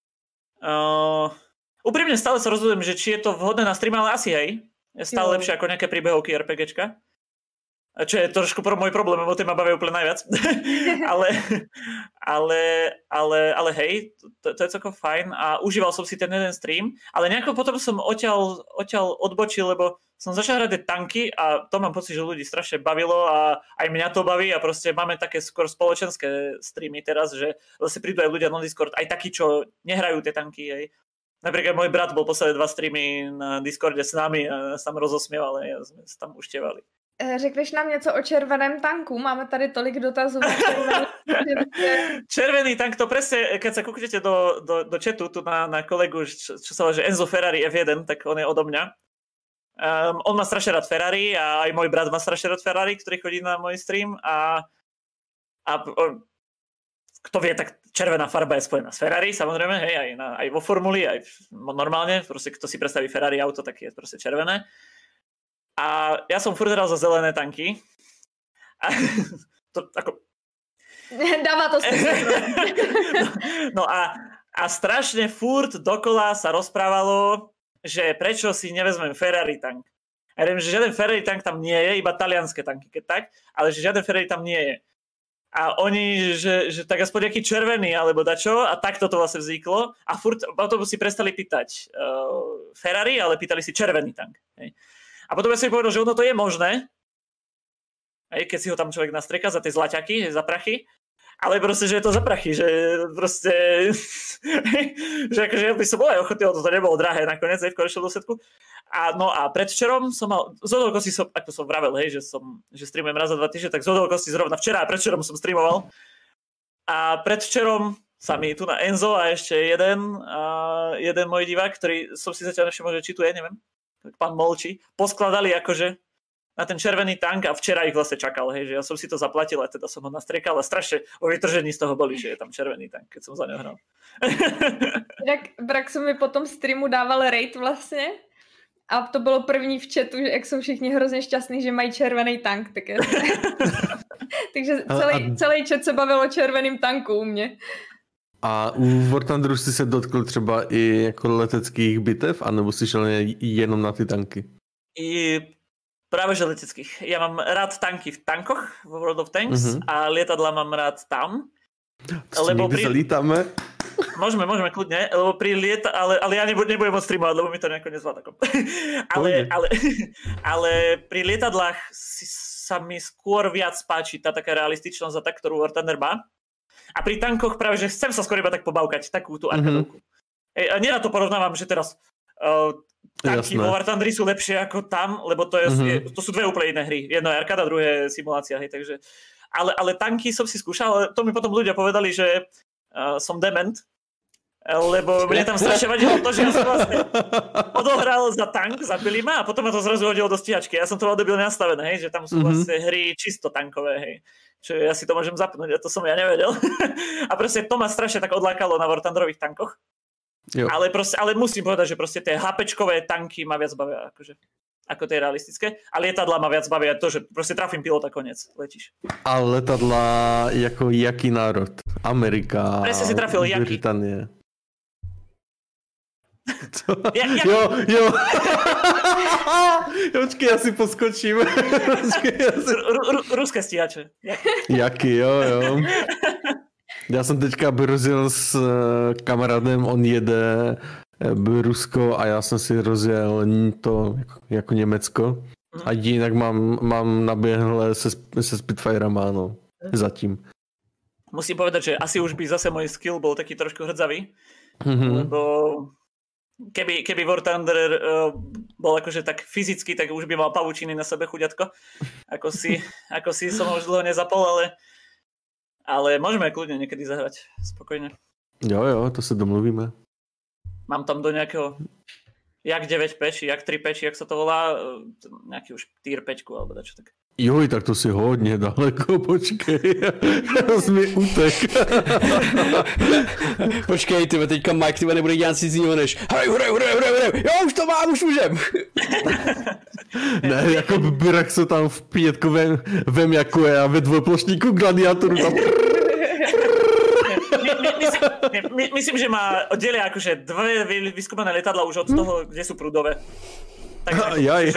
Speaker 2: Uh, úprimne stále sa rozhodujem, že či je to vhodné na stream, ale asi hej. Je stále jo. lepšie ako nejaké príbehovky RPGčka. Čo je trošku pro môj problém, lebo tie ma bavia úplne najviac. ale, ale, ale, ale hej, to, to je celkom fajn a užíval som si ten jeden stream, ale nejako potom som odtiaľ, odtiaľ odbočil, lebo som začal hrať tanky a to mám pocit, že ľudí strašne bavilo a aj mňa to baví a proste máme také skôr spoločenské streamy teraz, že zase prídu aj ľudia na Discord, aj takí, čo nehrajú tie tanky. Hej. Napríklad môj brat bol posledné dva streamy na Discorde s nami a sa tam rozosmieval, a sme sa tam uštievali.
Speaker 3: Řekneš nám něco o červeném tanku? Máme tady tolik dotazů.
Speaker 2: Červený tank, to presne, keď sa kúknete do, do, do chatu tu na, na kolegu, čo, čo sa volá, že Enzo Ferrari ef jeden, tak on je odo mňa. Um, on má strašne rád Ferrari a aj môj brat má strašne rád Ferrari, ktorý chodí na môj stream a, a on, kto vie, tak červená farba je spojená s Ferrari, samozrejme, hej, aj, na, aj vo formuli, aj normálne, proste kto si predstaví Ferrari auto, tak je proste červené. A ja som furt hral za zelené tanky. A to ako...
Speaker 3: Dáva to smysl.
Speaker 2: no, no a, a strašne furt dokola sa rozprávalo, že prečo si nevezmem Ferrari tank. Ja viem, že žiaden Ferrari tank tam nie je, iba talianské tanky, keď tak, ale že žiaden Ferrari tam nie je. A oni, že, že tak aspoň nejaký červený, alebo dačo, a takto to vlastne vzniklo. A furt potom si prestali pýtať uh, Ferrari, ale pýtali si červený tank. Hej. A potom ja som povedal, že ono to je možné, aj keď si ho tam človek nastreka za tie zlaťaky, za prachy, ale proste, že je to za prachy, že proste, že akože ja by som bol aj ochotný, to nebolo drahé nakoniec, aj v konečnom dôsledku. A no a predvčerom som mal, z okolností som, ako som vravel, hej, že som, že streamujem raz za dva týždne, tak z okolností zrovna včera a predvčerom som streamoval. A predvčerom sa mi tu na Enzo a ešte jeden, a jeden môj divák, ktorý som si zatiaľ nevšimol, že či tu je, neviem. Pán Molči, poskladali akože na ten červený tank a včera ich vlastne čakal, hej, že ja som si to zaplatil a teda som ho nastriekal a strašne o vytržení z toho boli, že je tam červený tank, keď som za ňo hral.
Speaker 3: Jak Braxo mi po tom streamu dával raid vlastně a to bylo první v chatu, že jak jsou všichni hrozně šťastní, že mají červený tank, tak je... Takže celý, celý chat se bavil o červeným tanku u mě.
Speaker 4: A u War Thunderu jsi se dotkl třeba i jako leteckých bitev, anebo jsi šel jenom na ty tanky?
Speaker 2: I práve že leteckých. Ja mám rád tanky v tankoch, v World of Tanks, uh-huh. a lietadla mám rád tam.
Speaker 4: To lebo pri... zalítame?
Speaker 2: Môžeme, môžeme kľudne, lebo pri lieta... ale, ale ja nebudem, nebudem môcť streamovať, lebo mi to nejako nezvládá. ale, ale, ale pri lietadlách si, sa mi skôr viac páči tá taká realističnosť a tá, ktorú War Thunder má. A pri tankoch práve, že chcem sa skôr iba tak pobavkať, takú tú arkadovku. Mm-hmm. A nerad to porovnávam, že teraz uh, tanky vo War Thunderi sú lepšie ako tam, lebo to, je, mm-hmm. je, to sú dve úplne iné hry. Jedno je arkáda, druhé je simulácia. Hej, takže, ale, ale tanky som si skúšal, ale to mi potom ľudia povedali, že uh, som dement, lebo mne tam strašne vadilo to, že ja som vlastne odohral za tank, zabili ma a potom ma to zrazu hodilo do stíhačky. Ja som to mal debilne nastavené, hej, že tam sú vlastne hry čisto tankové, hej. Čo ja si to môžem zapnúť, a to som ja nevedel. A proste to ma strašne tak odlákalo na War Thunderových tankoch. Jo. Ale, proste, ale musím povedať, že proste tie HPčkové tanky ma viac bavia, akože, ako tie realistické. A lietadla ma viac bavia to, že proste trafím pilota, konec, letíš.
Speaker 4: A letadla jako jaký národ? Amerika,
Speaker 2: Presne si trafil, jaký?
Speaker 4: Británie.
Speaker 2: Ja, ja...
Speaker 4: Jo, jo. Počkej, ja si poskočím. Počkej, ja si...
Speaker 2: R- r- ruské stíhače.
Speaker 4: Jaký, jo, jo. Já jsem teďka rozjel s kamarádem, on jede Rusko a já jsem si rozjel to jako, jako Německo. A jinak mám, mám naběhle se, se Spitfirema, no, zatím.
Speaker 2: Musím povedať, že asi už by zase môj skill bol taký trošku hrdzavý, mm-hmm. lebo keby, keby War Thunder uh, bol akože tak fyzicky, tak už by mal pavučiny na sebe, chuďatko. Ako si, ako si som ho už dlho nezapol, ale Ale môžeme kľudne niekedy zahrať, spokojne.
Speaker 4: Jo, jo, to sa domluvíme.
Speaker 2: Mám tam do nejakého, jak deväť peči, jak tri peči, jak sa to volá, nejaký už tier päťku, alebo dačo tak.
Speaker 4: Joj, tak to si hodně daleko, počkej, já jsem mi utek.
Speaker 1: Počkej, tyhle, teďka Mike, tyhle nebude dělat si z něho než hrej, hrej, hrej, hrej, hrej, jo, už to mám, už můžem.
Speaker 4: Ne, jako Brak se tam v pětku vem, vem jako je a ve dvojplošníku gladiátoru tam...
Speaker 2: My, my, myslím, my, myslím, že má oddelia akože dve vyskúmané letadla už od toho, kde sú prúdové. Tak,
Speaker 4: Jaj.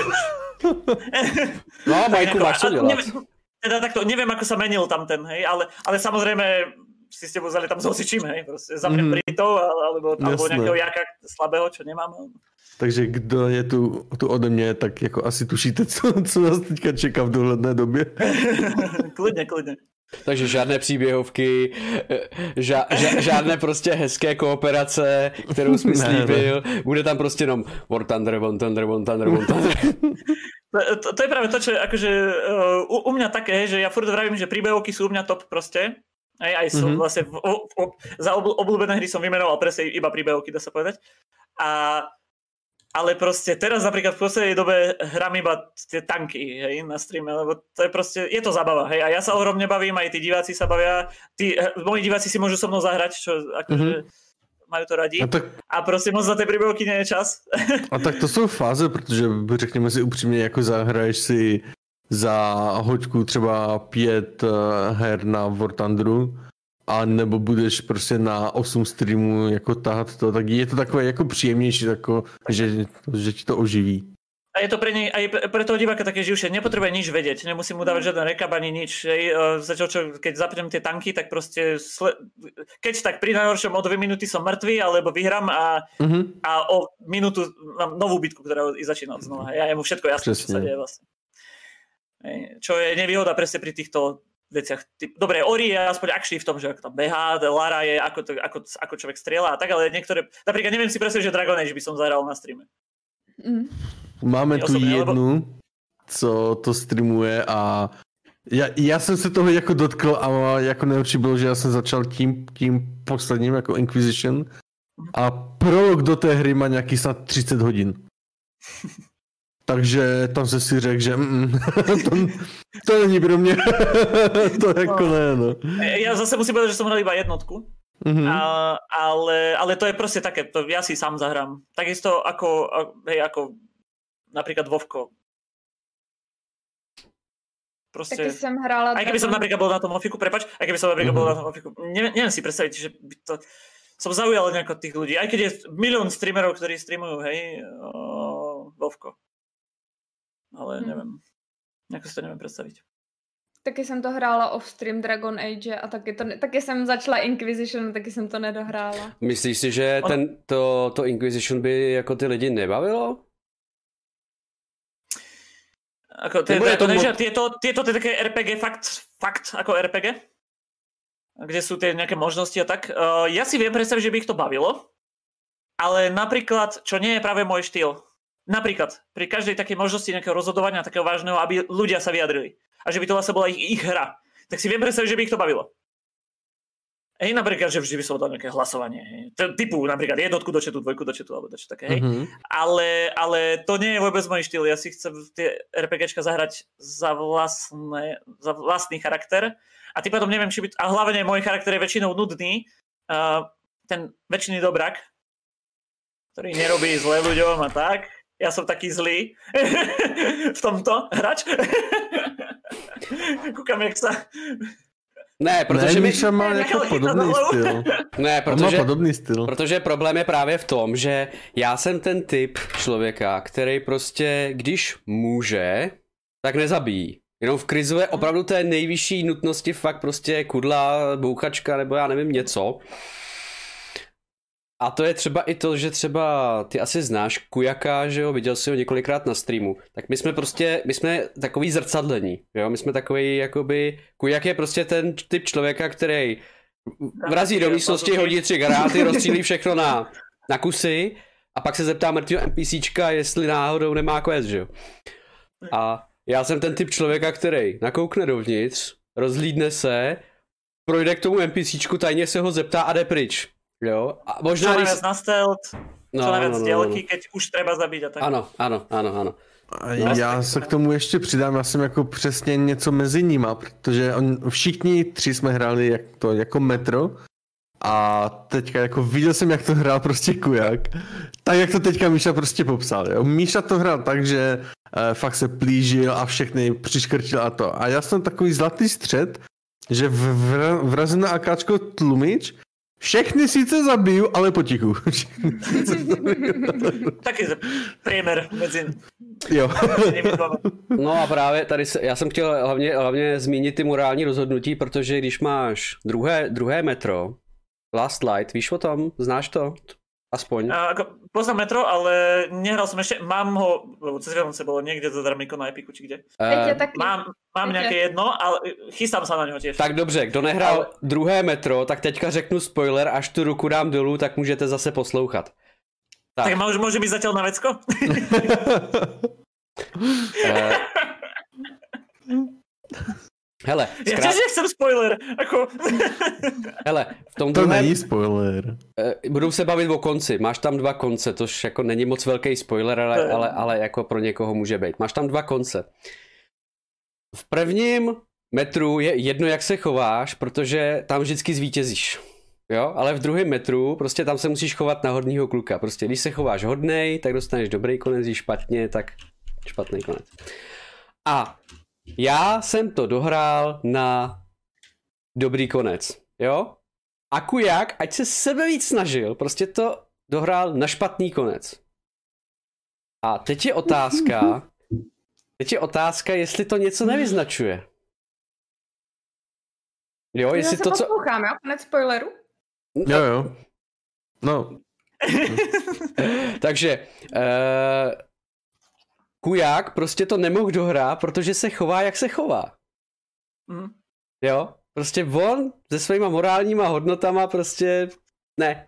Speaker 1: No, Majku, máš čo dělat?
Speaker 2: Neviem, teda takto, neviem, ako sa menil tam ten, hej, ale, ale samozrejme si s tebou vzali tam s hocičím, hej, proste zapnem mm. Britov, alebo, alebo nejakého jaka slabého, čo nemám.
Speaker 4: Takže kdo je tu, tu ode mě, tak jako asi tušíte, co, co nás teďka čeká v dohledné době.
Speaker 2: Klidně, klidně.
Speaker 1: Takže žádné příběhovky, ža, ža, žádné prostě hezké kooperace, kterou jsi mi slíbil. Bude tam prostě jenom War Thunder, War Thunder, War Thunder, War Thunder.
Speaker 2: To, to je práve to, čo akože u, u mňa také, že ja furt vravím, že príbehovky sú u mňa top proste. Aj, aj som mm-hmm. vlastne v, o, o, za obl, obľúbené hry som vymenoval presne iba príbehovky, dá sa povedať. A ale proste teraz napríklad v poslednej dobe hrám iba tie tanky, hej, na streame, lebo to je proste, je to zábava, hej, a ja sa ohromne bavím, aj tí diváci sa bavia, tí, moji diváci si môžu so mnou zahrať, čo akože mm-hmm. majú to radi, a, tak... a proste moc za tie príbehovky nie je čas.
Speaker 4: A tak to jsou fáze, protože řekněme si upřímně, jako zahraješ si za hoďku třeba pět her na War Thunderu, a nebo budeš prostě na osm streamů jako tahat to, tak je to takové jako příjemnější, tako, že, že ti to oživí.
Speaker 2: A je to pre nej, aj pre toho diváka také živšie, nepotrebuje nič vedieť, nemusím mu dávať žiaden rekap ani nič. Zatiaľ, čo, keď zapnem tie tanky, tak proste, sle... keď tak pri najhoršom o dve minúty som mŕtvý, alebo vyhrám a, uh-huh. a o minútu mám novú bitku, ktorá začína od znova. Ja je mu všetko jasné, čo sa deje vlastne. Čo je nevýhoda presne pri týchto veciach. Dobre, Ori je aspoň akší v tom, že ako tam behá, Lara je ako, to, ako, ako človek strieľa a tak, ale niektoré, napríklad neviem si presne, že Dragon Age by som zahral na streame.
Speaker 3: Mm.
Speaker 4: Máme tu osobně, jednu, lebo... co to streamuje a já, já jsem se toho jako dotkl a jako nejlepší bylo, že já jsem začal tím, tím posledním jako Inquisition a prolog do té hry má nějaký snad třicet hodin. Takže tam se si řekl, že mm, to, to není pro mě. To jako no. ne, no.
Speaker 2: Ja zase musím povedať, že som hral iba jednotku. Mm-hmm. A, ale, ale to je proste také, to ja si sám zahrám. Takisto ako, hej, ako napríklad Vovko. Proste...
Speaker 3: Taky som hrála...
Speaker 2: Aj keby som napríklad bol na tom Ofiku, prepač, aj keby som napríklad mm-hmm. bol na tom Ofiku, neviem, neviem si predstaviť, že by to... Som zaujal nejako tých ľudí. Aj keď je milión streamerov, ktorí streamujú, hej, o, Vovko. Ale neviem. Hmm. Nejako si to neviem predstaviť.
Speaker 3: Taky jsem to hrála off-stream Dragon Age a taky, to, taky jsem začala Inquisition, taky jsem to nedohrála.
Speaker 1: Myslíš si, že
Speaker 2: On...
Speaker 1: ten, to, to Inquisition by jako ty lidi nebavilo?
Speaker 2: Ako, to, je to, mo... tieto, tieto tie také er pé gé, fakt, fakt ako er pé gé? Kde sú tie nejaké možnosti a tak. Uh, ja si viem predstaviť, že by ich to bavilo, ale napríklad, čo nie je práve môj štýl, napríklad pri každej takej možnosti nejakého rozhodovania, takého vážneho, aby ľudia sa vyjadrili. A že by to vlastne bola ich, ich hra. Tak si viem predstaviť, že by ich to bavilo. Hej, napríklad, že vždy by som dal nejaké hlasovanie. Hej. Typu napríklad jednotku do četu, dvojku do četu, alebo dačo také, hej. Mm-hmm. Ale, ale to nie je vôbec môj štýl. Ja si chcem tie RPGčka zahrať za, vlastné, za vlastný charakter. A tým pádom neviem, či by... A hlavne môj charakter je väčšinou nudný. Uh, ten väčšiný dobrak. ktorý nerobí zlé ľuďom a tak. Ja som taký zlý v tomto hrač. Kúkam, jak sa...
Speaker 1: Ne, protože
Speaker 4: ne, Míša má jako podobný styl.
Speaker 1: Ne, protože,
Speaker 4: má podobný styl.
Speaker 1: Protože problém je právě v tom, že já jsem ten typ člověka, který prostě, když může, tak nezabíjí. Jenom v krizové opravdu té nejvyšší nutnosti fakt prostě kudla, bouchačka nebo já nevím něco. A to je třeba i to, že třeba ty asi znáš Kujaka, že jo, viděl jsi ho několikrát na streamu. Tak my jsme prostě, my jsme takový zrcadlení, jo, my jsme takový jakoby, Kujak je prostě ten typ člověka, který vrazí do místnosti, hodí tři granáty, rozstřílí všechno na, na kusy a pak se zeptá mrtvého NPCčka, jestli náhodou nemá quest, že jo. A já jsem ten typ člověka, který nakoukne dovnitř, rozhlídne se, projde k tomu NPCčku, tajně se ho zeptá a jde pryč. Jo, a možná...
Speaker 2: Čo najviac na stealth,
Speaker 1: no,
Speaker 2: čo najviac
Speaker 1: no, no,
Speaker 2: dělky,
Speaker 1: no.
Speaker 2: keď už treba zabít a tak.
Speaker 1: Ano, ano, ano, ano.
Speaker 4: A já se k tomu ještě přidám, já jsem jako přesně něco mezi nima, protože on, všichni tři jsme hráli jak to, jako Metro a teďka jako viděl jsem, jak to hrál prostě Kujak, tak jak to teďka Míša prostě popsal. Jo. Míša to hrál tak, že eh, fakt se plížil a všechny přiškrtil a to. A já jsem takový zlatý střed, že vra, vrazím na akáčko tlumič, všechny sice zabiju, ale potichu.
Speaker 2: Taky priemer mezi...
Speaker 4: Jo.
Speaker 1: No a právě tady se, já jsem chtěl hlavně, hlavně zmínit ty morální rozhodnutí, protože když máš druhé, druhé metro, Last Light, víš o tom? Znáš to? Aspoň.
Speaker 2: A, ako, poznám Metro, ale nehral som ešte, mám ho, lebo cez Vianoce bolo niekde zadarmiko na Epiku, či kde.
Speaker 3: Uh,
Speaker 2: mám mám nejaké jedno, ale chystám sa na něho tiež.
Speaker 1: Tak dobře, kdo nehrál ale... druhé Metro, tak teďka řeknu spoiler, až tu ruku dám dolů, tak můžete zase poslouchat.
Speaker 2: Tak, tak môže, môže byť zatiaľ na vecko?
Speaker 1: uh... Hele,
Speaker 2: zkrát... Ja tiež nechcem spoiler, ako...
Speaker 1: Hele, v tom
Speaker 4: to
Speaker 1: druhém...
Speaker 4: není spoiler.
Speaker 1: Budou se bavit o konci, máš tam dva konce, tož jako není moc velký spoiler, ale, ale, ale jako pro někoho může být. Máš tam dva konce. V prvním metru je jedno, jak se chováš, protože tam vždycky zvítězíš. Jo, ale v druhém metru prostě tam se musíš chovat na hodnýho kluka. Prostě když se chováš hodnej, tak dostaneš dobrý konec, když špatně, tak špatný konec. A já jsem to dohrál na dobrý konec, jo? A Kujak, ať se sebe víc snažil, prostě to dohrál na špatný konec. A teď je otázka, teď je otázka, jestli to něco nevyznačuje. Jo, jestli
Speaker 3: já
Speaker 1: to,
Speaker 3: se
Speaker 1: co...
Speaker 3: poslouchám, jo? Konec spoileru?
Speaker 4: Jo, jo. No.
Speaker 1: Takže... Uh... Kujak prostě to nemohl dohrát, protože se chová, jak se chová.
Speaker 2: Mm.
Speaker 1: Jo? Prostě on se svýma morálníma hodnotama prostě ne.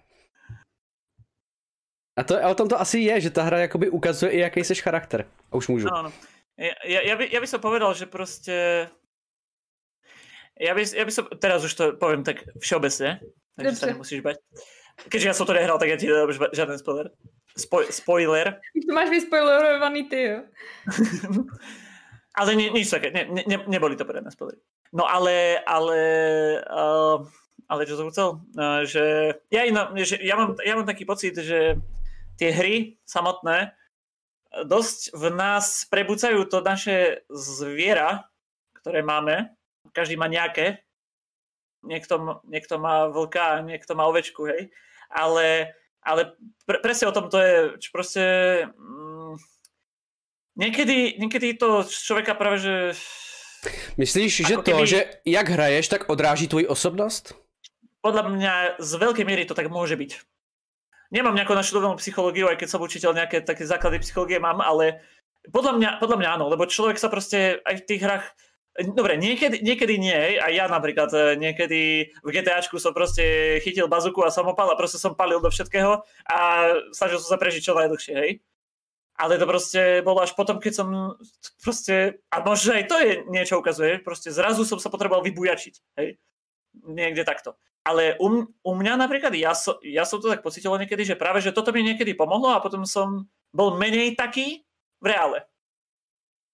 Speaker 1: A, to, a o tom to asi je, že ta hra jakoby ukazuje i jaký seš charakter. A už můžu.
Speaker 2: No, no. Ja, ja, by, ja by som povedal, že proste... Ja by, ja by som... Teraz už to poviem tak všeobecne, takže sa nemusíš bať. Keďže ja som to nehral, tak ja ti nedám žiaden spoiler. Spoj, spoiler.
Speaker 3: Už to máš vyspoilerovaný ty, jo.
Speaker 2: Ale ni, nič také, ne, ne, neboli to predné spoilery. No ale, ale, uh, ale čo som chcel, uh, že, ja, iná, že ja, mám, ja mám taký pocit, že tie hry samotné dosť v nás prebúcajú to naše zviera, ktoré máme. Každý má nejaké. Niekto, niekto má vlka, niekto má ovečku, hej. Ale Ale pre, presne o tom to je, čo proste mm, niekedy, niekedy to človeka práve, že...
Speaker 1: Myslíš, že to, keby, že jak hraješ, tak odráží tvoji osobnost?
Speaker 2: Podľa mňa z veľkej miery to tak môže byť. Nemám nejakú naštudovanú psychológiu, aj keď som učiteľ nejaké také základy psychológie mám, ale podľa mňa, podľa mňa áno, lebo človek sa proste aj v tých hrách... Dobre, niekedy, niekedy nie, a ja napríklad niekedy v GTAčku som proste chytil bazuku a samopal a proste som palil do všetkého a snažil som sa prežiť čo najdlhšie, hej. Ale to proste bolo až potom, keď som proste, a možno aj to je niečo ukazuje, proste zrazu som sa potreboval vybujačiť, hej. Niekde takto. Ale u, u mňa napríklad, ja, so, ja som to tak pocítil niekedy, že práve, že toto mi niekedy pomohlo a potom som bol menej taký v reále.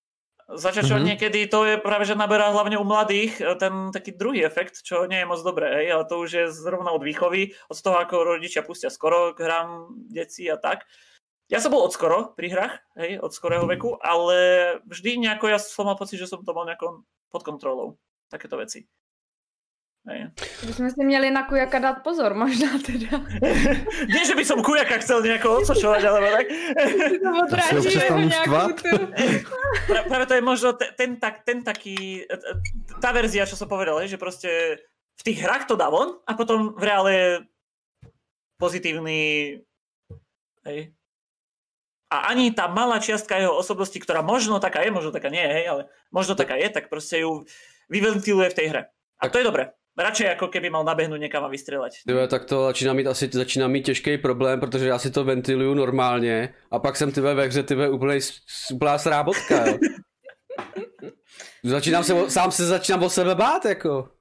Speaker 2: Začať mm-hmm. niekedy to je práve, že naberá hlavne u mladých ten taký druhý efekt, čo nie je moc dobré, hej, ale to už je zrovna od výchovy, od toho, ako rodičia pustia skoro k hrám detí a tak. Ja som bol od skoro pri hrách, hej, od skorého veku, ale vždy nejako ja som mal pocit, že som to mal nejako pod kontrolou, takéto veci. Hej.
Speaker 3: Bychom si měli na kujaka dát pozor, možná teda.
Speaker 2: Nie, že by som kujaka chcel nejako odsočovať, alebo tak.
Speaker 3: To odráží jeho nejakú tu.
Speaker 2: Pra, práve to je možno ten, ten, tak, ten taký, tá verzia, čo som povedal, že proste v tých hrách to dá von a potom v reále je pozitívny. Hej. A ani tá malá čiastka jeho osobnosti, ktorá možno taká je, možno taká nie je, hej, ale možno taká je, tak proste ju vyventiluje v tej hre. A to je dobré. Radšej ako keby mal nabehnúť někam a vystřelat.
Speaker 1: Tyve, tak to začíná mít asi začíná mít těžký problém, protože já si to ventiluju normálně a pak jsem tyve ve hře tyve úplnej, úplná srábotka, jo. Začínám se, sám se začínám o sebe bát, jako.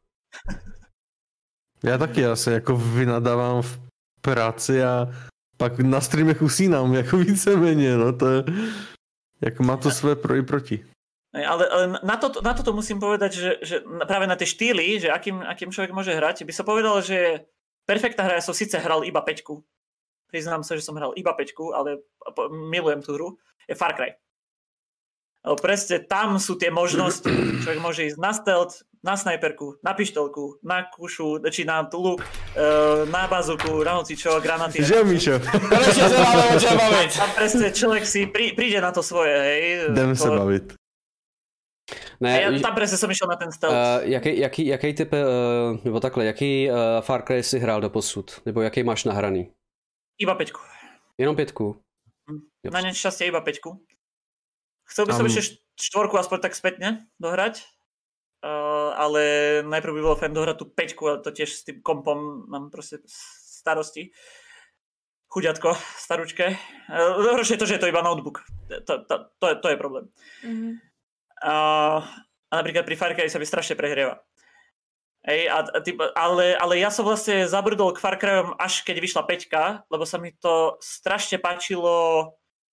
Speaker 4: Já taky, já se jako vynadávám v práci a pak na streamech usínám, jako víceméně, no to je, jako má to své pro i proti.
Speaker 2: Ale, ale na, to, na toto musím povedať, že, že práve na tie štýly, že akým, akým človek môže hrať, by som povedal, že perfektná hra, ja som síce hral iba päťku, priznám sa, že som hral iba päťku, ale milujem tú hru, je Far Cry. Ale presne tam sú tie možnosti, človek môže ísť na stealth, na snajperku, na pištolku, na kušu, či na luk, na bazuku, na hocičo, granaty.
Speaker 4: Že, Míšo?
Speaker 2: Konečne sa máme o čom baviť. A presne človek si prí, príde na to svoje, hej.
Speaker 4: Jdeme to... sa baviť.
Speaker 2: Ne, já tam presne som išiel na ten stealth.
Speaker 1: Uh, jaký, jaký, jaký typ, uh, nebo takhle, jaký uh, Far Cry si hrál doposud? Nebo jaký máš nahraný?
Speaker 2: Iba päťku.
Speaker 1: Jenom päťku?
Speaker 2: Hm. Na nešťastie iba päťku. Chcel by som um... ešte štvorku aspoň tak spätne dohrať, uh, ale najprv by bolo fajn dohrať tú päťku, ale to tiež s tým kompom mám proste starosti. Chuďatko, staručke. Uh, horšie je to, že je to iba notebook. To, to, to, je, to je problém. Mm-hmm. Uh, a napríklad pri Far Cry sa mi strašne prehrieva. Ej, a, a typ, ale, ale ja som vlastne zabrdol k Far Cryom až keď vyšla päťka, lebo sa mi to strašne páčilo.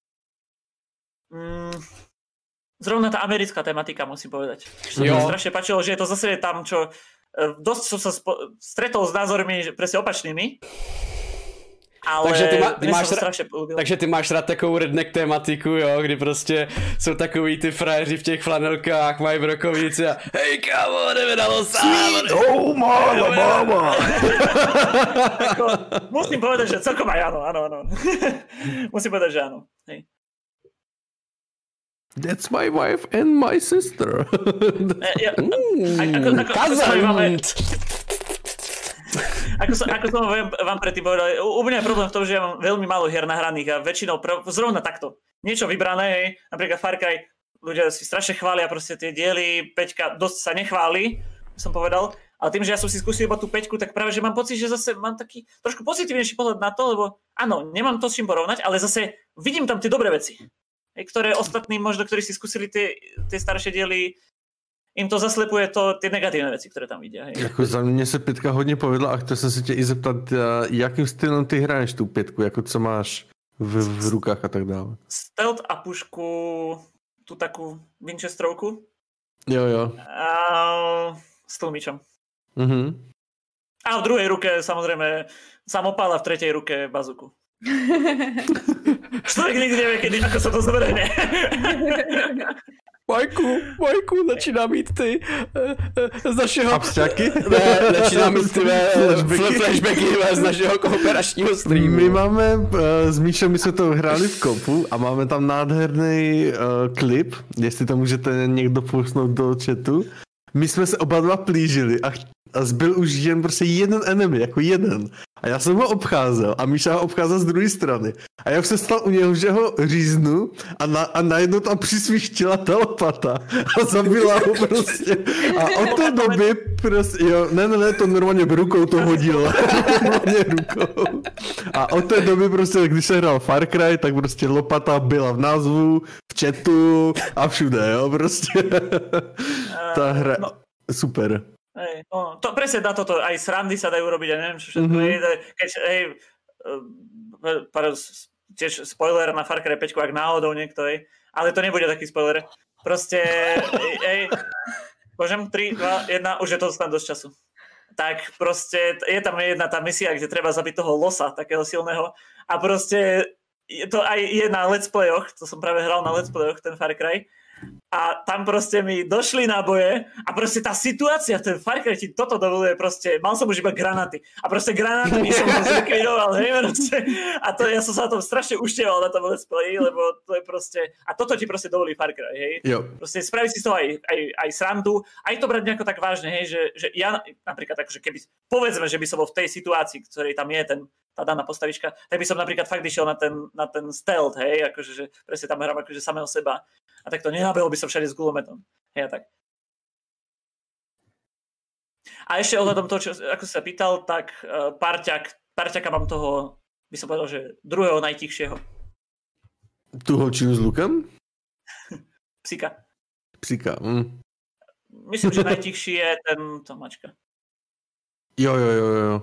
Speaker 2: Mm, zrovna tá americká tematika, musím povedať. Sa mi strašne páčilo, že je to zase tam, čo dosť som sa spo, stretol s názormi presne opačnými. Ale
Speaker 1: takže ty, má, ty máš ra-
Speaker 2: ra-
Speaker 1: takže ty máš rád takovou redneck tematiku, jo, kdy prostě jsou takový ty frajeři v těch flanelkách, mají brokovnici a hej kámo, jdeme na losám.
Speaker 4: Oh máma, máma.
Speaker 2: Musím povedať, že celkom aj áno, áno, áno. Musím povedať, že áno. Hej.
Speaker 4: That's my wife and my sister.
Speaker 2: ja, mm, ako, ako, ako Ako som, ako som vám predtým povedal, u mňa je problém v tom, že ja mám veľmi málo hier nahraných a väčšinou pr- zrovna takto. Niečo vybrané, hej, napríklad Far Cry, ľudia si strašne chvália proste tie diely, päťka dosť sa nechváli, som povedal, ale tým, že ja som si skúsil iba tú päťku, tak práve, že mám pocit, že zase mám taký trošku pozitívnejší pohľad na to, lebo áno, nemám to s čím porovnať, ale zase vidím tam tie dobré veci, hej, ktoré ostatní možno, ktorí si skúsili tie, tie staršie diely, jim to zaslepuje to, ty negativní věci, které tam vidí.
Speaker 4: Jako za mě se pětka hodně povedla a chtěl jsem se tě i zeptat, jakým stylem ty hraješ tu pětku, jako co máš v, v rukách a tak dále.
Speaker 2: Stealth a pušku, tu takovou Winchesterovku.
Speaker 4: Jo, jo.
Speaker 2: A s tlmičem.
Speaker 4: Mhm.
Speaker 2: A v druhé ruke samozřejmě samopal a v třetí ruke bazuku. Člověk nikdy nevie, kedy, ako sa to zvrhne.
Speaker 1: Majku, Majku, začíná mít ty uh, z našeho...
Speaker 4: Abstraky?
Speaker 1: Ne, začíná mít ty flashbacky, flashbacky z našeho kooperačního streamu.
Speaker 4: My máme, uh, s Míšem, my jsme to hráli v kopu a máme tam nádherný uh, klip, jestli to můžete někdo pusnout do chatu. My jsme se oba dva plížili a, a zbyl už jen prostě jeden enemy, jako jeden. A já jsem ho obcházel a Míša ho obcházel z druhé strany. A já už jsem stal u něho, že ho říznu a, na, a najednou tam přisvíštila ta lopata a zabila ho prostě. A od té doby prostě, jo, ne, ne, ne, to normálně rukou to hodil. Normálně rukou. A od té doby prostě, když se hrál Far Cry, tak prostě lopata byla v názvu, v chatu a všude, jo, prostě. Ta hra, no. Super.
Speaker 2: Hej, no, to presne na toto, aj srandy sa dajú robiť, ja neviem, čo všetko mm-hmm. je, keď, hej, tiež spoiler na Far Cry päť, ak náhodou niekto, hej, ale to nebude taký spoiler. Proste, ej, môžem tri, dva, jedna, už je to snad dosť času. Tak proste, je tam jedna tá misia, kde treba zabiť toho losa, takého silného, a proste to aj je na let's playoch, to som práve hral na let's playoch, ten Far Cry, a tam proste mi došli náboje a proste tá situácia, ten Far Cry ti toto dovoluje proste, mal som už iba granaty a proste granáty som to zlikvidoval, hej, proste, a to, ja som sa na tom strašne uštieval na tom let's play, lebo to je proste, a toto ti proste dovolí Far Cry, hej,
Speaker 4: jo.
Speaker 2: Proste spraviť si z toho aj, aj, aj srandu, aj to brať nejako tak vážne, hej, že, že ja napríklad akože keby, povedzme, že by som bol v tej situácii, ktorej tam je ten tá daná postavička, tak by som napríklad fakt išiel na ten, na ten stealth, hej, akože, že presne tam hrám akože samého seba. A tak to nenabehol by som všade s gulometom. Hej, a tak. A ešte ohľadom toho, čo, ako sa pýtal, tak uh, parťak, parťaka mám toho, by som povedal, že druhého najtichšieho.
Speaker 4: Tu holčinu s lukem?
Speaker 2: Psika.
Speaker 4: Psika, hm.
Speaker 2: Myslím, že najtichší je ten Tomáčka.
Speaker 4: Jo, jo, jo, jo.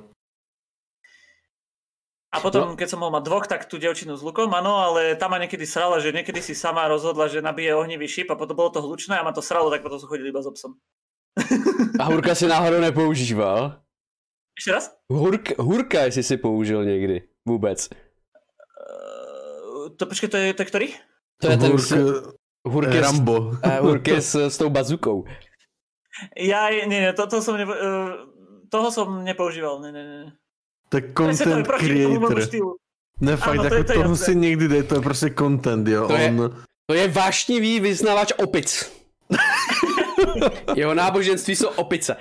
Speaker 2: A potom, keď som mohol mať dvoch, tak tú dievčinu s lukom, áno, ale tam ma niekedy srala, že niekedy si sama rozhodla, že nabije ohnivý šíp a potom bolo to hlučné a ma to sralo, tak potom som chodil iba s obsom.
Speaker 1: A hurka si náhodou nepoužíval?
Speaker 2: Ešte raz?
Speaker 1: Hurk, hurka, jestli si použil někdy, vůbec.
Speaker 2: Uh, to počkej, to je, to je ktorý?
Speaker 1: To je ten
Speaker 4: Hurk,
Speaker 1: hurk je
Speaker 4: Rambo.
Speaker 1: S, hurk je s, s tou bazukou.
Speaker 2: Ja, nie, nie, to, to som nepo, uh, toho som nepoužíval, nie, nie, nie.
Speaker 4: To je content to creator. Ne, fakt, ano, jako to toho si někdy dej, to je prostě content, jo.
Speaker 1: To je,
Speaker 4: On...
Speaker 1: to je vášnivý vyznavač opic. Jeho náboženství jsou opice.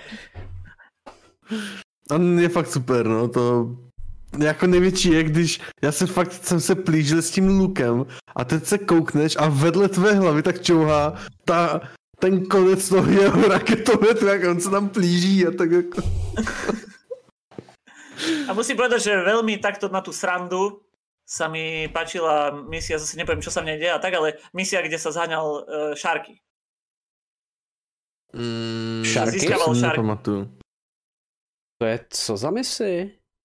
Speaker 4: On je fakt super, no, to... Jako největší je, když já se fakt jsem se plížil s tím lukem a teď se koukneš a vedle tvé hlavy tak čouhá ta, ten konec toho jeho raketometu, jak on se tam plíží a tak jako...
Speaker 2: A musím povedať, že veľmi takto na tú srandu sa mi páčila misia, zase nepoviem, čo sa v nej deje a tak, ale misia, kde sa zháňal uh, šárky.
Speaker 4: Mm,
Speaker 1: šárky?
Speaker 2: Získaval šárky.
Speaker 1: To je co za misi?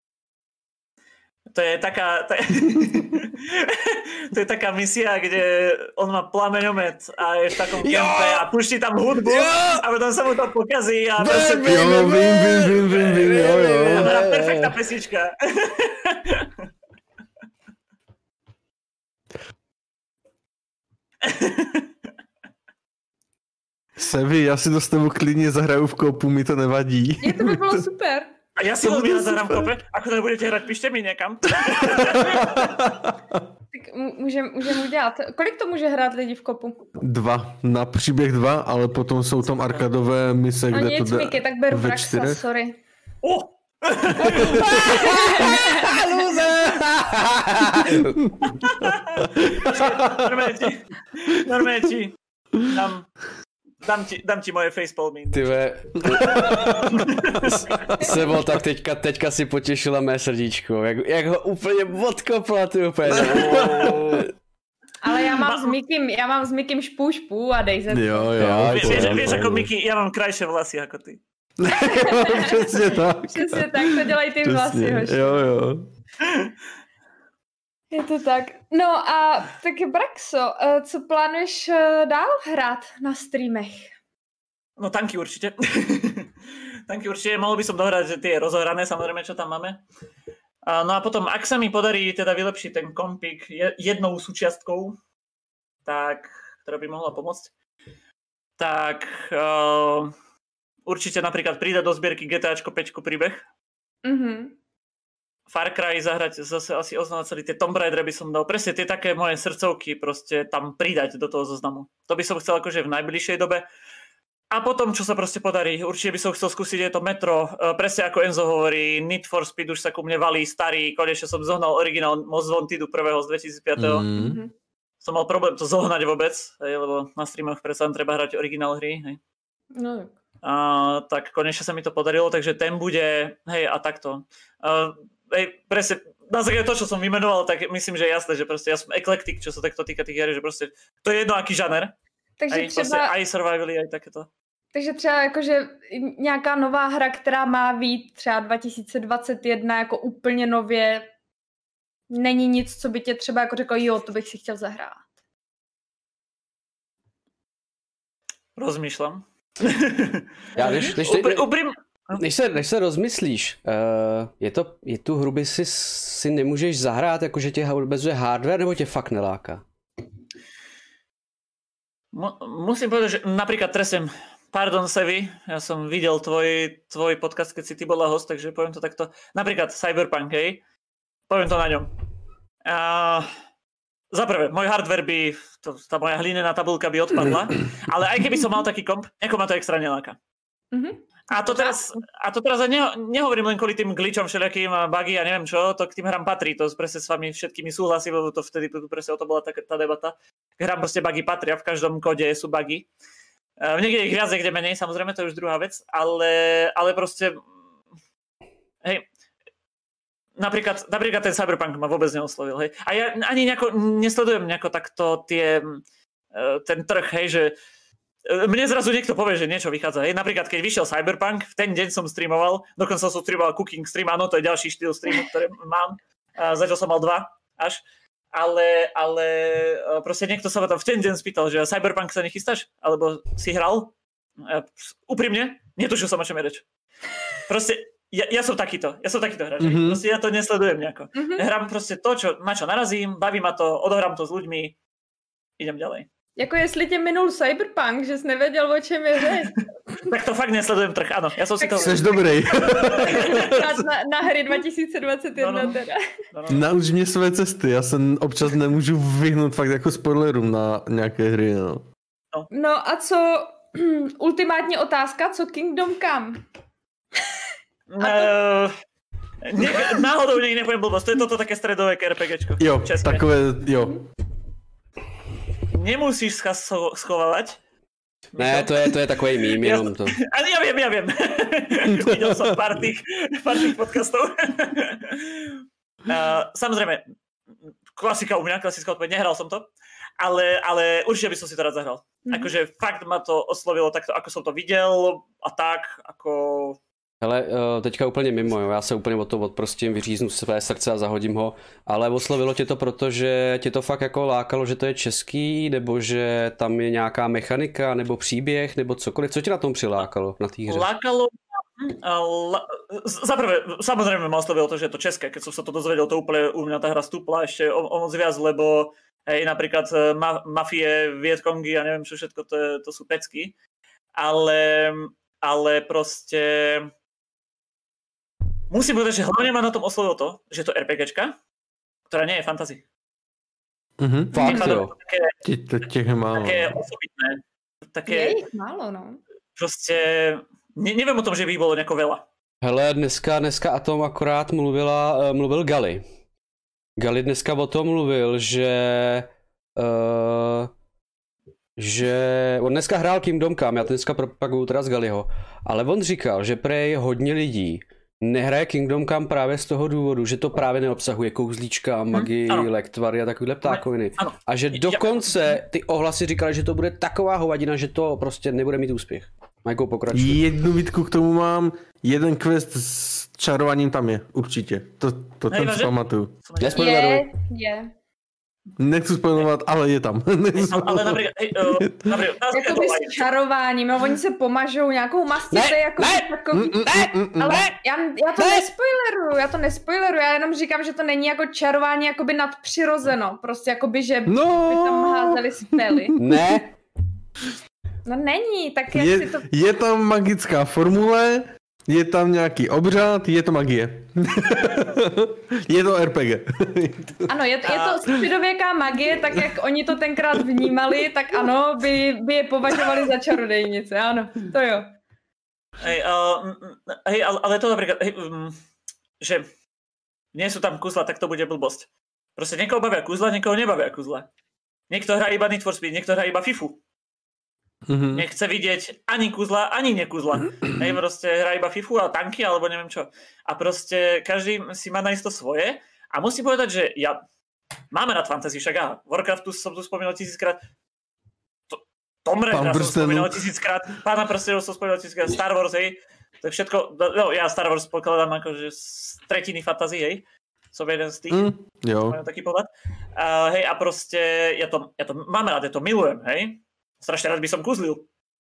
Speaker 2: To je taká... To je, to je taká misia, kde on má plameňomet a je v takom kempe a puští tam hudbu jo! A potom sa mu to pokazí a proste...
Speaker 4: Jo, vím, vím, vím, vím, vím, jo, jo.
Speaker 2: Perfektná pesnička.
Speaker 4: Sevi, já si to s tebou klidně zahraju v kopu, mi to nevadí.
Speaker 3: Je, to by bylo super.
Speaker 2: A ja si veľmi rád zahrám v kope. Ako to budete hrať, píšte mi někam.
Speaker 3: Tak můžeme můžem udělat. Kolik to může hrát lidi v kopu?
Speaker 4: Dva. Na příběh dva, ale potom jsou tam arkadové mise,
Speaker 3: no
Speaker 4: kde
Speaker 3: nic,
Speaker 4: to jde
Speaker 3: Miky, tak beru
Speaker 4: ve
Speaker 3: Braxa,
Speaker 4: čtyřech.
Speaker 3: sorry.
Speaker 2: Oh! Normálne ti, normálne ti dám, dám ti, dám ti moje facepalmy.
Speaker 1: Tyve, Sebo, tak teďka, teďka si potěšila mé srdíčko, jak, jak ho úplně odkopla, ty úplně.
Speaker 3: Ale já mám s Mikym, já mám s Mikym špů a dej se.
Speaker 4: Jo, jo.
Speaker 2: Vieš, vieš ako Miky, ja mám krajšie vlasy ako ty.
Speaker 4: Přesně tak.
Speaker 3: Přesně tak, to dělají ty vlasy, hoši.
Speaker 4: Jo, jo.
Speaker 3: Je to tak. No a tak Braxo, co plánuješ dál hrát na streamech?
Speaker 2: No tanky určite. Tanky určite, mohol by som dohrať tie rozohrané, samozrejme, čo tam máme. No a potom, ak sa mi podarí teda vylepšiť ten kompik jednou súčiastkou, tak, ktorá by mohla pomôcť, tak uh, určite napríklad prída do zbierky GTAčko päť príbeh. Mhm. Far Cry zahrať zase asi oznávať celý tie Tomb Raider by som dal presne tie také moje srdcovky proste tam pridať do toho zoznamu. To by som chcel akože v najbližšej dobe. A potom, čo sa proste podarí, určite by som chcel skúsiť je to Metro, presne ako Enzo hovorí, Need for Speed už sa ku mne valí starý, konečne som zohnal originál Most Wantedu prvého z dvetisícpäť. Mm-hmm. Som mal problém to zohnať vôbec, hej, lebo na streamoch predsa treba hrať originál hry. Hej.
Speaker 3: No.
Speaker 2: A, tak konečne sa mi to podarilo, takže ten bude, hej, a takto. A, hej, presne, na základe to, čo som vymenoval, tak myslím, že je jasné, že proste ja som eklektik, čo sa takto týka tých hier, že proste to je jedno, aký žaner.
Speaker 3: Takže
Speaker 2: aj,
Speaker 3: třeba...
Speaker 2: proste, aj survivally, aj takéto.
Speaker 3: Takže třeba jakože nějaká nová hra, která má být třeba dva tisíce dvacet jedna jako úplně nově, není nic, co by tě třeba jako řeklo, jo, to bych si chtěl zahrát.
Speaker 2: Rozmýšľam.
Speaker 1: Já než, než, než,
Speaker 2: Upr- uprím...
Speaker 1: než, se, než se rozmyslíš, uh, je, to, je tu hru, by si, si nemůžeš zahrát, jakože tě obezuje hardware, nebo tě fakt neláká?
Speaker 2: Mu- musím povedať, že napríklad tresem, pardon Sevi, ja som videl tvoj, tvoj podcast, keď si ty bola host, takže poviem to takto. Napríklad Cyberpunk, hej, poviem to na ňom. Uh, za prvé, môj hardware by, to, tá moja hlinená tabulka by odpadla, ale aj keby som mal taký komp, nejako ma to extra neláka.
Speaker 3: Mhm.
Speaker 2: A to teraz, a to teraz ne, nehovorím len kvôli tým glitchom všelijakým a bugy a neviem čo, to k tým hrám patrí, to presne s vami všetkými súhlasím, lebo to vtedy presne o to bola tá, tá debata. K hrám proste bugy patria, v každom kóde sú bugy. V niekde ich viac, niekde menej, samozrejme, to je už druhá vec, ale, ale proste, hej, napríklad, napríklad ten Cyberpunk ma vôbec neoslovil, hej. A ja ani nejako nesledujem nejako takto tie, ten trh, hej, že mne zrazu niekto povie, že niečo vychádza. Hej. Napríklad, keď vyšiel Cyberpunk, v ten deň som streamoval, dokonca som streamoval cooking stream, áno, to je ďalší štýl streamu, ktorý mám. A zatiaľ som mal dva až. Ale, ale proste niekto sa ma tam v ten deň spýtal, že Cyberpunk sa nechystáš? Alebo si hral? A úprimne, netušil som, o čom je reč. Proste, ja, ja som takýto, ja som takýto hráč. Mm-hmm. Proste ja to nesledujem nejako. Mm-hmm. Hrám proste to, čo, na čo narazím, baví ma to, odohrám to s ľuďmi, idem ďalej.
Speaker 3: Jako jestli tě minul Cyberpunk, že jsi nevěděl, o čem je řeč.
Speaker 2: Tak to fakt nesledujem trh, ano. Já jsem si to...
Speaker 4: Jseš dobrý.
Speaker 3: na, na hry dva tisíce dvacet jedna
Speaker 2: no, no.
Speaker 3: teda.
Speaker 2: No, no.
Speaker 4: Nauč mě své cesty, já se občas nemůžu vyhnout fakt jako spoilerům na nějaké hry, no.
Speaker 3: No, no a co, ultimátní otázka, co Kingdom Come?
Speaker 2: No, ne, náhodou někdy nepovím blbost, to je toto také stredové RPGčko.
Speaker 4: Jo,
Speaker 2: české.
Speaker 4: takové, jo.
Speaker 2: Nemusíš se schovávať.
Speaker 1: Ne, to je, to je takový mím, jenom to.
Speaker 2: Ale ja viem, ja viem. Videl som pár tých, pár tých podcastov. uh, samozrejme, klasika u mňa, klasická odpoveď, nehral som to, ale, ale určite by som si to rád zahral. Mm-hmm. Akože fakt ma to oslovilo takto, ako som to videl a tak, ako...
Speaker 1: Hele, teďka úplně mimo, jo. Já se úplně od toho odprostím, vyříznu své srdce a zahodím ho, ale oslovilo tě to, protože tě to fakt jako lákalo, že to je český, nebo že tam je nějaká mechanika, nebo příběh, nebo cokoliv, co tě na tom přilákalo, na té hře?
Speaker 2: Lákalo, la, zaprvé, samozrejme ma oslovilo to, že je to české, keď som sa to dozvedel, to úplne u mňa tá hra stúpla ešte o, o moc viac, lebo hej, napríklad ma, mafie, Vietkongy a neviem čo všetko, to, je, to sú pecky, ale, ale proste... Musím povedať, že hlavne ma na tom oslovilo to, že to RPGčka, ktorá nie je fantasy.
Speaker 4: Mhm,
Speaker 1: fakt jo.
Speaker 2: Také,
Speaker 4: těch je málo.
Speaker 2: Také osobitné. Také,
Speaker 3: je jich málo, no.
Speaker 2: Prostě ne, nevím o tom, že by jich bylo nějako veľa.
Speaker 1: Hele, dneska, dneska o tom akorát mluvila, mluvil Gali. Gali dneska o tom mluvil, že... Uh, že on dneska hrál Kingdom Come, já to dneska propaguju teda z Galiho, ale on říkal, že prej hodně lidí nehraje Kingdom Come právě z toho důvodu, že to právě neobsahuje kouzlíčka, magii, hmm, lektvary a takovýhle ptákoviny. Ano. A že dokonce ty ohlasy říkali, že to bude taková hovadina, že to prostě nebude mít úspěch. Majko, pokračuj.
Speaker 4: Jednu výtku k tomu mám, jeden quest s čarováním tam je, určitě. To, to ten si pamatuju.
Speaker 3: Je, je.
Speaker 4: Nechci spoilovat, ale je tam.
Speaker 2: Ale například, hej, uh, například,
Speaker 3: jakoby s čarováním, no oni se pomažou nějakou mastice, jako takový,
Speaker 2: ne,
Speaker 3: ale
Speaker 2: ne,
Speaker 3: já, já to ne. nespoileruju, já to nespoileruju, já jenom říkám, že to není jako čarování jakoby nadpřirozeno, prostě jakoby, že
Speaker 4: no.
Speaker 3: by tam házeli spely.
Speaker 1: Ne.
Speaker 3: No není, tak jak
Speaker 4: je,
Speaker 3: si to...
Speaker 4: Je tam magická formule, je tam nějaký obřad, je to magie. Je to R P G.
Speaker 3: Ano, je, je to středověká magie, tak jak oni to tenkrát vnímali, tak ano, by, by je považovali za čarodejnice, ano, to jo.
Speaker 2: Hej, uh, hej ale to napríklad, hej, um, že nie sú tam kuzla, tak to bude blbosť. Proste niekoho bavia kuzla, niekoho nebavia kuzla. Niekto hrá iba Need for Speed, niekto hrá iba FIFU. Mm-hmm. Nechce vidieť ani kuzla, ani nekuzla. Hej, proste hrá iba FIFU a tanky, alebo neviem čo. A proste každý si má nájsť to svoje. A musím povedať, že ja máme rád fantasy, však aha, Warcraftu som tu spomínal tisíckrát. To, Tomb Raidera som spomínal tisíckrát. Pána prstenov som spomínal tisíckrát. Star Wars, hej. To je všetko, no ja Star Wars pokladám akože z tretiny fantasy, hej. Som jeden z tých. Mm,
Speaker 4: jo.
Speaker 2: Mám taký pohľad. Uh, hej, a proste ja to, ja to mám rád, ja to milujem, hej. Strašne rád by som kuzlil.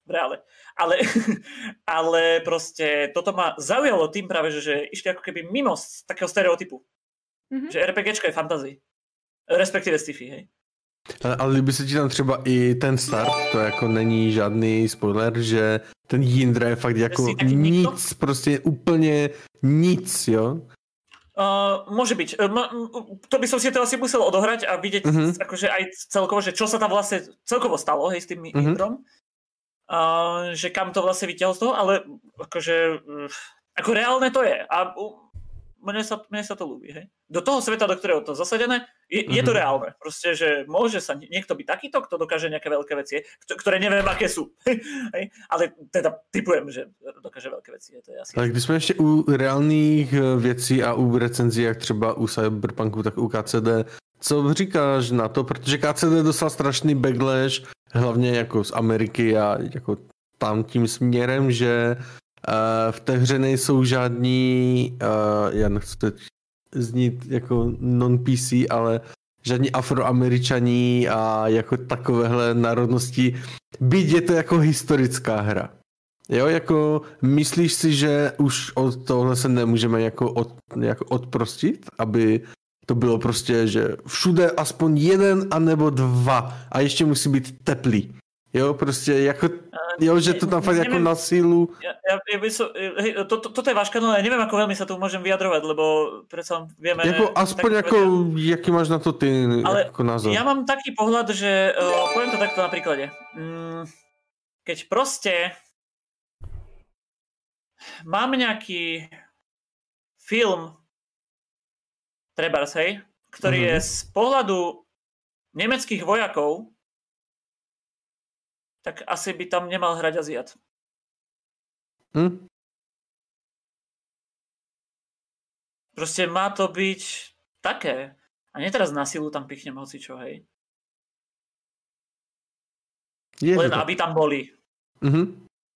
Speaker 2: v reále. Ale, ale proste toto ma zaujalo tým práve, že, že išli ako keby mimo z takého stereotypu. Mm-hmm. Že RPGčka je fantasy. Respektive sci-fi, hej.
Speaker 4: Ale, ale líbí se ti tam třeba i ten start, to jako není žádný spoiler, že ten Jindra je fakt jako nic, nikto? Prostě úplně nic, jo?
Speaker 2: Uh, môže byť. Uh, to by som si to asi musel odohrať a vidieť uh-huh. akože aj celkovo, že čo sa tam vlastne celkovo stalo, hej, s tým uh-huh. Indrom. Uh, že kam to vlastne vyťahol z toho, ale akože uh, ako reálne to je. A uh, mne sa, mne sa to ľúbi, hej. Do toho sveta, do ktorého to zasadené, je, mm-hmm. je to reálne. Proste, že môže sa niekto byť takýto, kto dokáže nejaké veľké veci, ktoré neviem, aké sú. hej. Ale teda typujem, že dokáže veľké veci. Je to asi...
Speaker 4: Ale když jsme ještě u reálných věcí a u recenzí, jak třeba u Cyberpunku, tak u K C D, co říkáš na to? Protože K C D dostal strašný backlash, hlavně jako z Ameriky a jako tam tím směrem, že Uh, v té hře nejsou žádní, uh, já nechci teď znít jako non-P C, ale žádní afroameričaní a jako takovéhle národnosti, byť je to jako historická hra. Jo, jako myslíš si, že už od tohle se nemůžeme jako, od, jako odprostit, aby to bylo prostě, že všude aspoň jeden anebo dva a ještě musí být teplý. Jo, prostě jako, jo, že to tam fakt neviem, jako na sílu.
Speaker 2: Ja, ja, ja by som, hej, to, to, toto je váš kanál, ja neviem, ako veľmi sa tu môžem vyjadrovať, lebo predsa vieme...
Speaker 4: Jako aspoň tak, ako, povedia, jaký máš na to ty
Speaker 2: ale
Speaker 4: ako názor?
Speaker 2: Ja mám taký pohľad, že, uh, poviem to takto na príklade. Mm, keď proste mám nejaký film, trebárs, hej, ktorý mm-hmm. je z pohľadu nemeckých vojakov, tak asi by tam nemal hrať Aziat. Hm? Proste má to byť také. A nie teraz na silu tam pichnem hocičo, hej. Je Len to aby tam boli.
Speaker 3: Mhm.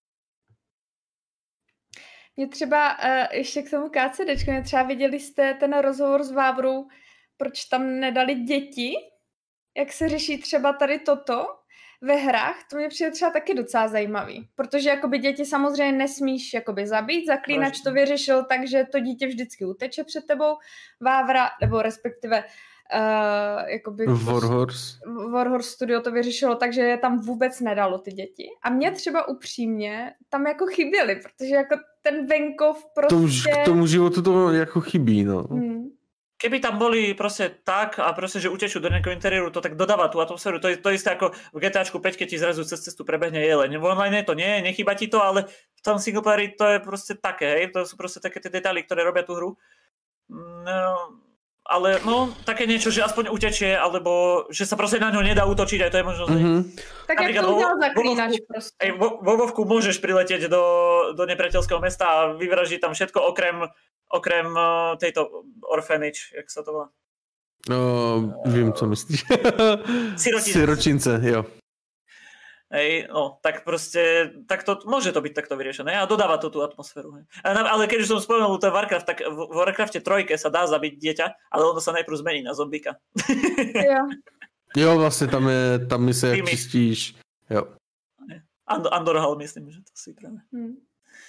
Speaker 3: Mě třeba, uh, ještě k tomu KCDčku, mě třeba viděli jste ten rozhovor s Vávrou, proč tam nedali děti? Jak se řeší třeba tady toto? Ve hrách, to mě přijde třeba taky docela zajímavý, protože jakoby děti samozřejmě nesmíš jakoby zabít, Zaklínač to vyřešil tak, že to dítě vždycky uteče před tebou, Vávra, nebo respektive uh, jakoby
Speaker 4: Warhorse.
Speaker 3: Warhorse Studio to vyřešilo tak, že je tam vůbec nedalo ty děti a mě třeba upřímně tam jako chyběly, protože jako ten venkov prostě...
Speaker 4: To už k tomu životu to jako chybí, no. Hmm.
Speaker 2: Keby tam boli proste tak a proste, že utečú do nejakého interiéru, to tak dodáva tú atmosféru. To je to isté ako v GTAčku päť, keď ti zrazu cez cestu prebehne jeleň. V online to nie, nechýba ti to, ale v tom singleplayeri to je proste také, hej? To sú proste také tie detaily, ktoré robia tú hru. No, ale no, také niečo, že aspoň utečie, alebo že sa proste na ňo nedá útočiť, aj to je možno. Mm-hmm.
Speaker 3: Tak jak to udial Zaklínač proste.
Speaker 2: Vo Vovku môžeš priletieť do, do nepriateľského mesta a vyvražiť tam všetko okrem Okrem uh, tejto orphanage, jak sa to volá?
Speaker 4: No, vím, co myslíš.
Speaker 2: Sirotince.
Speaker 4: Siročince, jo.
Speaker 2: Hej, no, tak proste, tak to, môže to byť takto vyriešené a dodáva to tú atmosféru. Hej. Ale keď už som spomenul ten Warcraft, tak v Warcrafte trojke sa dá zabiť dieťa, ale ono sa najprv zmení na zombíka.
Speaker 3: Jo.
Speaker 4: Jo, vlastne tam je, tam mi sa čistíš. Jo.
Speaker 2: Andor, Andorhal, myslím, že to si práve. Hmm.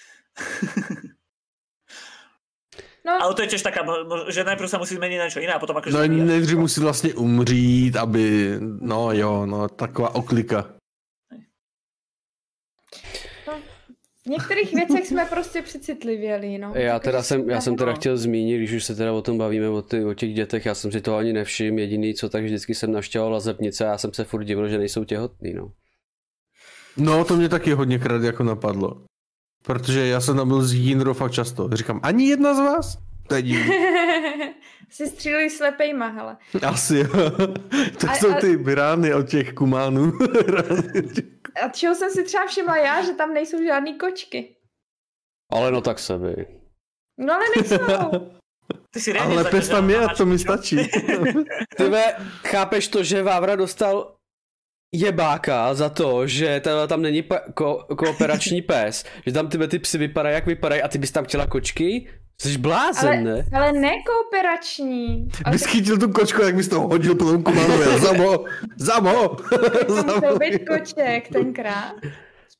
Speaker 2: No. Ale to je tiež taká, že najprv sa musí zmeniť na niečo iné a potom akože...
Speaker 4: No nejdřív musí vlastně umřít, aby, no jo, no taková oklika.
Speaker 3: No, v některých věcech jsme prostě přecitlivěli, no.
Speaker 1: Já teda jsem, já jsem teda chtěl zmínit, když už se teda o tom bavíme, o, ty, o těch dětech, já jsem si to ani nevšiml, jediný co, tak vždycky jsem navštěvoval lazebnice a já jsem se furt divil, že nejsou těhotný, no.
Speaker 4: No, to mě taky hodněkrát jako napadlo. Protože já jsem tam byl s Jinrou fakt často. Říkám, ani jedna z vás? To je divný.
Speaker 3: Si stříleli slepejma, hele.
Speaker 4: Asi jo. To a, jsou a... ty rány od těch kumánů.
Speaker 3: A čeho jsem si třeba všimla já, že tam nejsou žádný kočky.
Speaker 1: Ale no tak se by.
Speaker 3: No ale nejsou.
Speaker 2: Ty si
Speaker 4: ale pes tam je, to mi stačí.
Speaker 1: Tyve, chápeš to, že Vávra dostal jebáka za to, že tam není pa- ko- kooperační pes, že tam tyhle ty psy vypadají, jak vypadají a ty bys tam chtěla kočky? Jsi blázen,
Speaker 3: ale,
Speaker 1: ne?
Speaker 3: Ale ne kooperační.
Speaker 4: Bys chytil tu kočku, jak bys to hodil po tom kumánu. Zamo! Zamo!
Speaker 3: Tak to musel být koček tenkrát.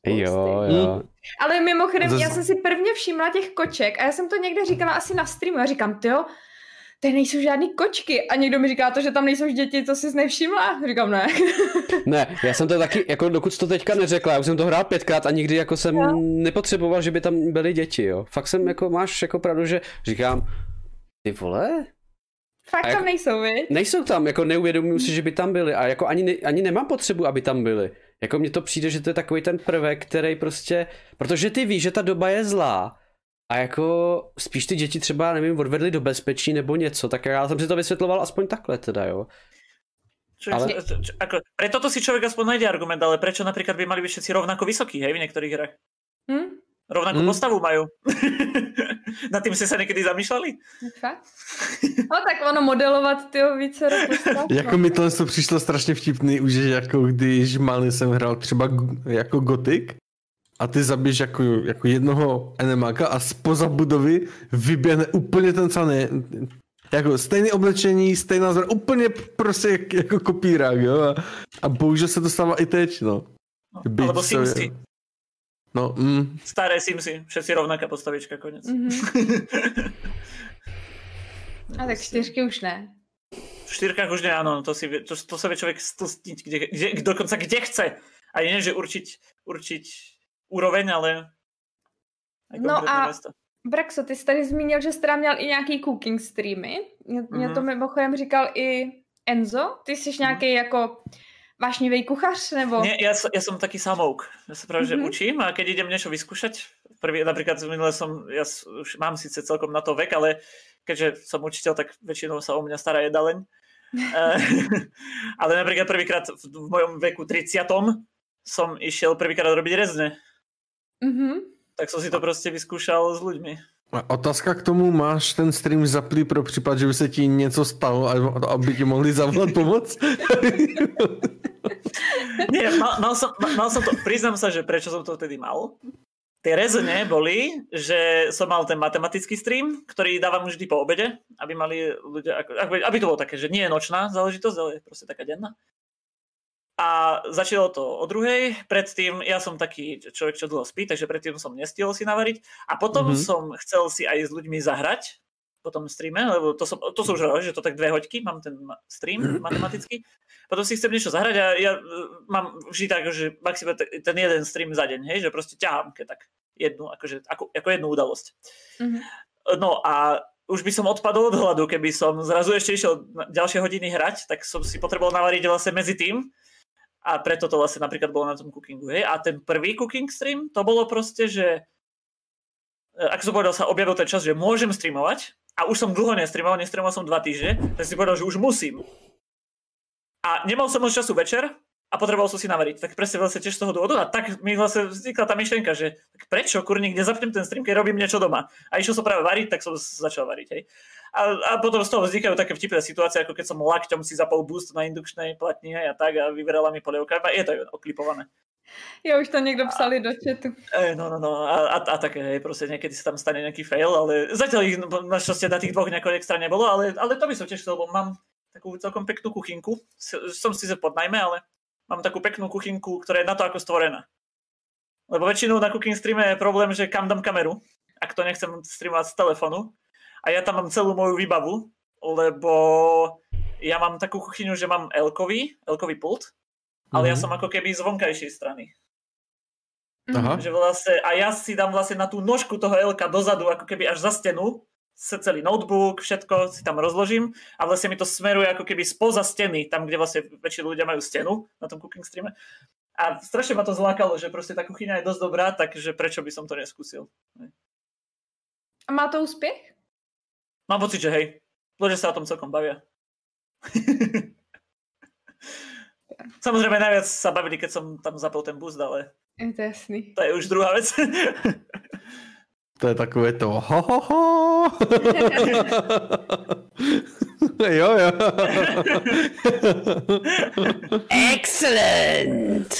Speaker 1: Jo, jo.
Speaker 3: Ale mimochodem, Zas... já jsem si prvně všimla těch koček a já jsem to někde říkala asi na streamu. Já říkám, tyjo, tady nejsou žádný kočky. A někdo mi říká to, že tam nejsou děti, to jsi nevšimla? Říkám, ne.
Speaker 1: Ne, já jsem to taky, jako dokud jsi to teďka neřekla, já už jsem to hrál pětkrát a nikdy jako jsem no. nepotřeboval, že by tam byly děti, jo. Fakt jsem jako, máš jako pravdu, že říkám, ty vole?
Speaker 3: Fakt
Speaker 1: jako,
Speaker 3: tam nejsou, viď?
Speaker 1: Nejsou tam, jako neuvědomuji si, že by tam byly a jako ani, ne, ani nemám potřebu, aby tam byly. Jako mně to přijde, že to je takový ten prvek, který prostě, protože ty víš, že ta doba je zlá a jako spíš ty děti třeba, nevím, odvedli do bezpečí nebo něco, tak já jsem si to vysvětloval aspoň takhle teda, jo.
Speaker 2: Čo, ale... čo, čo, ako, pre toto si človek aspoň nájde argument, ale prečo napríklad by mali byť všetci rovnako vysokí, hej, v niektorých hrách? Hm? Rovnakú hm? postavu majú. Nad tým ste sa niekedy zamýšľali?
Speaker 3: Fakt? No tak ono modelovat tyho více postav.
Speaker 4: Jako mi to přišlo strašně vtipný, už jako když malý jsem hrál třeba jako Gothic a ty zabiješ jako, jako jednoho enemáka a spoza budovy vyběhne úplně ten samý, jako stejné oblečení, stejná zbroň, úplně prostě jak, jako kopírák, jo, a, a bohužel se to stává i teď, no.
Speaker 2: no alebo Simsy.
Speaker 4: No, mm.
Speaker 2: Staré Simsy, všetci rovnaká postavička, konec.
Speaker 3: Mm-hmm. A tak čtyřky už ne.
Speaker 2: V štyrkách už ne, áno, to, si, to, to sa vie človek stlstiť, kde, kde, dokonca kde chce. A nie, že určiť, určiť úroveň, ale aj
Speaker 3: no a
Speaker 2: město.
Speaker 3: Braxo, ty jsi tady zmínil, že jsi teda měl i nějaký cooking streamy. Mě, mm-hmm. mě to mimochodem říkal i Enzo. Ty jsi mm-hmm. nějaký jako vášnivý kuchař, nebo?
Speaker 2: Nie, ja, ja som taký samouk. Ja sa práve, mm-hmm. že učím a keď idem niečo vyskúšať, prvý, napríklad minule som, ja už mám síce celkom na to vek, ale keďže som učiteľ, tak väčšinou sa o mňa stará jedaleň. Ale napríklad prvýkrát v, v mojom veku tridsiatom som išiel prvýkrát robiť rezne.
Speaker 3: Mhm.
Speaker 2: Tak som si to proste vyskúšal s ľuďmi.
Speaker 4: A otázka k tomu, máš ten stream zaplý pro případ, že by se ti něco stalo, aby ti mohli zavolat pomoc?
Speaker 2: Nie, mal, mal, som, mal som to, priznám sa, že prečo som to vtedy mal. Tie rezne boli, že som mal ten matematický stream, ktorý dávam vždy po obede, aby mali ľudia, aby, aby to bolo také, že nie je nočná záležitosť, ale je proste taká denná. A začalo to o druhej, predtým, ja som taký človek, čo dlho spí, takže predtým som nestihol si navariť a potom mm-hmm. som chcel si aj s ľuďmi zahrať po tom streame, lebo to som, to som už hovoril, že to tak dve hoďky, mám ten stream matematický, potom si chcem niečo zahrať a ja mám vždy tak, že maximálne ten jeden stream za deň, hej, že proste ťahám keď tak jednu, akože, ako, ako jednu udalosť. Mm-hmm. No a už by som odpadol od hladu, keby som zrazu ešte išiel ďalšie hodiny hrať, tak som si potreboval navariť vlastne medzi tým. A preto to vlastne napríklad bolo na tom cookingu. Hej? A ten prvý cooking stream, to bolo proste, že ako som povedal, sa objavil ten čas, že môžem streamovať a už som dlho nestreamoval, nestreamoval som dva týždne, tak si povedal, že už musím. A nemal som moc času večer a potreboval som si navariť. Tak presne vlastne tiež z toho dôvodu a tak mi vlastne vznikla tá myšlienka, že tak prečo kurník nezapnem ten stream, keď robím niečo doma. A išiel som práve variť, tak som začal variť. Hej? A, a potom z toho vznikajú také vtipné situácie, ako keď som lakťom si zapol boost na indukčnej platni a tak a vyberala mi polievka. Je to oklipované.
Speaker 3: Jo, už to niekto psali a, do chatu.
Speaker 2: E, no, no, no. A, a, a také, hej, proste niekedy sa tam stane nejaký fail, ale zatiaľ ich našťastie na tých dvoch nejako extra nebolo, ale, ale to by som tiež chcel, lebo mám takú celkom peknú kuchynku. Som si sa podnajme, ale mám takú peknú kuchynku, ktorá je na to ako stvorená. Lebo väčšinou na cooking streame je problém, že kam dám kameru, ak to nechcem streamovať z telefónu. A ja tam mám celú moju výbavu, lebo ja mám takú kuchyňu, že mám L-kový, L-kový pult, ale mm-hmm. ja som ako keby z vonkajšej strany. Aha. Že vlastne, a ja si dám vlastne na tú nožku toho L-ka dozadu, ako keby až za stenu, celý notebook, všetko si tam rozložím a vlastne mi to smeruje ako keby spoza steny, tam, kde vlastne väčšina ľudia majú stenu na tom cooking streame. A strašne ma to zlákalo, že proste tá kuchyňa je dosť dobrá, takže prečo by som to neskúsil.
Speaker 3: A má to úspech?
Speaker 2: Mám pocit, že hej. Ľudia sa o tom celkom bavia. Samozrejme najviac sa bavili, keď som tam zapol ten boost, ale
Speaker 3: je to jasný.
Speaker 2: To je už druhá vec.
Speaker 4: To je takové to ho ho ho. Jo, jo.
Speaker 1: Excellent.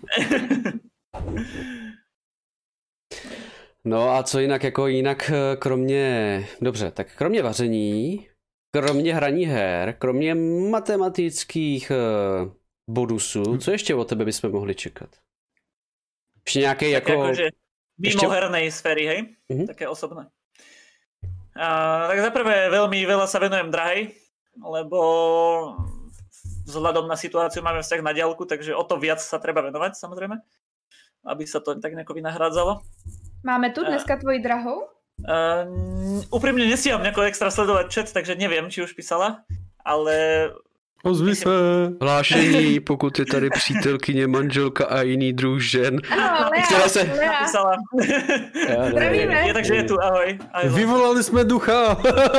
Speaker 1: No a co jinak, jako jinak kromě, dobře, tak kromě vaření, kromě hraní her, kromě matematických bonusů, co ještě od tebe bychom mohli čekat? Ešte nejaké
Speaker 2: také
Speaker 1: ako...
Speaker 2: akože mimo ešte... hernej sféry, hej? Mm-hmm. Také osobné. A, tak zaprvé veľmi veľa sa venujem drahej, lebo vzhľadom na situáciu máme vzťah na diaľku, takže o to viac sa treba venovať, samozrejme, aby sa to tak nejako vynahrádzalo.
Speaker 3: Máme tu dneska a... tvoji drahou?
Speaker 2: Uh, úprimne nestíham nejako extra sledovať chat, takže neviem, či už písala, ale...
Speaker 4: Ozvi se.
Speaker 1: Hlášení, pokud je tady přítelkyně, manželka a jiný druh žen.
Speaker 3: Ano, Lea,
Speaker 1: která se...
Speaker 3: Lea.
Speaker 2: Zdravíme. Je, takže je tu, ahoj. ahoj.
Speaker 4: Vyvolali jsme ducha.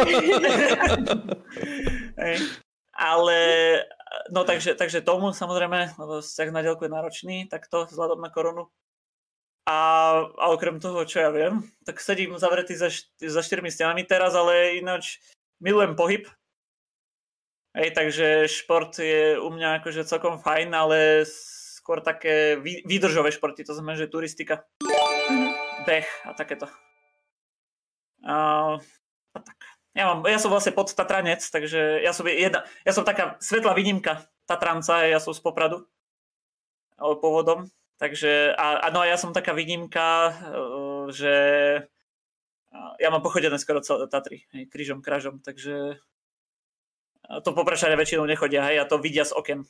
Speaker 2: Ale, no takže, takže tomu samozrejme, lebo vzťah na diaľku je náročný, tak to vzhľadom na koronu. A, a okrem toho, čo ja viem, tak sedím zavretý za, št- za štyrmi stenami teraz, ale ináč milujem pohyb. Hej, takže šport je u mňa akože celkom fajn, ale skôr také vý, výdržové športy, to znamená, že turistika, beh a takéto. A, a tak. Ja, mám, ja som vlastne podtatranec, takže ja som, jedna, ja som taká svetlá výnimka Tatranca, ja som z Popradu pôvodom. Takže, a, a no a ja som taká výnimka, že ja mám pochodené skoro celé Tatry, hej, krížom, krážom, takže to Poprečania väčšinou nechodia, hej, a to vidia z okien.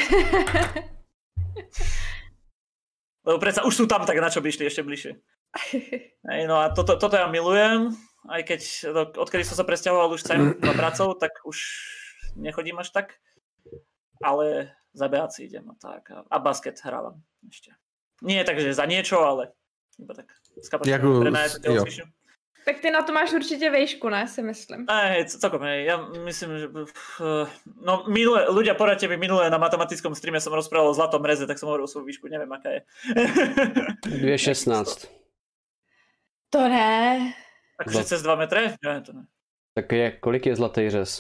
Speaker 2: Lebo predsa už sú tam, tak na čo by išli ešte bližšie. Hej, no a toto, toto ja milujem, aj keď odkedy som sa presťahoval už sem na pracov, tak už nechodím až tak, ale za bé á cé idem a tak. A basket hrávam ešte. Nie takže za niečo, ale iba tak s kapacitou prenajať telocvičňu.
Speaker 3: Tak ty na to máš určite vejšku, ne, si myslím.
Speaker 2: Hej, celkom, hej. Ja myslím, že... No, minule, ľudia, poradte mi, minule na matematickom streame som rozprával o zlatom reze, tak som hovoril svoju výšku, neviem, aká je.
Speaker 1: dve šestnásť.
Speaker 3: To ne.
Speaker 2: Takže cez dva metre? Ne, to ne.
Speaker 1: Tak je, kolik je zlatý řez?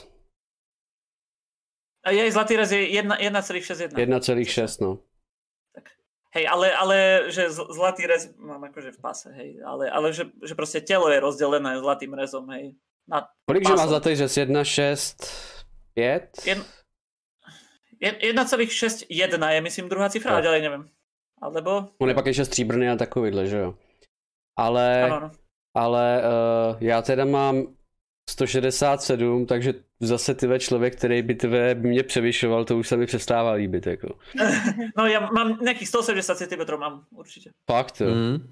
Speaker 2: A jej zlatý rez je jedna celá šesť jedna.
Speaker 1: jedna celá šesť, no.
Speaker 2: Hej, ale, ale že zlatý rez mám akože v pase, hej, ale, ale že, že proste telo je rozdelené zlatým rezom, hej. Na
Speaker 1: kolik že má zlatý řez? jedna šesť päť?
Speaker 2: jedna celá šesť jedna je, myslím, druhá cifra, ale ďalej neviem. Alebo...
Speaker 1: On je pak ještě stříbrný a takovýhle, že jo. Ale,
Speaker 2: ano, ano.
Speaker 1: ale uh, já teda mám sto šedesát sedm, takže zase tyhle člověk, který by tvé mě převyšoval, to už se mi přestává líbit, jako.
Speaker 2: No já mám nějakých sto sedemdesiat centimetrů, mám určitě.
Speaker 1: Fakt, jo. Mm.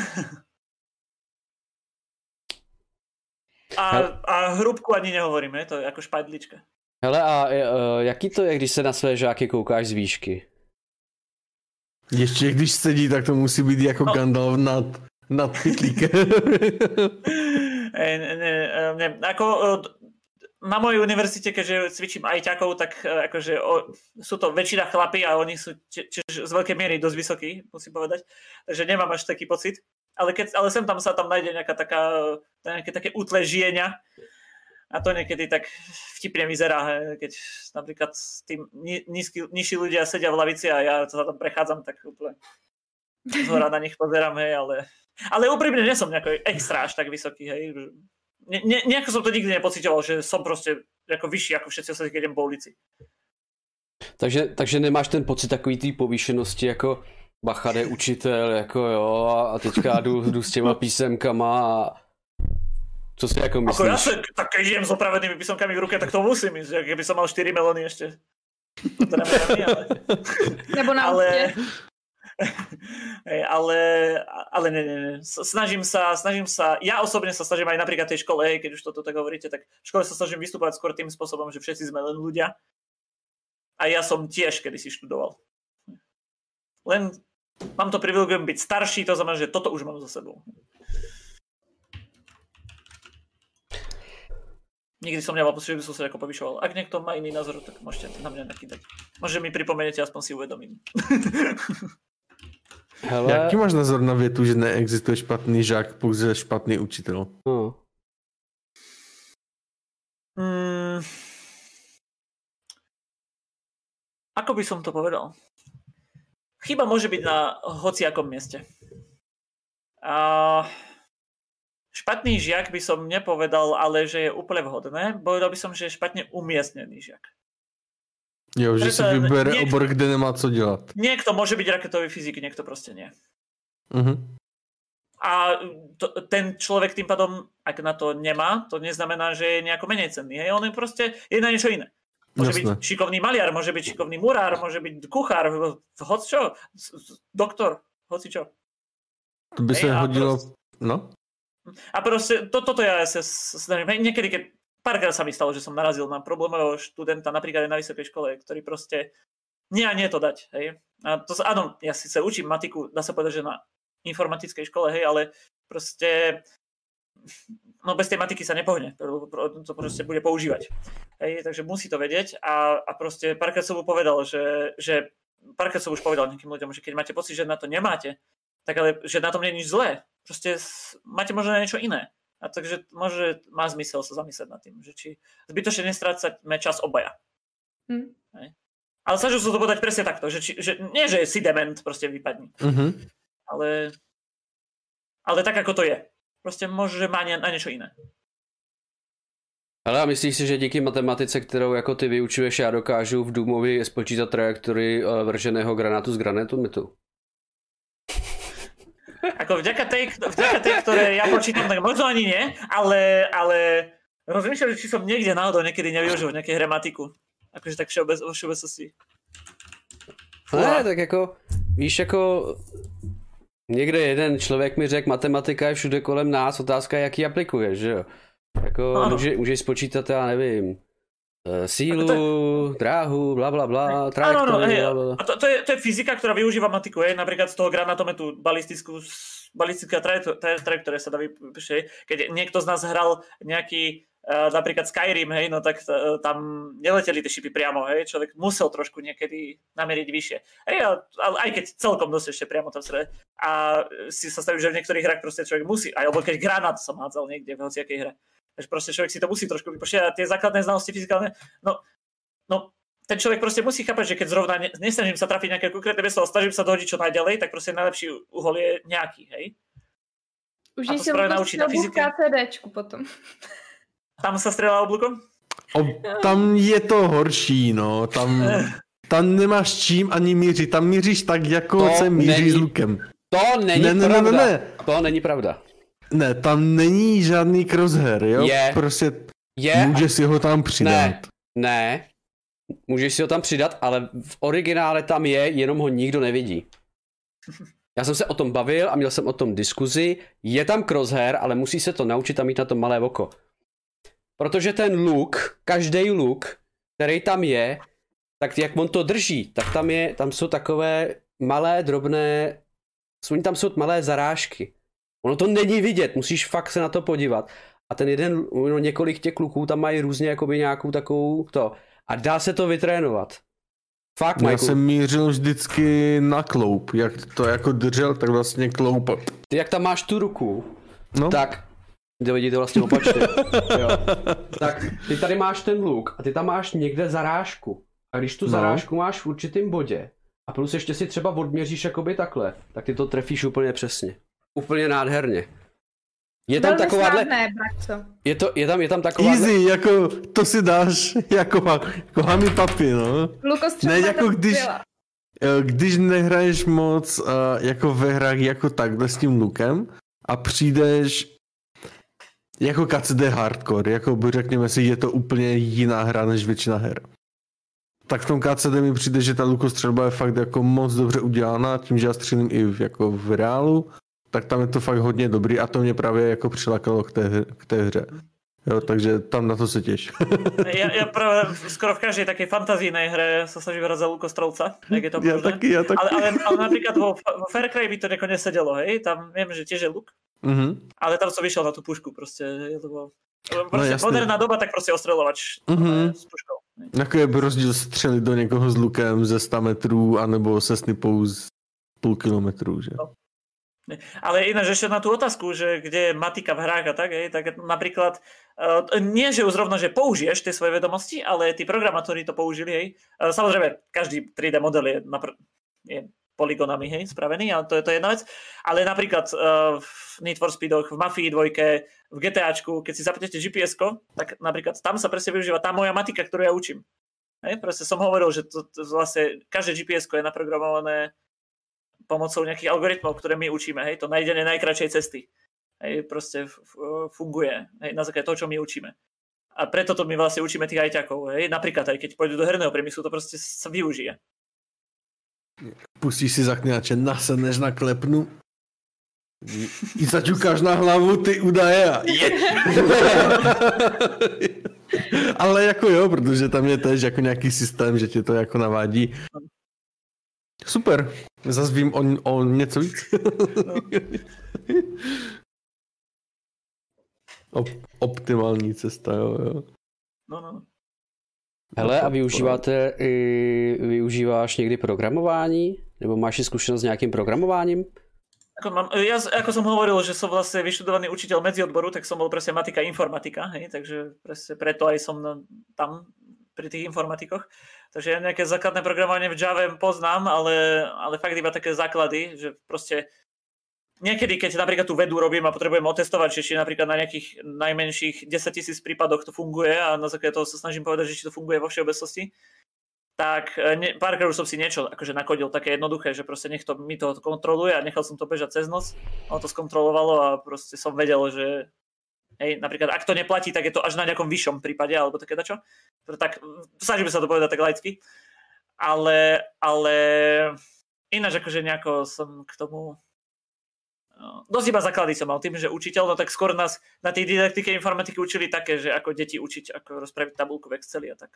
Speaker 2: a, a hrubku ani nehovorím, je to jako špajdlička.
Speaker 1: Hele, a uh, jaký to je, když se na své žáky koukáš z výšky?
Speaker 4: Ještě když sedí, tak to musí být jako no. Gandalf nad, nad pytlíkem.
Speaker 2: ne, ne, ne, ako na mojej univerzite, keďže cvičím ajťakov, tak akože o, sú to väčšina chlapí a oni sú tiež z veľkej miery dosť vysokí, musím povedať. Takže nemám až taký pocit. Ale, keď, ale sem tam sa tam nájde nejaká taká, nejaké také útle žienia. A to niekedy tak vtipne vyzerá, keď napríklad tí nízky, nižší ľudia sedia v lavici a ja sa tam prechádzam, tak úplne zhora na nich pozerám, hej, ale... Ale úprimne nie som nejako extra až tak vysoký, hej. Ne, ne, nejako som to nikdy nepocitoval, že som proste ako vyšší ako všetci ostatní, keď idem po ulici.
Speaker 1: Takže, takže nemáš ten pocit takový té povýšenosti, jako bacha, je učitel, jako jo, a teďka jdu, jdu s těma písemkama a co si jako myslíš?
Speaker 2: Ako ja sa, tak keď idem s opravenými písomkami v ruke, tak to musím ísť, keby som mal štyri melóny ešte. To neviem, ale...
Speaker 3: Nebo na ale...
Speaker 2: Hej, ale, ale ne, ne, ne. Snažím sa, snažím sa, ja osobne sa snažím aj napríklad tej škole, hej, keď už toto tak hovoríte, tak v škole sa snažím vystúpať skôr tým spôsobom, že všetci sme len ľudia. A ja som tiež kedysi študoval. Len mám to privilegium byť starší, to znamená, že toto už mám za sebou. Nikdy som nemal pocit, že by som sa ako povyšoval. Ak niekto má iný názor, tak môžete na mňa nakýdať. Možno mi pripomeniete, aspoň si uvedomím.
Speaker 4: Hele. Jaký máš názor na větu, že neexistuje špatný žák, pouze špatný učitel?
Speaker 1: No.
Speaker 2: Hmm. Ako by som to povedal? Chyba môže byť na hociakom mieste. A špatný žiak by som nepovedal, ale že je úplne vhodné. Povedal by som, že je špatne umiestnený žiak.
Speaker 4: Jo, že si vybere niekto, obor, kde nemá co dělat.
Speaker 2: Niekto môže byť raketový fyzik, niekto proste nie.
Speaker 4: Uh-huh.
Speaker 2: A to, ten človek tým pádom, ak na to nemá, to neznamená, že je nejako menej cenný. Hej? On je proste je na niečo iné. Môže Jasne. byť šikovný maliar, môže byť šikovný murár, môže byť kuchár, hoď čo, doktor, hoci čo.
Speaker 4: To by sa hodilo...
Speaker 2: Proste,
Speaker 4: no?
Speaker 2: A proste, to, toto ja sa snažím. Niekedy, keď párkrát sa mi stalo, že som narazil na problémového študenta, napríklad aj na vysokej škole, ktorý proste nie a nie to dať. Hej? A to, áno, ja si sa učím matiku, dá sa povedať, že na informatickej škole, hej, ale proste no bez tej matiky sa nepohne, to proste bude používať. Hej, takže musí to vedieť a, a proste párkrát som mu povedal, že, že párkrát som už povedal nejakým ľuďom, že keď máte pocit, že na to nemáte, tak ale že na tom nie je nič zlé, proste máte možno na niečo iné. A takže môže, má zmysel sa zamyslieť nad tým, že či zbytočne nestrácame čas obaja.
Speaker 3: Hm.
Speaker 2: Hej. Ale snažil som to povedať presne takto, že, či, že nie, že si dement proste vypadni.
Speaker 4: Uh-huh.
Speaker 2: Ale, ale tak, ako to je. Prostě možná, že má na něco jiné.
Speaker 1: Ale a myslíš si, že díky matematice, kterou jako ty vyučuješ, já dokážu v Doomovi spočítat trajektorii vrženého granátu z granátometu?
Speaker 2: Ako vďaka tej, vďaka tej, ktoré ja počítam, tak možno ani nie, ale, ale rozmýšľam, či som niekde náhodou niekedy nevyužil nejaké hramatiku. Akože tak všeobec, vo všeobecnosti.
Speaker 1: Ne, tak jako, víš, jako... Někde jeden člověk mi řekl, matematika je všude kolem nás, otázka je, jak ji aplikuješ, že jo? Jako no. může, můžeš spočítat, já nevím, sílu, to... dráhu, bla bla bla, trajektorii, bla bla.
Speaker 2: A to, to, je, to je fyzika, ktorá využíva matiku, je napríklad z toho granátometu balistickú, balistická trajektória sa dá vypíšť, keď niekto z nás hral nejaký Uh, napríklad Skyrim, hej, no tak uh, tam neleteli tie šipy priamo, hej, človek musel trošku niekedy nameriť vyššie. Hej, ale aj keď celkom dosť ešte priamo tam srede. A si sa stavím, že v niektorých hrách proste človek musí, alebo keď granát som hádzal niekde v hociakej hre. Takže proste človek si to musí trošku vypočítať a tie základné znalosti fyzikálne, no, no ten človek proste musí chápať, že keď zrovna ne, nesnažím sa trafiť nejaké konkrétne miesto, snažím sa dohodiť čo najďalej, tak proste najlepší uhol je nejaký, hej.
Speaker 3: Už si mu to střelbu v KCDčku potom.
Speaker 2: Tam sa strieľa oblúkom?
Speaker 4: O, tam je to horší, no. Tam, tam nemáš čím ani mířit. Tam míříš tak, jako to se míří s lukem.
Speaker 1: To není ne, pravda. Ne, ne, ne. To není pravda.
Speaker 4: Ne, tam není žádný crosshair, jo?
Speaker 1: Je.
Speaker 4: Prostě
Speaker 1: je.
Speaker 4: Můžeš si ho tam přidat.
Speaker 1: Ne, ne. Můžeš si ho tam přidat, ale v originále tam je, jenom ho nikdo nevidí. Já jsem se o tom bavil a měl jsem o tom diskuzi. Je tam crosshair, ale musí se to naučit a mít na to malé oko. Protože ten luk, každý luk, který tam je, tak jak on to drží, tak tam je, tam jsou takové malé, drobné, tam jsou malé zarážky. Ono to není vidět, musíš fakt se na to podívat. A ten jeden, no, několik těch luků tam mají různě jakoby nějakou takovou to. A dá se to vytrénovat. Fakt,
Speaker 4: Já jsem mířil vždycky na kloup, jak to jako držel, tak vlastně kloup.
Speaker 1: Ty jak tam máš tu ruku,
Speaker 4: no.
Speaker 1: tak to vidíte vlastně opačně. Jo. Tak ty tady máš ten luk a ty tam máš někde zarážku. A když tu no. zarážku máš v určitém bodě a plus ještě si třeba odměříš jakoby takhle, tak ty to trefíš úplně přesně. Úplně nádherně. Je tam takováhle... Je, to, je tam, je tam taková...
Speaker 4: Easy, jako to si dáš jako, jako hami papi, no.
Speaker 3: Lukostřelba
Speaker 4: ne, jako když, když nehraješ moc uh, jako ve hrách jako takhle s tím lukem a přijdeš jako K C D hardcore, jako by řekněme si, je to úplně jiná hra než většina her. Tak v tom K C D mi přijde, že ta lukostřelba je fakt jako moc dobře udělaná, tím, že já střílím i v, jako v reálu, tak tam je to fakt hodně dobrý a to mě právě jako přilákalo k té, k té hře. Jo, takže tam na to se těš.
Speaker 2: ja, ja práve skoro v každej takej fantazijnej hre sa snažím hrať za lukostrelca, jak je to
Speaker 4: ja
Speaker 2: možné.
Speaker 4: Taky, ja taky.
Speaker 2: Ale, ale, ale napríklad vo, vo Far Cry by to neko nesedelo, hej? Tam viem, že tiež je luk,
Speaker 4: uh-huh.
Speaker 2: ale tam som vyšiel na tú pušku, proste. Je to bolo... proste no, moderná doba, tak proste ostreľovač uh-huh. s puškou.
Speaker 4: Jaký je rozdíl střelit do někoho s lukem ze sto metrů, anebo se snipou z půl kilometru, že? No.
Speaker 2: Ale ináč ešte na tú otázku, že kde je matika v hrách a tak, hej, tak napríklad uh, nie, že už zrovna, že použiješ tie svoje vedomosti, ale tí programátori to použili, hej. Uh, samozrejme, každý tri dé model je, napr- je polygonami, hej, spravený, ale to je to jedna vec. Ale napríklad uh, v Need for Speedoch, v Mafii dvojke, v GTAčku, keď si zapnete G P S-ko, tak napríklad tam sa presne využíva tá moja matika, ktorú ja učím. Hej, proste som hovoril, že to, to vlastne každé G P S-ko je naprogramované pomocou nejakých algoritmov, ktoré my učíme, hej, to nájdenie najkračšej cesty. Hej, proste funguje, hej, na základe toho, čo my učíme. A preto to my vlastne učíme tých ajťakov, hej, napríklad aj keď pôjdu do herného priemyslu, to proste sa využije.
Speaker 4: Pustíš si zaklinače, nasedneš na klepnu i zaťukáš na hlavu ty údaje a je. Ale jako jo, protože tam je tež jako nějaký systém, že tě to jako navádí. Super, zase vím o, o něco víc. No. Op, optimální cesta, jo, jo.
Speaker 2: No, no.
Speaker 1: Hele, a využíváte, i, využíváš někdy programování? Nebo máš i zkušenost s nějakým programováním?
Speaker 2: Ako, mám, ja, ako som hovoril, že som vlastne vyštudovaný učiteľ medziodboru, tak som bol presne matika informatika, hej, takže presne preto aj som na, tam pri tých informatikoch. Takže ja nejaké základné programovanie v Java poznám, ale, ale fakt iba také základy, že proste niekedy, keď napríklad tú vedu robím a potrebujem otestovať, či napríklad na nejakých najmenších desaťtisíc prípadoch to funguje a na základe toho sa snažím povedať, že či to funguje vo všeobecnosti, tak ne, párkrát už som si niečo akože nakodil také jednoduché, že proste nech to mi to kontroluje a nechal som to bežať cez noc. Ono to skontrolovalo a proste som vedel, že hej, napríklad ak to neplatí, tak je to až na nejakom vyššom prípade alebo také dačo. Tak snažíme sa to povedať tak laicky. Ale, ale ináč akože nejako som k tomu no, dosť iba základy som mal tým, že učiteľ, no tak skôr nás na tej didaktike informatiky učili také, že ako deti učiť, ako rozpraviť tabuľku v Exceli a tak.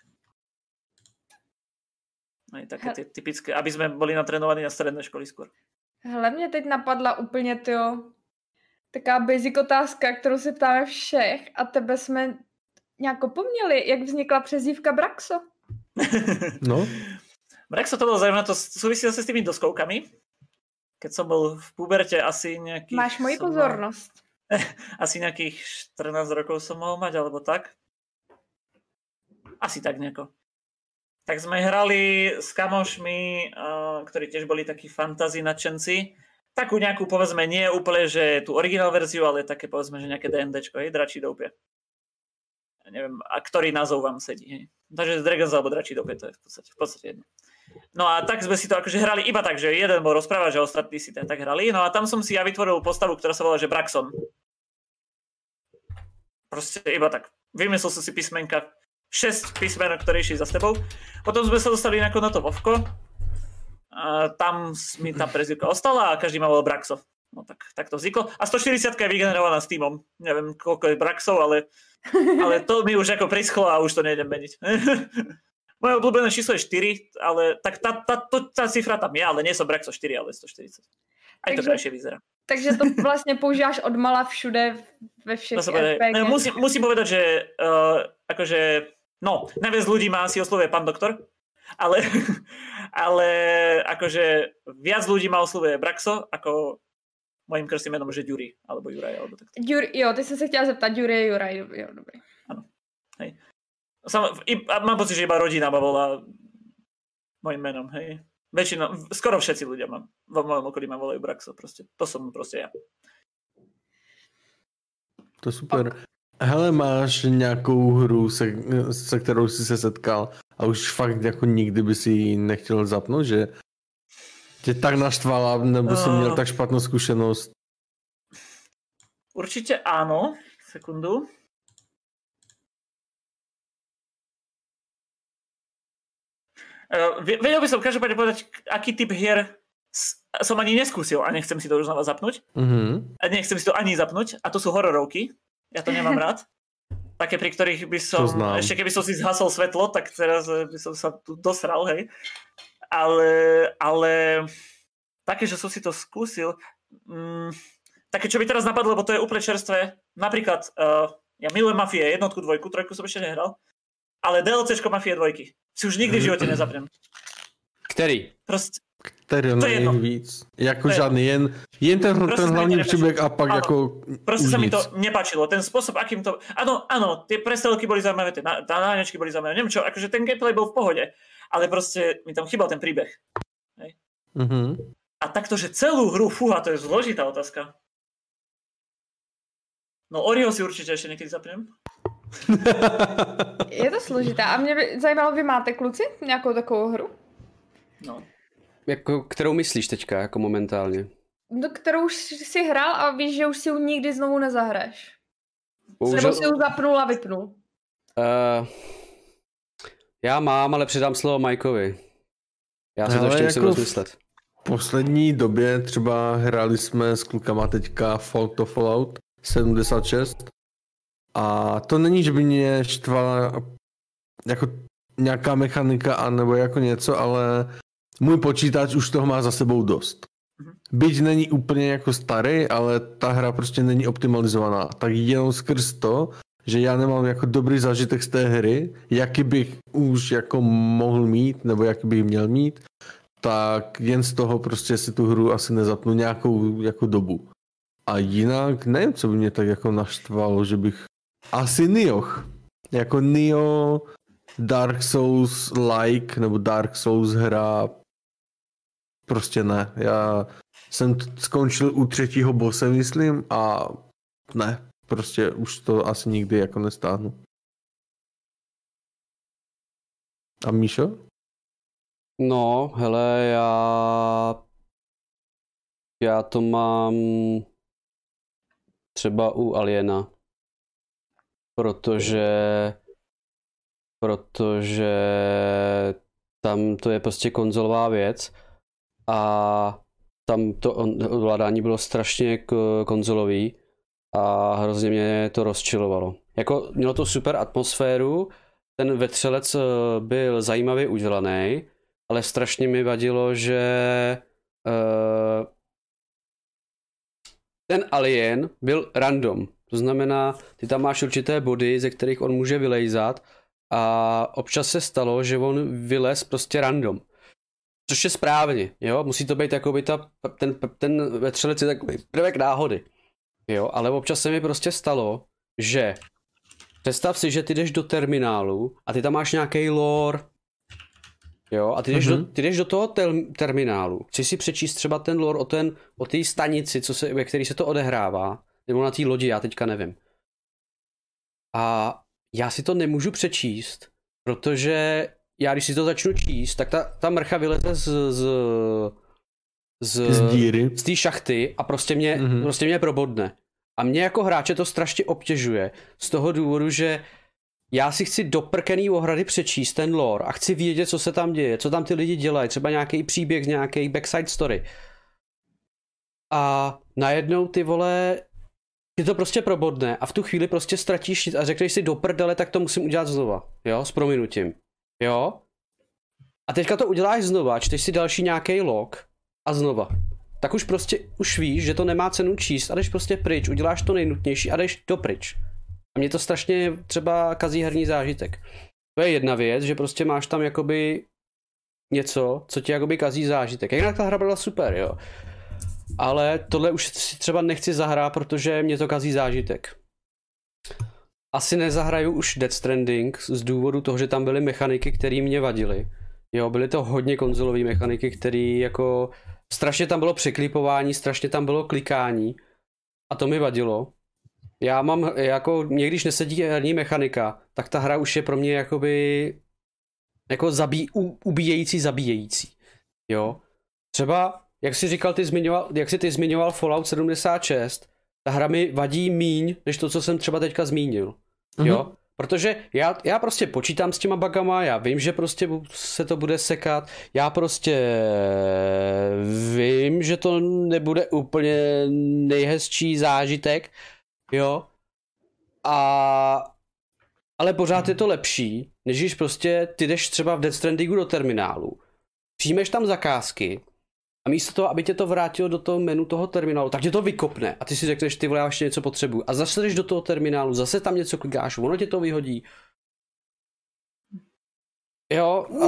Speaker 2: Aj také ty, typické, aby sme boli natrénovaní na stredné školy skôr.
Speaker 3: Hele, mě teď napadla úplně, tyjo, taká basic otázka, kterou se ptáme všech a tebe jsme nějak opomněli, jak vznikla přezdívka Braxo?
Speaker 4: No.
Speaker 2: Braxo to bolo zaujímavé, to súvisí zase s tými doskoukami. Keď som bol v puberte asi nejakých...
Speaker 3: Máš moji pozornosť.
Speaker 2: Mal, asi nejakých štrnásť rokov som mohol mať, alebo tak. Asi tak nejako. Tak sme hrali s kamošmi, uh, ktorí tiež boli takí fantasy nadšenci. Takú nejakú, povedzme, nie úplne, že tú originál verziu, ale také, povedzme, že nejaké DNDčko, hej, Dračí doupie. Ja neviem, a ktorý názov vám sedí, hej. Takže Dragons alebo Dračí doupie, to je v podstate, v podstate jedno. No a tak sme si to akože hrali iba tak, že jeden bol rozprávať, že ostatní si tak hrali. No a tam som si ja vytvoril postavu, ktorá sa volá, že Braxon. Proste iba tak. Vymyslel som si písmenka, šesť písmenok, ktoré išli za tebou. Potom sme sa dostali na to Vovko. A tam mi tá prezývka ostala a každý ma volal Braxo. No tak, tak to vzniklo. A stoštyridsať je vygenerovaná s týmom. Neviem, koľko je Braxov, ale, ale to mi už ako prischlo a už to nejdem meniť. Moje obľúbené číslo je štyri, ale tak tá, tá, tá, tá cifra tam je, ale nie som Braxo štyri, ale stoštyridsať. Aj to krajšie vyzerá.
Speaker 3: Takže to vlastne používáš odmala všude, ve všech er pé gé.
Speaker 2: No, musím, musím povedať, že uh, akože no, najviac ľudí má asi oslovuje pán doktor, ale, ale akože viac ľudí má oslovuje Braxo, ako mojím krstným menom, že Ďuri, alebo Juraj, alebo takto.
Speaker 3: Ďuri, jo, ty som sa chtěla zeptat, Ďuri, Juraj, jo, dobrý.
Speaker 2: Áno, hej. Sam, i, mám pocit, že iba rodina ma volá mojím menom, hej. Väčšinou, skoro všetci ľudia mám, vo mojom okolí ma volajú Braxo, proste. To som proste ja.
Speaker 4: To super. Okay. Hele, máš nějakou hru, se, se kterou jsi se setkal a už fakt jako nikdy by si ji nechtěl zapnout, že tě tak naštvala, nebo jsi měl tak špatnou zkušenost?
Speaker 2: Určitě áno. Sekundu. Uh, vedel by som každopádne povedať, aký typ hier som ani neskúsil a nechcem si to už znova zapnúť. Uh-huh. A nechcem si to ani zapnúť. A to sú hororovky. Ja to nemám rád. Také, pri ktorých by som, ešte keby som si zhasol svetlo, tak teraz by som sa tu dosral, hej. Ale, ale také, že som si to skúsil, mm, také, čo by teraz napadlo, lebo to je úplne čerstvé. Napríklad, uh, ja milujem Mafie jednotku, dvojku, trojku som ešte nehral, ale DLCčko Mafie dvojky si už nikdy v živote nezapnem.
Speaker 1: Který?
Speaker 2: Proste
Speaker 4: Který nejvíc. Jako žádný, jen, jen ten, ten hlavní příběh a pak ano, jako
Speaker 2: proste sa mi to nepáčilo. Ten spôsob, akým to... Áno, áno, tie prestrelky boli zaujímavé, tie náňačky boli zaujímavé, neviem čo, akože ten gameplay bol v pohode, ale proste mi tam chýbal ten príbeh. Hej. Uh-huh. A takto, že celú hru, fúha, to je zložitá otázka. No Oriho si určite ešte niekedy zapnem.
Speaker 3: Je to složité. A mě by zajímalo, vy máte kluci nějakou takovou hru?
Speaker 2: No.
Speaker 1: jako, kterou myslíš teďka, jako momentálně?
Speaker 3: No, kterou už si hrál a víš, že už si ji nikdy znovu nezahraješ. Bohužel... Nebo si ji zapnul a vypnul.
Speaker 1: Uh, já mám, ale předám slovo Majkovi. Já se to ještě musím
Speaker 4: jako
Speaker 1: rozmyslet.
Speaker 4: V poslední době třeba hráli jsme s klukama teďka Fall to Fallout sedmdesát šest a to není, že by mě štvala jako nějaká mechanika a nebo jako něco, ale můj počítač už toho má za sebou dost. Byť není úplně jako starý, ale ta hra prostě není optimalizovaná. Tak jenom skrz to, že já nemám jako dobrý zážitek z té hry, jaký bych už jako mohl mít, nebo jaký bych měl mít, tak jen z toho prostě si tu hru asi nezapnu nějakou jako dobu. A jinak nevím, co by mě tak jako naštvalo, že bych... Asi Nioh. Jako Nioh, Dark Souls like, nebo Dark Souls hra... Prostě ne. Já jsem t- skončil u třetího bose, myslím, a ne. Prostě už to asi nikdy jako nestáhnu. A Míšo?
Speaker 1: No, hele, já... Já to mám... třeba u Aliena. Protože... Protože... tam to je prostě konzolová věc. A tam to ovládání bylo strašně konzolový a hrozně mě to rozčilovalo. Jako mělo to super atmosféru, ten vetřelec byl zajímavě udělaný, ale strašně mi vadilo, že uh, ten alien byl random. To znamená, ty tam máš určité body, ze kterých on může vylejzat a občas se stalo, že on vylez prostě random. Což je správně, jo, musí to být jakoby ta, ten, ten vetřelec je takový prvek náhody, jo, ale občas se mi prostě stalo, že představ si, že ty jdeš do terminálu a ty tam máš nějaký lore, jo, a ty jdeš, mm-hmm. do, ty jdeš do toho tel, terminálu, chceš si přečíst třeba ten lore o ten, o té stanici, co se, ve který se to odehrává, nebo na té lodi, já teďka nevím. A já si to nemůžu přečíst, protože já když si to začnu číst, tak ta, ta mrcha vyleze z z z,
Speaker 4: z díry,
Speaker 1: z té šachty a prostě mě, mm-hmm. prostě mě probodne. A mě jako hráče to strašně obtěžuje z toho důvodu, že já si chci do prkený ohrady přečíst ten lore a chci vědět, co se tam děje, co tam ty lidi dělají, třeba nějaký příběh, nějaký backside story. A najednou ty vole, ty to prostě probodne a v tu chvíli prostě ztratíš a řekneš si do prdele, tak to musím udělat znova, jo, s prominutím. Jo? A teďka to uděláš znova, čteš si další nějaký log a znova. Tak už prostě, už víš, že to nemá cenu číst a jdeš prostě pryč, uděláš to nejnutnější a jdeš dopryč. A mě to strašně třeba kazí herní zážitek. To je jedna věc, že prostě máš tam jakoby něco, co ti jakoby kazí zážitek. Jinak ta hra byla super, jo. Ale tohle už si třeba nechci zahrát, protože mě to kazí zážitek. Asi nezahraju už Death Stranding z důvodu toho, že tam byly mechaniky, které mě vadily. Jo, byly to hodně konzolové mechaniky, které jako... Strašně tam bylo překlipování, strašně tam bylo klikání. A to mi vadilo. Já mám jako... Mě když nesedí herní mechanika, tak ta hra už je pro mě jakoby... Jako zabí, u, ubíjející, zabíjející. Jo. Třeba, jak jsi říkal, ty zmiňoval, jak jsi ty zmiňoval Fallout sedmdesát šest, ta hra mi vadí míň, než to, co jsem třeba teďka zmínil. Mm-hmm. Jo? Protože já, já prostě počítám s těma bugama, já vím, že prostě se to bude sekat, já prostě vím, že to nebude úplně nejhezčí zážitek, jo, a ale pořád je to lepší, než když prostě ty jdeš třeba v Death Strandingu do terminálu, přijmeš tam zakázky a místo toho, aby tě to vrátilo do toho menu toho terminálu, tak tě to vykopne a ty si řekneš, ty vole, já ještě něco potřebuju. A zase jdeš do toho terminálu, zase tam něco klikáš, ono tě to vyhodí. Jo. A...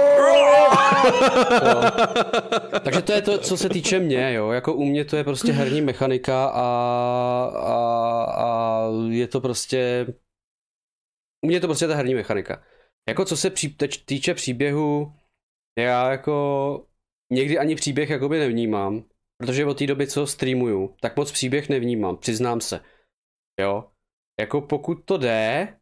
Speaker 1: jo. Takže to je to, co se týče mě, jo. Jako u mě to je prostě herní mechanika a, a, a je to prostě... U mě je to prostě ta herní mechanika. Jako co se pří, týče příběhu, já jako... Někdy ani příběh jakoby nevnímám, protože od té doby, co streamuju, tak moc příběh nevnímám, přiznám se. Jo? Jako pokud to jde,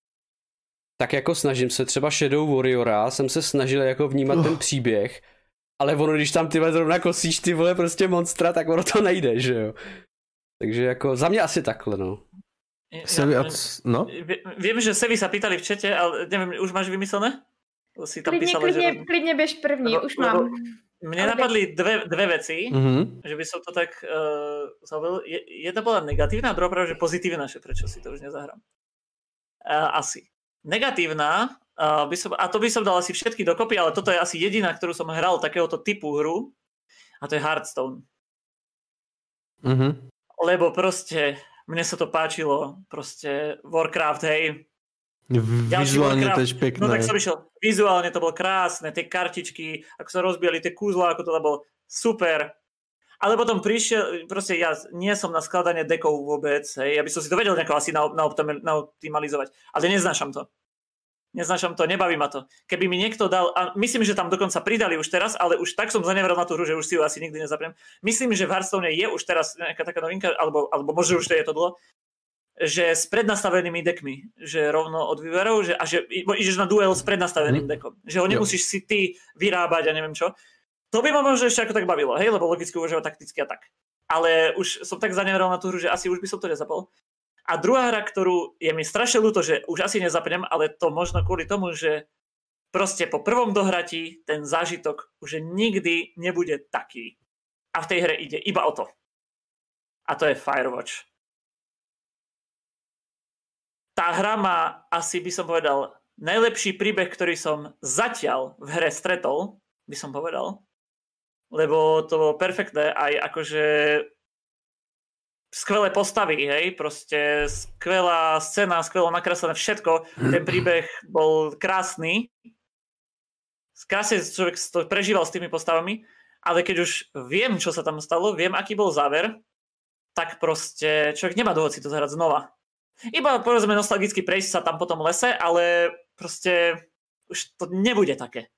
Speaker 1: tak jako snažím se, třeba Shadow Warriora jsem se snažil jako vnímat uh. ten příběh ale ono, když tam ty vole zrovna kosíš ty vole prostě monstra, tak ono to nejde, že jo. Takže jako za mě asi takhle, no.
Speaker 4: Sevi, ja, no?
Speaker 2: Viem, že Sevi sa pýtali v čete, ale neviem, už máš vymyslené?
Speaker 3: Si tam klidne, písala, klidne, že... klidne bež první, lebo, už mám.
Speaker 2: Mne ale napadli dve, dve veci, mm-hmm. že by som to tak uh, zaujal. Jedna bola negatívna, a druhá práve, že pozitívna, že prečo si to už nezahrám. Uh, asi. Negatívna, uh, by som, a to by som dal asi všetky dokopy, ale toto je asi jediná, ktorú som hral takéhoto typu hru, a to je Hearthstone.
Speaker 4: Mhm.
Speaker 2: Lebo proste mne sa to páčilo, proste Warcraft, hej.
Speaker 4: Vizuálne to je pekné.
Speaker 2: No tak som išiel, vizuálne to bolo krásne, tie kartičky, ako sa rozbijali tie kúzla, ako to bolo super. Ale potom prišiel, proste ja nie som na skladanie dekov vôbec, hej, ja by som si to vedel nejako asi naoptimalizovať, ale neznášam to. Neznášam to, nebaví ma to. Keby mi niekto dal, a myslím, že tam dokonca pridali už teraz, ale už tak som zanevral na tú hru, že už si ju asi nikdy nezapriem. Myslím, že v Hearthstone je už teraz nejaká taká novinka, alebo, alebo možno už to je to dlho, že s prednastavenými dekmi, že rovno od výberov, že, a že ideš na duel s prednastaveným dekom. Že ho nemusíš si ty vyrábať a neviem čo. To by ma možno ešte ako tak bavilo, hej, lebo logicky uvažovať takticky a tak. Ale už som tak zanevral na tú hru, že asi už by som to nezapol. A druhá hra, ktorú je mi strašne ľúto, že už asi nezapnem, ale to možno kvôli tomu, že proste po prvom dohratí ten zážitok už nikdy nebude taký. A v tej hre ide iba o to. A to je Firewatch. Tá hra má, asi by som povedal, najlepší príbeh, ktorý som zatiaľ v hre stretol, by som povedal. Lebo to bolo perfektné, aj akože skvelé postavy, hej, proste skvelá scéna, skvelo nakreslené všetko, ten príbeh bol krásny, krásne človek to prežíval s tými postavami, ale keď už viem, čo sa tam stalo, viem, aký bol záver, tak proste človek nemá dôvod si to zahrať znova. Iba povedzme nostalgicky prejsť sa tam po tom lese, ale proste už to nebude také.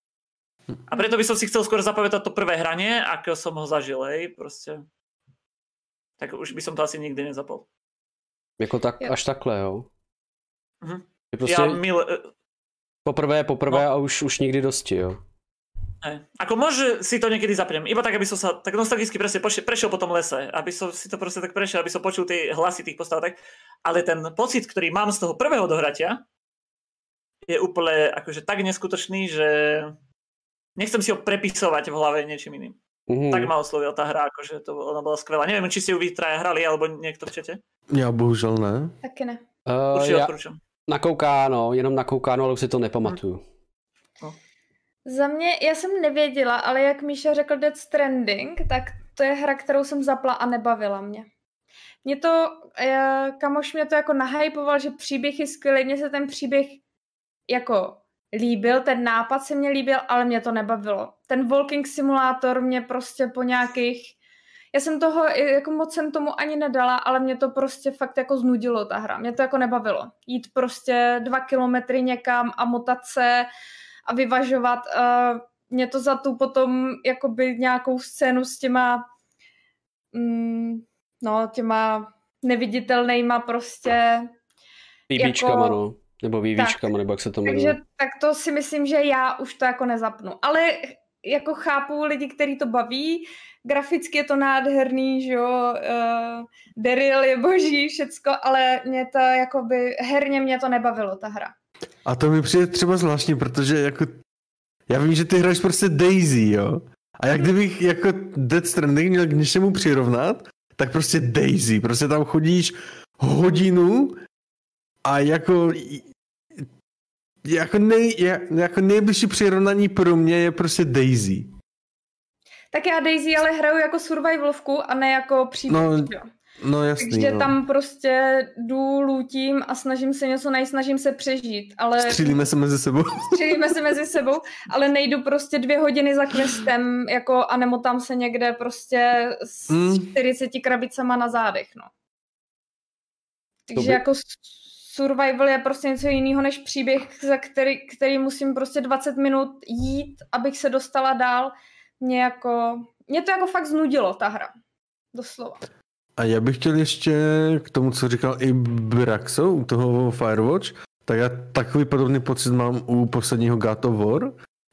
Speaker 2: A preto by som si chcel skôr zapamätať to prvé hranie, ako som ho zažil, hej, proste. Tak už by som to asi nikdy nezapol.
Speaker 1: Jako tak, až takhle, jo?
Speaker 2: Mhm.
Speaker 1: Prostě
Speaker 2: ja mil...
Speaker 1: Poprvé, poprvé no. A už, už nikdy dosti, jo?
Speaker 2: Hej. Ako môže si to niekedy zapriem, iba tak, aby som sa tak nostalgicky presne prešiel po tom lese, aby som si to proste tak prešiel, aby som počul tie hlasy tých postav, tak. Ale ten pocit, ktorý mám z toho prvého dohratia, je úplne akože tak neskutočný, že nechcem si ho prepisovať v hlave niečím iným. Mm. Tak ma oslovila tá hra, akože to ona bola skvelá. Neviem, či ste ju vy traja hrali, alebo niekto v čete?
Speaker 4: Ja bohužel ne.
Speaker 3: Taky ne.
Speaker 1: Uh,
Speaker 2: Určite
Speaker 1: ja
Speaker 2: odporúčam.
Speaker 1: Nakoukáno, jenom nakoukáno, ale už si to nepamatuju. Mm.
Speaker 2: No.
Speaker 3: Za mě, já jsem nevěděla, ale jak Míša řekl Death Stranding, tak to je hra, kterou jsem zapla a nebavila mě. Mě to, kamoš mě to jako nahypoval, že příběh je skvělý, mně se ten příběh jako líbil, ten nápad se mě líbil, ale mě to nebavilo. Ten walking simulátor mě prostě po nějakých, já jsem toho, jako moc jsem tomu ani nedala, ale mě to prostě fakt jako znudilo ta hra, mě to jako nebavilo. Jít prostě dva kilometry někam a motat se a vyvažovat, uh, mě to za tu potom jakoby nějakou scénu s těma mm, no, těma neviditelnejma prostě
Speaker 1: Výbíčkama,
Speaker 3: jako,
Speaker 1: no. Nebo vývíčkama, tak, nebo jak se to jmenuje.
Speaker 3: Takže tak to si myslím, že já už to jako nezapnu. Ale jako chápu lidi, kteří to baví, graficky je to nádherný, že jo, uh, Daryl je boží, všecko, ale mě to jakoby, herně mě to nebavilo, ta hra.
Speaker 4: A to mi přijde třeba zvláštní, protože jako, já vím, že ty hraješ prostě Daisy, jo. A jak kdybych jako Death Stranding měl k něčemu přirovnat, tak prostě Daisy, prostě tam chodíš hodinu a jako jako, nej, jako nejbližší přirovnání pro mě je prostě Daisy.
Speaker 3: Tak já Daisy ale hraju jako survivalovku a ne jako příběh.
Speaker 4: No, no jasný,
Speaker 3: takže
Speaker 4: no.
Speaker 3: Tam prostě jdu, lůtím a snažím se něco najít, snažím se přežít. Ale... Střílíme
Speaker 4: se mezi sebou.
Speaker 3: Střílíme se mezi sebou, ale nejdu prostě dvě hodiny za questem jako, a nemotám se někde prostě s mm. čtyřiceti krabicama na zádech. No. Takže by... jako survival je prostě něco jiného než příběh, za který, který musím prostě dvacet minut jít, abych se dostala dál. Mě jako, mě to jako fakt znudilo, ta hra. Doslova.
Speaker 4: A já bych chtěl ještě k tomu, co říkal i Braxo u toho Firewatch, tak já takový podobný pocit mám u posledního God of War,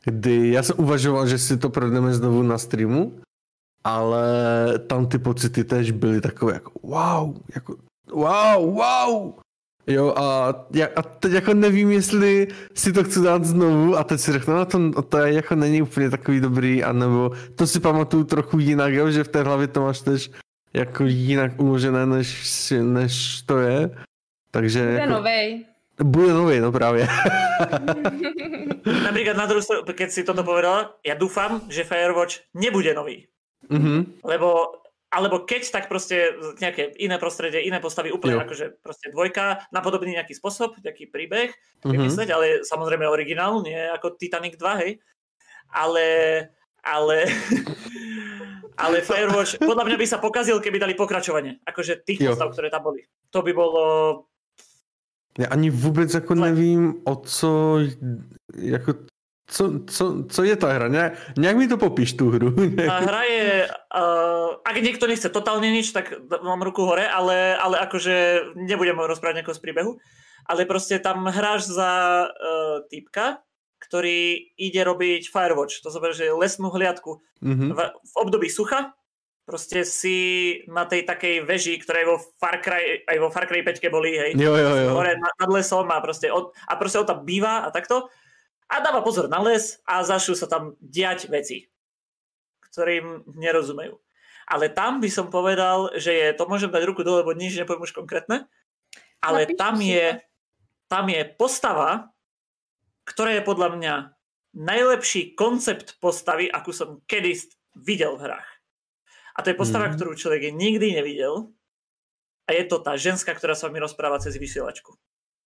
Speaker 4: kdy já jsem uvažoval, že si to projdeme znovu na streamu, ale tam ty pocity tež byly takové jako wow, jako wow, wow. Jo, a, a teď jako nevím, jestli si to chci dát znovu a teď si řeknu, no to, to je, jako není úplně takový dobrý, anebo to si pamatuju trochu jinak, jo, že v té hlavě to máš tež jako jinak uložené, než, než to je. Takže
Speaker 3: bude
Speaker 4: jako,
Speaker 3: novej.
Speaker 4: Bude novej, no právě.
Speaker 2: Napríklad na druhú stranu, keď si toto povedala, ja dúfam, že Firewatch nebude nový.
Speaker 4: Mm-hmm.
Speaker 2: Lebo alebo keď, tak proste nejaké iné prostredie, iné postavy, úplne jo. Akože proste dvojka, napodobný nejaký spôsob, nejaký príbeh, mm-hmm. vymysleť, ale samozrejme originál, nie ako Titanic dva, hej. Ale, ale, ale Firewatch, podľa mňa by sa pokazil, keby dali pokračovanie, akože tých jo. postav, ktoré tam boli. To by bolo...
Speaker 4: Já ani vůbec jako nevím, o co, jako, co, co, co je ta hra. Nějak, nějak mi to popíš, tu hru.
Speaker 2: Tá hra je, uh, ak niekto nechce totálne nič, tak mám ruku hore, ale, ale akože nebudem rozprávať nejakého z príbehu, ale proste tam hráš za uh, týpka, ktorý ide robiť Firewatch, to znamená, že lesnú hliadku mm-hmm. v, v období sucha. Proste si na tej takej veži, ktorá je vo Far Cry, aj vo Far Cry päť boli, hej,
Speaker 4: jo, jo, jo.
Speaker 2: hore nad lesom a proste, od, a proste on tam býva a takto a dáva pozor na les a začnú sa tam diať veci, ktorým nerozumejú. Ale tam by som povedal, že je, to môžem dať ruku dole, lebo nič nepoviem už konkrétne, ale Napíš tam je, tam je postava, ktorá je podľa mňa najlepší koncept postavy, akú som kedy videl v hrách. A to je postava, mm. ktorú človek nikdy nevidel. A je to tá ženská, ktorá sa mi rozpráva cez vysielačku.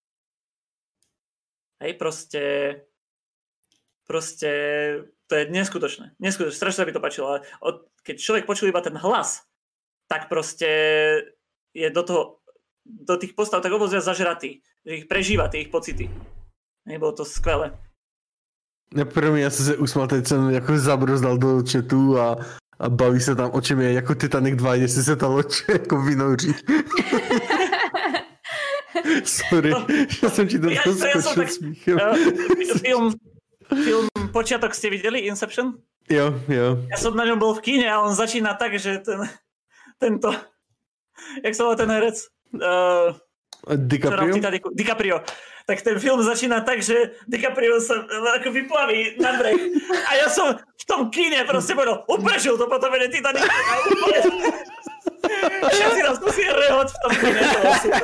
Speaker 2: Hej, proste... Proste... To je neskutočné. Neskutočné. Strašne sa mi to páčilo. Ale od, keď človek počul iba ten hlas, tak proste je do toho... Do tých postav tak obozria zažratý. Že ich prežíva, tie ich pocity. Hej, bolo to skvelé.
Speaker 4: Ja první, ja som sa usmal, teď som jako zabrozdal do chatu a a baví se tam, o čem je, jako Titanic dva, jestli se ta loď jako vynouří. Sorry, no, že jsem ti to ja, skočil ja smíchem. Uh,
Speaker 2: film, film Počiatok ste videli, Inception?
Speaker 4: Jo, jo.
Speaker 2: Ja som na ňom bol v kíne a on začína tak, že ten, tento, jak sa volá ten herec? Uh,
Speaker 4: DiCaprio?
Speaker 2: DiCaprio. Tak ten film začína tak, že DiCaprio sa ako vyplaví na breh. A ja som v tom kíne proste povedal, uprežil to potom je Titanic. Všetci nás musí rehot v tom kíne. To bolo super.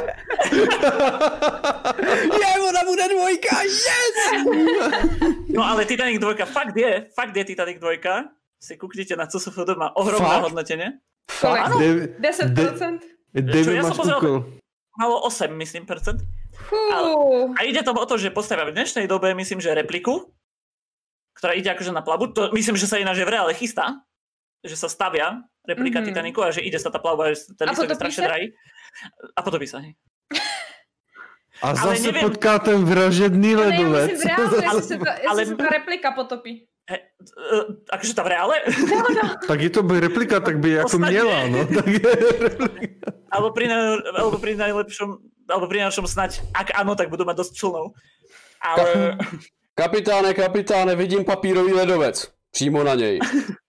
Speaker 1: Je, ona bude dvojka, yes!
Speaker 2: No ale Titanic dvojka, fakt je, fakt je Titanic dvojka. Si kúknite na C S F D, má ohromné hodnotenie.
Speaker 3: Fakt? Áno, desať percent.
Speaker 4: David máš kúkol.
Speaker 2: Malo osem, myslím, percent. Ale, a ide tam o to, že postavia v dnešnej dobe, myslím, že repliku, ktorá ide akože na plavbu. To, myslím, že sa ináč v reále chystá, že sa stavia replika mm-hmm. Titanicu a že ide sa tá plavba, že ten lístok je strašne drahý. A potopí sa. Hej.
Speaker 4: A ale zase neviem, potká ten vražedný ledovec.
Speaker 3: Ja myslím v reále, jestli sa ale... ta replika potopí.
Speaker 2: He, uh, akože tá v reále?
Speaker 3: No, no.
Speaker 4: Tak je to by replika, tak by ako miela, no. Tak je replika.
Speaker 2: Alebo pri, alebo pri najlepšom, alebo pri najlepšom snať, ak áno, tak budú mať dosť člnov. Ale...
Speaker 1: Kapitáne, kapitáne, vidím papírový ledovec. Přímo na něj.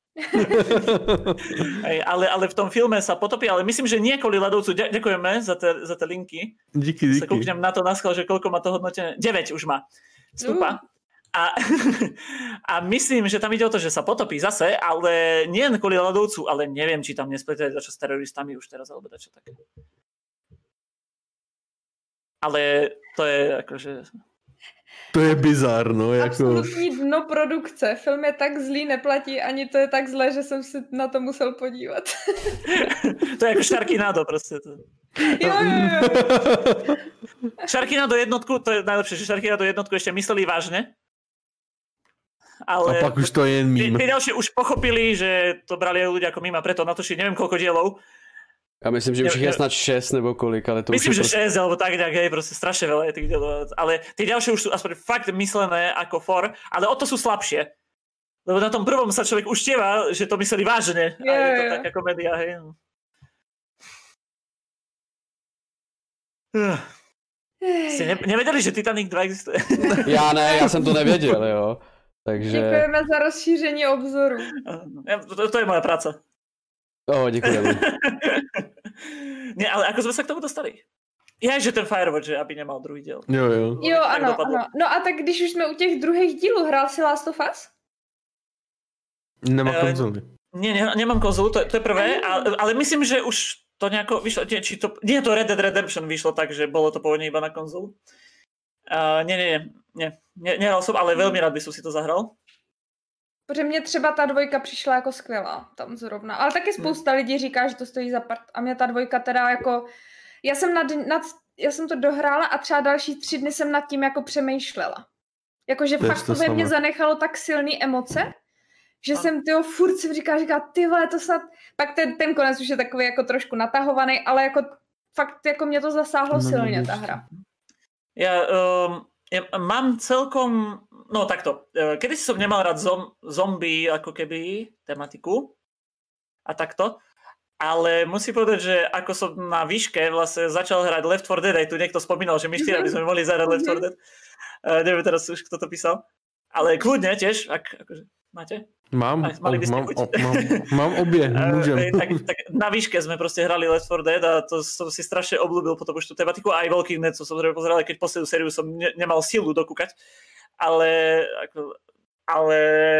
Speaker 2: Hej, ale, ale v tom filme sa potopí, ale myslím, že nie kvôli ľadovcu. Ďakujeme za tie, za tie linky.
Speaker 4: Díky, díky.
Speaker 2: Sa kúknem na to naschal, že koľko má to hodnotené. deväť už má. Vstupa. Uh. A, a myslím, že tam ide o to, že sa potopí zase, ale nie kvôli ľadovcu, ale neviem, či tam nespletuje dačo s teroristami už teraz, alebo dačo také. Ale to je akože...
Speaker 4: To je bizár, no. Jako...
Speaker 3: Absolutní dno produkce. Film je tak zlý, neplatí, ani to je tak zlé, že jsem si na to musel podívat.
Speaker 2: To je jako Sharknado prostě. To.
Speaker 3: Jo, jo, jo.
Speaker 2: Sharknado jednotku, to je najlepšie, že Sharknado jednotku ešte mysleli vážne. Ale
Speaker 4: a pak už to je jen mím.
Speaker 2: Tí ďalšie už pochopili, že to brali ľudia ako mím a preto natočili neviem koľko dielov.
Speaker 1: Já myslím, že už je snad šest nebo kolik, ale to
Speaker 2: myslím,
Speaker 1: už je
Speaker 2: že prostě... šesť, alebo tak nejak, hej, proste strašne veľa je tých dielov. Ale tí ďalšie už sú aspoň fakt myslené ako for, ale o to sú slabšie. Lebo na tom prvom sa človek uštieva, že to mysleli vážne. A je to taká komédia, hej. Ste ne- nevedeli, že Titanic dva existuje?
Speaker 1: Já ne, já jsem to nevěděl, jo. Takže...
Speaker 3: Děkujeme za rozšíření obzoru.
Speaker 2: To, to je moja práca.
Speaker 1: Oh, děkujeme.
Speaker 2: Ne, ale ako sme sa k tomu dostali? Já, že ten Firewatch, že aby nemal druhý díl.
Speaker 4: Jo, jo.
Speaker 3: Jo, ano, ano. No a tak když už jsme u těch druhých dílů, hrál si Last of Us?
Speaker 4: Nemám konzoli.
Speaker 2: Nie, ne, nemám konzolu, to, to je prvé, ale, ale myslím, že už to nejako vyšlo, či to, nie to Red Dead Redemption vyšlo tak, že bolo to pôvodne iba na konzolu. Uh, nie, nie, nie, nie, nehral som, ale veľmi rád by som si to zahral.
Speaker 3: Protože mě třeba ta dvojka přišla jako skvělá tam zrovna, ale taky spousta hmm. lidí říká, že to stojí za part a mě ta dvojka teda jako, já jsem, nad, nad, já jsem to dohrála a třeba další tři dny jsem nad tím jako přemýšlela. Jakože fakt to ve mně zanechalo tak silný emoce, že a... jsem tyho furt si říká, říká, ty vole, to snad, pak ten, ten konec už je takový jako trošku natahovaný, ale jako fakt jako mě to zasáhlo no, silně ta hra.
Speaker 2: Ja, um, ja mám celkom, no takto, kedy som nemal rád zom, zombie ako keby tematiku a takto, ale musím povedať, že ako som na výške vlastne začal hrať Left four Dead, aj tu niekto spomínal, že my štyri by sme mohli zahrať Left four Dead, uh, neviem teraz už, kto to písal, ale kľudne tiež, ak, akože, máte?
Speaker 4: Mám, Aj, mali by mám, o, mám, mám obě, môžem.
Speaker 2: tak, tak na výške sme proste hrali Left four Dead a to som si strašne obľúbil potom už tú tematiku a aj Walking Dead som samozrejme pozeral, keď poslednú sériu som ne, nemal silu dokúkať, ale, ako, ale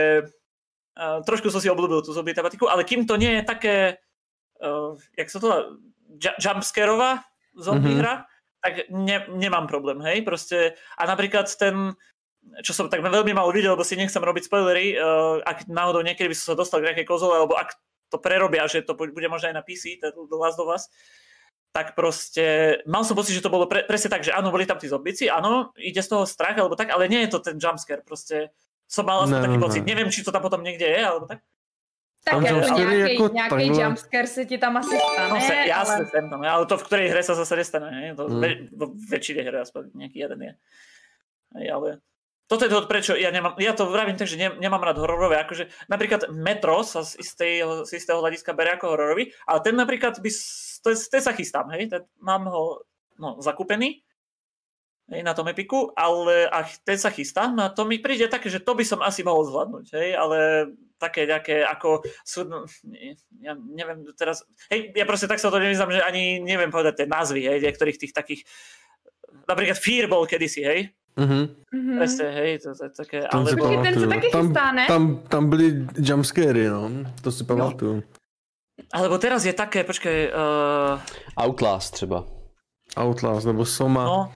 Speaker 2: uh, trošku som si obľúbil tú zombie tematiku, ale kým to nie je také, uh, jak sa to dá, jumpscareová zombie mm-hmm. hra, tak ne, nemám problém, hej, proste a napríklad ten čo som tak veľmi málo videl, lebo si nechcem robiť spoilery, uh, ak náhodou niekedy by som sa dostal k nejakej konzole, alebo ak to prerobia, že to bude možno aj na pé cé, The Last of Us, tak proste mal som pocit, že to bolo pre, presne tak, že áno, boli tam tí zombici, áno, ide z toho strach, alebo tak, ale nie je to ten jumpscare, proste som mal aspoň no, taký no. pocit, neviem, či to tam potom niekde je, alebo tak.
Speaker 3: Tak jako nějaký, jako nějaký jumpscare se ti tam asi stane,
Speaker 2: no, se, jasne,
Speaker 3: ale...
Speaker 2: Sem tam, ale to v ktorej hre sa zase nestane, ne? To mm. ve, vo väčšine hre aspoň nejaký jeden je. Hej, ale... Toto je to, prečo ja nemám, ja to vravím tak, že ne, nemám rád hororové, akože napríklad Metro sa z istého, z istého hľadiska berie ako hororový, ale ten napríklad by, to je, ten sa chystám, hej, ten, mám ho no, zakúpený, hej, na tom Epiku, ale a ten sa chystám a to mi príde také, že to by som asi mohol zvládnuť, hej, ale také nejaké ako sú, no, ja neviem teraz, hej, ja proste tak sa to nevyznám, že ani neviem povedať tie názvy, hej, niektorých tých takých, napríklad Fearball kedysi, hej,
Speaker 4: Mm-hmm.
Speaker 2: Presne, hej, to je také...
Speaker 3: Ale... Počkej, ten sa taky chystá, ne?
Speaker 4: Tam, tam byli jumpscary, no, to si pamatuju. No.
Speaker 2: Alebo teraz je také, počkej... Uh...
Speaker 1: Outlast třeba.
Speaker 4: Outlast, nebo Soma.
Speaker 2: No.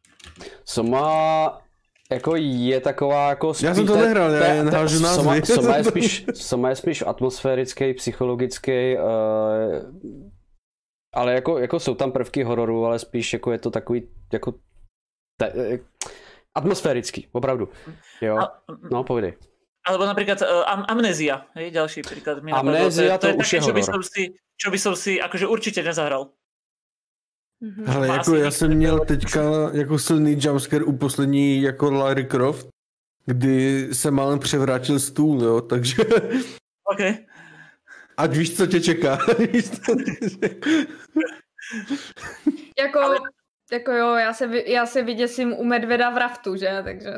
Speaker 1: Soma jako je taková jako...
Speaker 4: Já jsem to nehrál, já jen hážu názvy.
Speaker 1: Soma, Soma, je spíš, Soma je spíš atmosférický, psychologický, uh, ale jako, jako jsou tam prvky hororu, ale spíš jako je to takový jako... Te, atmosférický, opravdu. Jo. No, povidej.
Speaker 2: Alebo napríklad uh, am, Amnézia, hej, ďalší príklad.
Speaker 1: Amnézia to, to, to už je
Speaker 2: také, čo by som si, čo by som si akože určite nezahral.
Speaker 4: Mm-hmm. Ale jako já jsem měl teďka jako silný jumpscare u poslední jako Lara Croft, kdy se málem převrátil stůl, jo, takže...
Speaker 2: OK.
Speaker 4: Ať víš, co tě čeká.
Speaker 3: Jako... Ale... Jako jo, já se, já se vyděsím u medveda v raftu, že? Takže...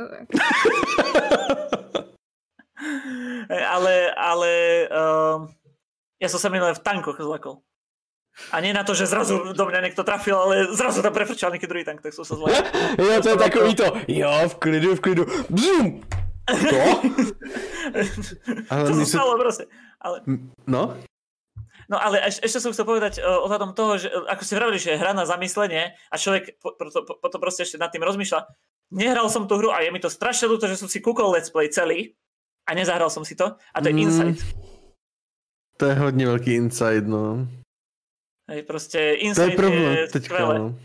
Speaker 2: ale, ale uh, ja som sa minulé v tankoch zlakol. A nie na to, že zrazu do mňa niekto trafil, ale zrazu tam prefrčal nejaký druhý tank, tak som sa zlakol.
Speaker 1: Jo, to je takový to, jo, v klidu, v klidu, bzum! To?
Speaker 2: Ale to sa stalo proste. Ale...
Speaker 4: No?
Speaker 2: No ale eš, ešte som chcel povedať uh, ohľadom toho, že ako ste vravili, že je hra na zamyslenie a človek potom po, po, po proste ešte nad tým rozmýšľa. Nehral som tú hru a je mi to strašne ľúto, že som si kúkol let's play celý a nezahral som si to a to je mm, Inside.
Speaker 4: To je hodne veľký Inside, no.
Speaker 2: Hej, proste Inside
Speaker 4: to je, problém,
Speaker 2: je
Speaker 4: teďka,
Speaker 2: skvelé.
Speaker 4: No.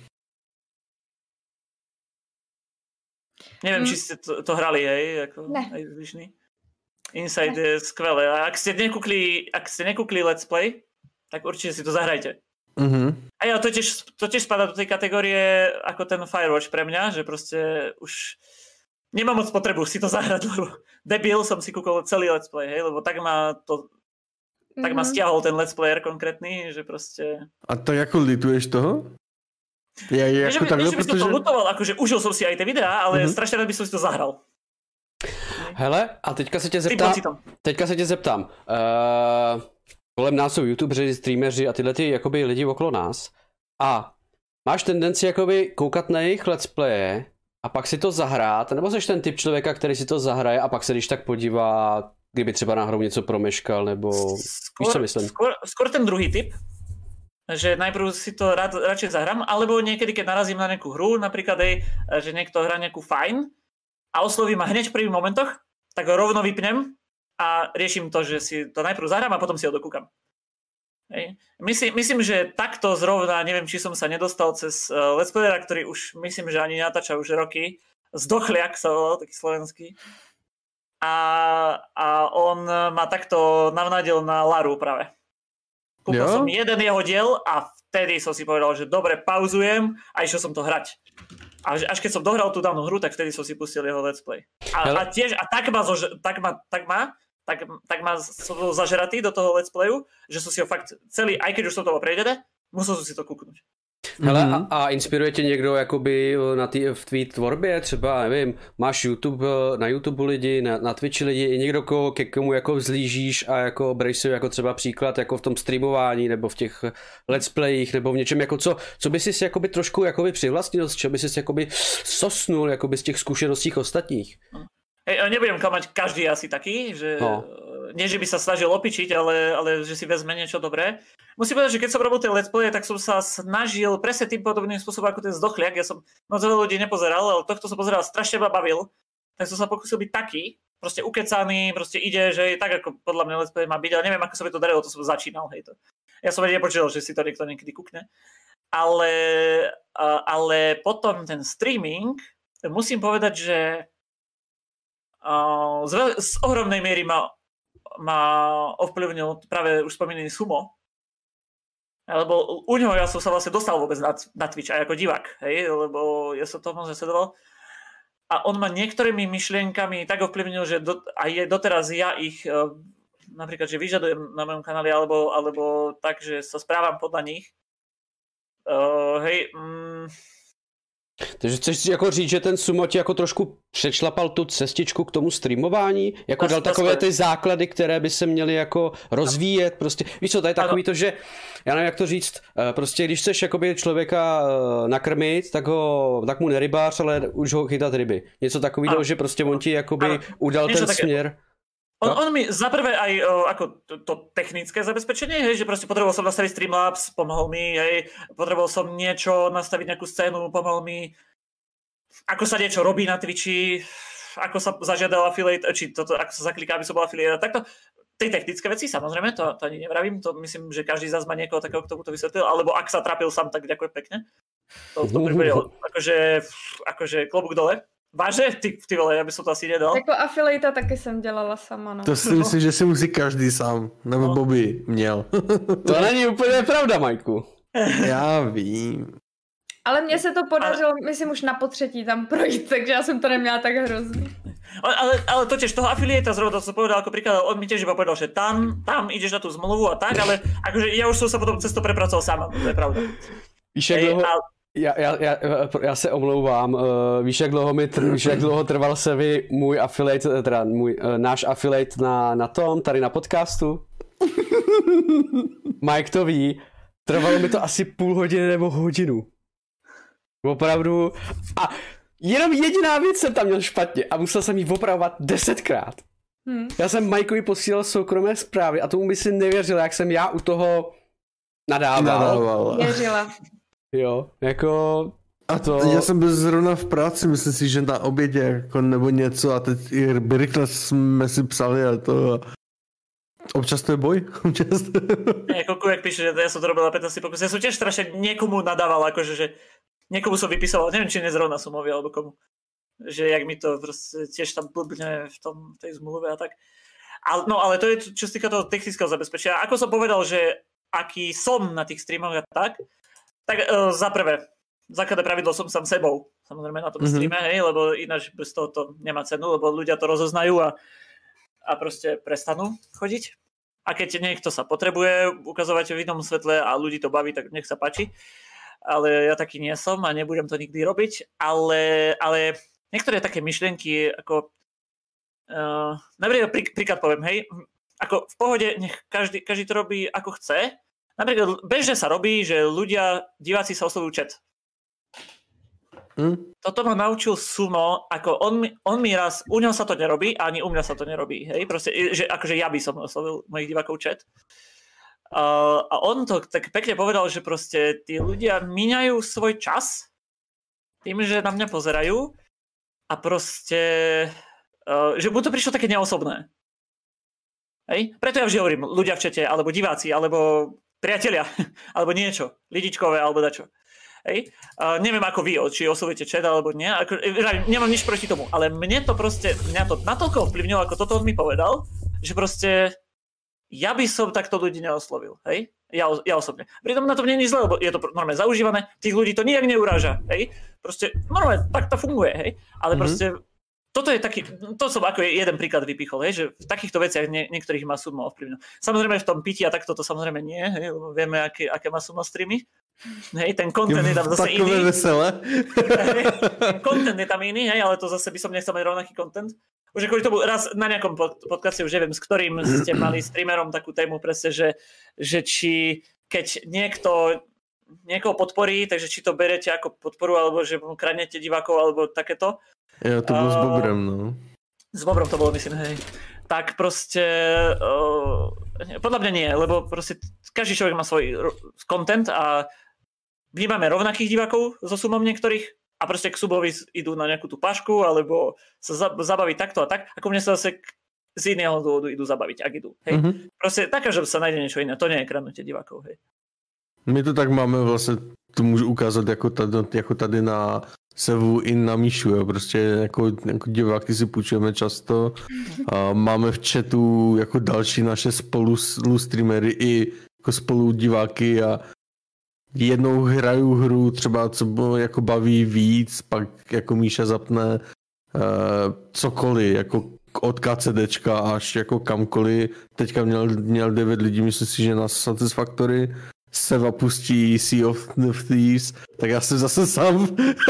Speaker 2: Neviem,
Speaker 3: mm.
Speaker 2: či ste to, to hrali, hej, ako
Speaker 3: ne.
Speaker 2: aj zvyšný. Inside ne. Je skvelé. A ak ste nekúkli, ak ste nekúkli let's play, tak určite si to zahrajte.
Speaker 4: Uh-huh.
Speaker 2: A ja, to tiež, to tiež spadá do tej kategórie ako ten Firewatch pre mňa, že proste už nemám moc potrebu si to zahrať, lebo debil som si kúkol celý let's play, hej, lebo tak ma to uh-huh. tak ma stiahol ten let's player konkrétny, že proste...
Speaker 4: A to ako lituješ toho? Ja, ja
Speaker 2: nie, že by,
Speaker 4: takhle,
Speaker 2: nie, že by
Speaker 4: protože...
Speaker 2: som to lutoval, akože užil som si aj tie videá, ale uh-huh. strašne rád by som si to zahral.
Speaker 1: Hele, a teďka se tě zeptám, teďka se tě zeptám, uh, kolem nás jsou youtubeři, streameři a tyhle ty jakoby lidi okolo nás a máš tendenci jakoby koukat na jejich let's playe a pak si to zahrát, nebo jsi ten typ člověka, který si to zahraje a pak se když tak podívá, kdyby třeba náhodou něco promeškal, nebo skôr, víš, co myslím?
Speaker 2: Skôr, skôr ten druhý typ, že najprv si to rád, radšej zahrám, alebo niekedy, keď narazím na nejakú hru, napríklad aj, že niekto hrá nejakú fajn a osloví ma hneď v prvých momentoch, tak ho rovno vypnem a riešim to, že si to najprv zahrám a potom si ho dokúkam. Hej. Myslím, myslím, že takto zrovna, neviem, či som sa nedostal cez uh, let's playera, ktorý už, myslím, že ani natáča už roky, Zdochliak sa volal, taký slovenský. A, a on ma takto navnadil na Laru práve. Kúpil som jeden jeho diel a vtedy som si povedal, že dobre, pauzujem a išiel som to hrať. A až keď som dohral tú dávnu hru, tak vtedy som si pustil jeho let's play. A, a tiež, a tak ma, zož, tak ma, tak ma, tak, tak ma som bol zažeratý do toho let's playu, že som si ho fakt celý, aj keď už som toho prejdené, musel som si to kúknuť.
Speaker 1: Hele, mm-hmm. a, a inspiruje tě někdo jakoby na tý, v tvý tvorbě, třeba, nevím, máš YouTube, na YouTube lidi, na, na Twitchi lidi, i někdo, ko, ke komu jako vzlížíš a jako bereš si jako třeba příklad jako v tom streamování nebo v těch let's playích nebo v něčem, jako co, co by si jakoby trošku jakoby přivlastnil, z čeho by si jakoby sosnul jakoby z těch zkušeností ostatních?
Speaker 2: Hej, nebudem klamať, každý je asi taký, že no. Nie, že by sa snažil opičiť, ale, ale že si vezme niečo dobré. Musím povedať, že keď som robil tie let's play, tak som sa snažil presne tým podobným spôsobom ako ten Zdochliak. Ja som moc veľa ľudí nepozeral, ale tohto som pozeral, strašne ma bavil. Tak som sa pokúsil byť taký, proste ukecaný, proste ide, že je tak, ako podľa mňa let's play má byť, ale neviem, ako sa by to darilo, to som začínal, hej to. Ja som vedel nepočítal, že si to niekto niekedy kúkne. Ale, ale potom ten streaming, musím povedať, že z, z ohromnej miery ma ma ovplyvnil práve už spomínaný Sumo. Lebo u neho ja som sa vlastne dostal vôbec na, na Twitch aj ako divák, hej, lebo ja som to moc nesledoval. A on ma niektorými myšlienkami tak ovplyvnil, že do, aj je doteraz ja ich napríklad, že vyžadujem na mojom kanáli, alebo, alebo tak, že sa správam podľa nich. Uh, hej, mm,
Speaker 1: Takže chceš jako říct, že ten Sumo ti jako trošku přečlapal tu cestičku k tomu streamování? Jako dal takové ty základy, které by se měly jako rozvíjet? Prostě, víš co, to je takový to, že, já nevím jak to říct, prostě když chceš jakoby člověka nakrmit, tak ho, tak mu nerybář, ale už ho chytat ryby. Něco takového, že prostě on ti jakoby udal ten směr.
Speaker 2: On, on mi za prvé aj o, ako to, to technické zabezpečenie, hej, že proste potreboval som nastaviť Streamlabs, pomohol mi, hej, potreboval som niečo, nastaviť nejakú scénu, pomohol mi, ako sa niečo robí na Twitchi, ako sa zažiadal affiliate, či toto, ako sa zakliká, aby som bol affiliate, takto. Tej technické veci, samozrejme, to, to ani nevravím, to myslím, že každý z nás má niekoho takého, kto mu to vysvetlil, alebo ak sa trapil sám, tak ďakujem pekne. To, to pripadilo, akože, akože klobúk dole. Váže? Ty, ty vole, ja by som to asi nedal.
Speaker 3: Jako afiliata taky jsem dělala sama, no.
Speaker 4: To si myslím, že si musí každý sám, nebo no. Bobby měl.
Speaker 1: To není úplně pravda, Majku.
Speaker 4: Já vím.
Speaker 3: Ale mně se to podařilo, ale... myslím, už na potřetí tam projít, takže já jsem to neměla tak hrozný.
Speaker 2: Ale, ale, ale to tiež toho afiliéta zrovna, to som povedal ako príklad, on mi tiež iba povedal, že tam, tam ideš na tú zmluvu a tak, ale akože ja už som sa potom cez to prepracoval sám, to je pravda.
Speaker 1: Víš, jak dlouho... Ale... Já, já, já, já se omlouvám, uh, víš, jak dlouho, mi tr- víš, jak dlouho trval se vy můj affiliate, teda můj, uh, náš affiliate na, na tom, tady na podcastu? Mike to ví, trvalo mi to asi půl hodiny nebo hodinu. Opravdu. A jenom jediná věc jsem tam měl špatně a musel jsem jí opravovat desetkrát. Hmm. Já jsem Mikeovi posílal soukromé zprávy a tomu by si nevěřil, jak jsem já u toho nadával.
Speaker 4: nadával.
Speaker 3: Věřila.
Speaker 1: Jo, jako...
Speaker 4: A to... Já jsem byl zrovna v práci, myslím si, že na obědě jako nebo něco a teď i rychle jsme si psali a to... Občas to je boj. Občas to je...
Speaker 2: Jako Kujek píše, že ja som to robil na pätnásť pokus. Ja som tiež strašne niekomu nadával, akože, že niekomu som vypisoval, neviem, či nezrovna Sumovi alebo komu. Že jak mi to proste tiež tam blbne v tom, tej zmluve a tak. Ale, no ale to je, čo sa týka toho technického zabezpečenia. Ako som povedal, že aký som na tých streamoch a tak, tak uh, za prvé, základné pravidlo som sám sebou, samozrejme na tom mm-hmm. streame, hej, lebo ináč bez toho to nemá cenu, lebo ľudia to rozoznajú a, a proste prestanú chodiť. A keď niekto sa potrebuje ukazovať v inom svetle a ľudí to baví, tak nech sa páči. Ale ja taký nie som a nebudem to nikdy robiť. Ale, ale niektoré také myšlienky, ako uh, napríklad prí, príklad poviem, hej, ako v pohode, nech každý, každý to robí ako chce. Napríklad bežne sa robí, že ľudia, diváci sa oslovujú chat. Hmm? Toto ma naučil Sumo, ako on mi, on mi raz, u neho sa to nerobí, ani u mňa sa to nerobí, hej, proste, že akože ja by som oslovil mojich divákov chat. Uh, a on to tak pekne povedal, že proste tí ľudia míňajú svoj čas tým, že na mňa pozerajú a proste, uh, že mu to prišlo také neosobné. Hej? Preto ja vždy hovorím, ľudia v čete, alebo diváci, alebo priatelia, alebo niečo, lidičkové, alebo dačo. Hej? Uh, neviem ako vy, či oslovujete chat alebo nie, ako, nemám nič proti tomu, ale mne to proste, mňa to natoľko ovplyvnilo, ako toto on mi povedal, že proste ja by som takto ľudí neoslovil, hej? Ja, ja osobne. Pritom na tom nie je nič zle, lebo je to normálne zaužívané, tých ľudí to nijak neuráža, hej? Proste normálne tak to funguje, hej? Ale mm-hmm. proste toto je taký, to som ako jeden príklad vypichol, hej? Že v takýchto veciach nie, niektorých má Sumo ovplyvnilo. Samozrejme v tom pití a takto to samozrejme nie, hej? Lebo vieme, aké, aké má Sumo streamy. Hej, ten content je tam zase iný.
Speaker 4: Takové veselé.
Speaker 2: Content je tam iný, hej, ale to zase by som nechcel mať rovnaký content. Už kvôli tomu raz na nejakom podcaste, už neviem, s ktorým ste mali streamerom takú tému presne, že, že či keď niekto niekoho podporí, takže či to berete ako podporu, alebo že mu kradnete divákov, alebo takéto.
Speaker 4: Ja, to bolo uh, s Bobrem, no.
Speaker 2: S Bobrom to bolo, myslím, hej. Tak proste, uh, podľa mňa nie, lebo proste každý človek má svoj content a vnímame rovnakých divákov so Sumom niektorých a proste k Subovi idú na nejakú tú pašku alebo sa zabaviť takto a tak, ako mne sa zase z iného dôvodu idú zabaviť, ak idú. Hej? Mm-hmm. Proste taká, že sa nájde niečo iné, to nie je kradnutie divákov. Hej.
Speaker 4: My to tak máme vlastně, to můžu ukázat jako tady, jako tady na Sevu i na Míšu, jo. Prostě jako, jako diváky si půjčujeme často a máme v chatu jako další naše spolu streamery i jako spolu diváky a jednou hraju hru třeba, co jako baví víc, pak jako Míša zapne uh, cokoliv, jako od KCDčka až jako kamkoliv. Teďka měl, měl devět lidí, myslím si, že na Satisfactory. Seva pustí Sea of Thieves, tak já jsem zase sám.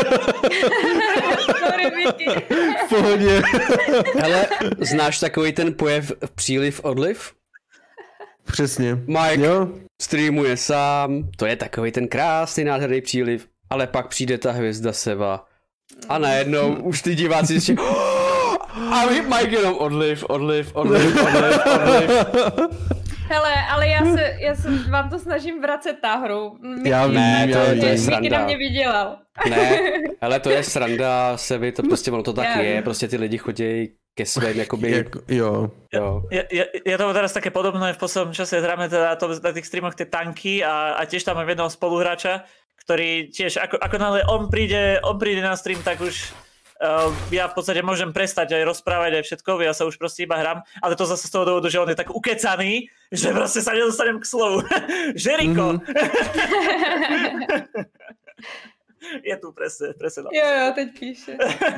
Speaker 3: Sorry, Vicky.
Speaker 4: V pohodě.
Speaker 1: Hele, znáš takový ten pojev příliv odliv?
Speaker 4: Přesně.
Speaker 1: Mike
Speaker 4: jo?
Speaker 1: streamuje sám, to je takový ten krásný nádherný příliv, ale pak přijde ta hvězda Seva a najednou už ty diváci si a Mike jenom odliv, odliv, odliv, odliv, odliv.
Speaker 3: Hele, ale já se, já se vám to snažím vracet ta hru. Mickey,
Speaker 1: já vím, ne, to, je, to je sranda.
Speaker 3: Mickey na mě vydělal.
Speaker 1: Ne, ale to je sranda, Sevi, to prostě ono to tak já. je, prostě ty lidi chodí ke svým, jakoby...
Speaker 4: Jak, jo.
Speaker 1: jo.
Speaker 2: Je, je, je to teraz také podobné, v poslednom čase hráme teda to, na tých streamoch tie tanky a, a tiež tam mám jedného spoluhráča, ktorý tiež, ako, ako náhle on príde, on príde na stream, tak už uh, ja v podstate môžem prestať aj rozprávať aj všetko, ja sa už proste iba hrám, ale to zase z toho dôvodu, že on je tak ukecaný, že proste sa nedostanem k slovu. Žeriko! Mm-hmm. Je tu presne, presne.
Speaker 3: Jo, jo, teď píše.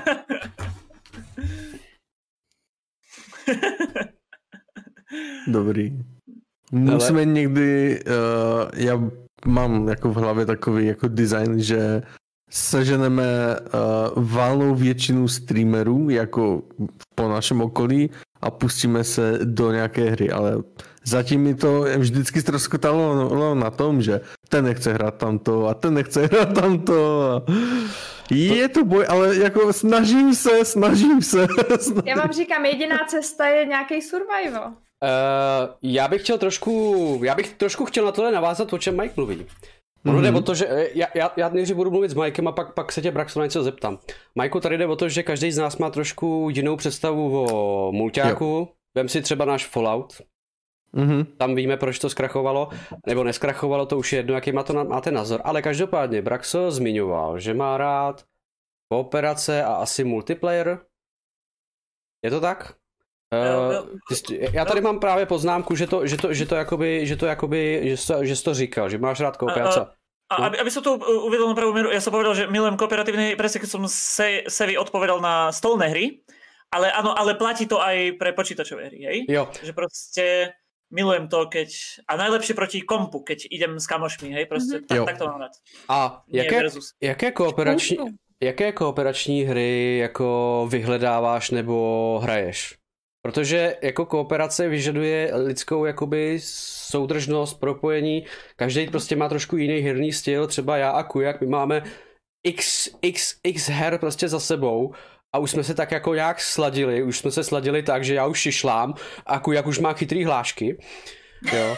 Speaker 4: Dobrý. Musíme Ale... někdy, uh, já mám jako v hlavě takový jako design, že seženeme uh, valnou většinu streamerů jako po našem okolí a pustíme se do nějaké hry, ale zatím mi to vždycky ztroskotalo na tom, že ten nechce hrát tamto a ten nechce hrát tamto a... Je to boj, ale jako snažím se, snažím se. Snažím.
Speaker 3: Já vám říkám, jediná cesta je nějaký survival. Uh,
Speaker 1: já bych chtěl trošku, já bych trošku chtěl na tohle navázat, o čem Mike mluví. Ono mm-hmm. jde o to, že já, já, já nejdřív budu mluvit s Mikem a pak, pak se tě Braxo na něco zeptám. Majku, tady jde o to, že každý z nás má trošku jinou představu o mulťáku. Vem si třeba náš Fallout. Mm-hmm. Tam víme, proč to zkrachovalo, nebo neskrachovalo, to už je jedno, jaký má to, máte názor. Ale každopádně Braxo zmiňoval, že má rád kooperace a asi multiplayer. Je to tak? Uh, ty, já tady mám právě poznámku, že to, že to, že to jakoby, že to jakoby, že jsi to, že jsi to říkal, že máš rád kooperace.
Speaker 2: A, a, aby, aby som to uvedol na pravú mieru, ja som povedal, že milujem kooperatívne hry, presne keď som se, Sevi odpovedal na stolné hry, ale áno, ale platí to aj pre počítačové hry, hej?
Speaker 1: Jo. Že
Speaker 2: proste milujem to, keď... A najlepšie proti kompu, keď idem s kamošmi, hej? Proste mm-hmm. tak, tak to mám rád.
Speaker 1: A jaké, jaké kooperační... Jaké kooperační hry jako vyhledáváš nebo hraješ? Protože jako kooperace vyžaduje lidskou jakoby soudržnost, propojení, každý prostě má trošku jiný herní styl, třeba já a Kujak, my máme x, x, x her prostě za sebou a už jsme se tak jako nějak sladili, už jsme se sladili tak, že já už šišlám a Kujak už má chytrý hlášky, jo.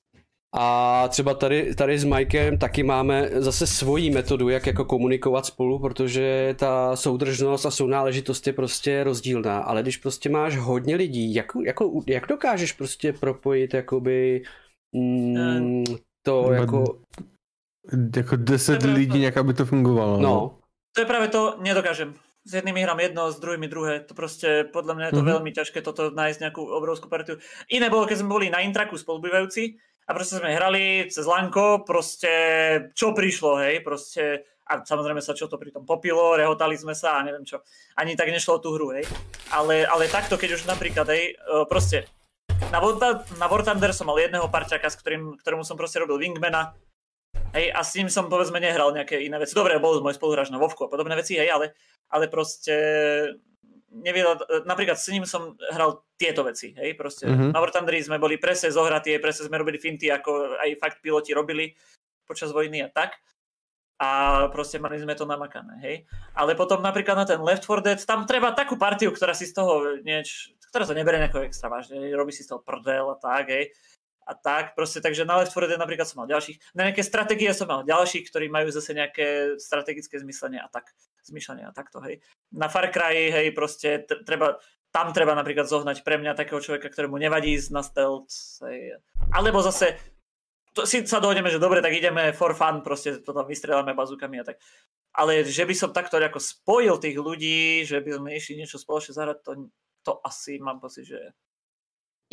Speaker 1: A třeba tady, tady s Mikem taky máme zase svoji metodu, jak jako komunikovat spolu, protože ta soudržnost a sounáležitost je prostě rozdílná, ale když prostě máš hodně lidí, jak, jako, jak dokážeš prostě propojit jakoby mm, to jako...
Speaker 4: Jako deset lidí nějak, aby to fungovalo.
Speaker 1: No.
Speaker 2: To je práve to, nedokážem. S jednými hrám jedno, s druhými druhé. To proste, podľa mňa je to mm-hmm. veľmi ťažké toto nájsť nejakú obrovskú partiu. Iné bolo, keď sme boli na Intraku spolubývajúci a proste sme hrali cez Lanko, proste čo prišlo, hej, proste a samozrejme sa čo to pri tom popilo, rehotali sme sa a neviem čo. Ani tak nešlo o tú hru, hej. Ale, ale takto, keď už napríklad, hej, proste na, na War Thunder som mal jedného parťaka, s ktorým, ktorému som proste robil wingmana. Hej, a s ním som povedzme nehral nejaké iné veci. Dobre, bol môj spoluhráč na Vovku a podobné veci, hej, ale, ale proste nevedel, napríklad s ním som hral tieto veci, hej, proste mm-hmm. na War Thunderi sme boli presne zohratí, presne sme robili finty, ako aj fakt piloti robili počas vojny a tak. A proste mali sme to namakané, hej. Ale potom napríklad na ten Left four Dead, tam treba takú partiu, ktorá si z toho nieč, ktorá to neberie nejako extra vážne, robí si z toho prdel a tak, hej. A tak, proste, takže na Left four Dead napríklad som mal ďalších, na nejaké stratégie som mal ďalších, ktorí majú zase nejaké strategické zmyslenie a tak, zmyšľanie a takto, hej. Na Far Cry, hej, proste treba, tam treba napríklad zohnať pre mňa takého človeka, ktorému nevadí ísť na stealth, hej. Alebo zase, to si sa dohodneme, že dobre, tak ideme for fun, proste to tam vystrieľame bazúkami a tak. Ale že by som takto ako spojil tých ľudí, že by sme išli niečo spoločne zahrať, to, to asi mám pocit, že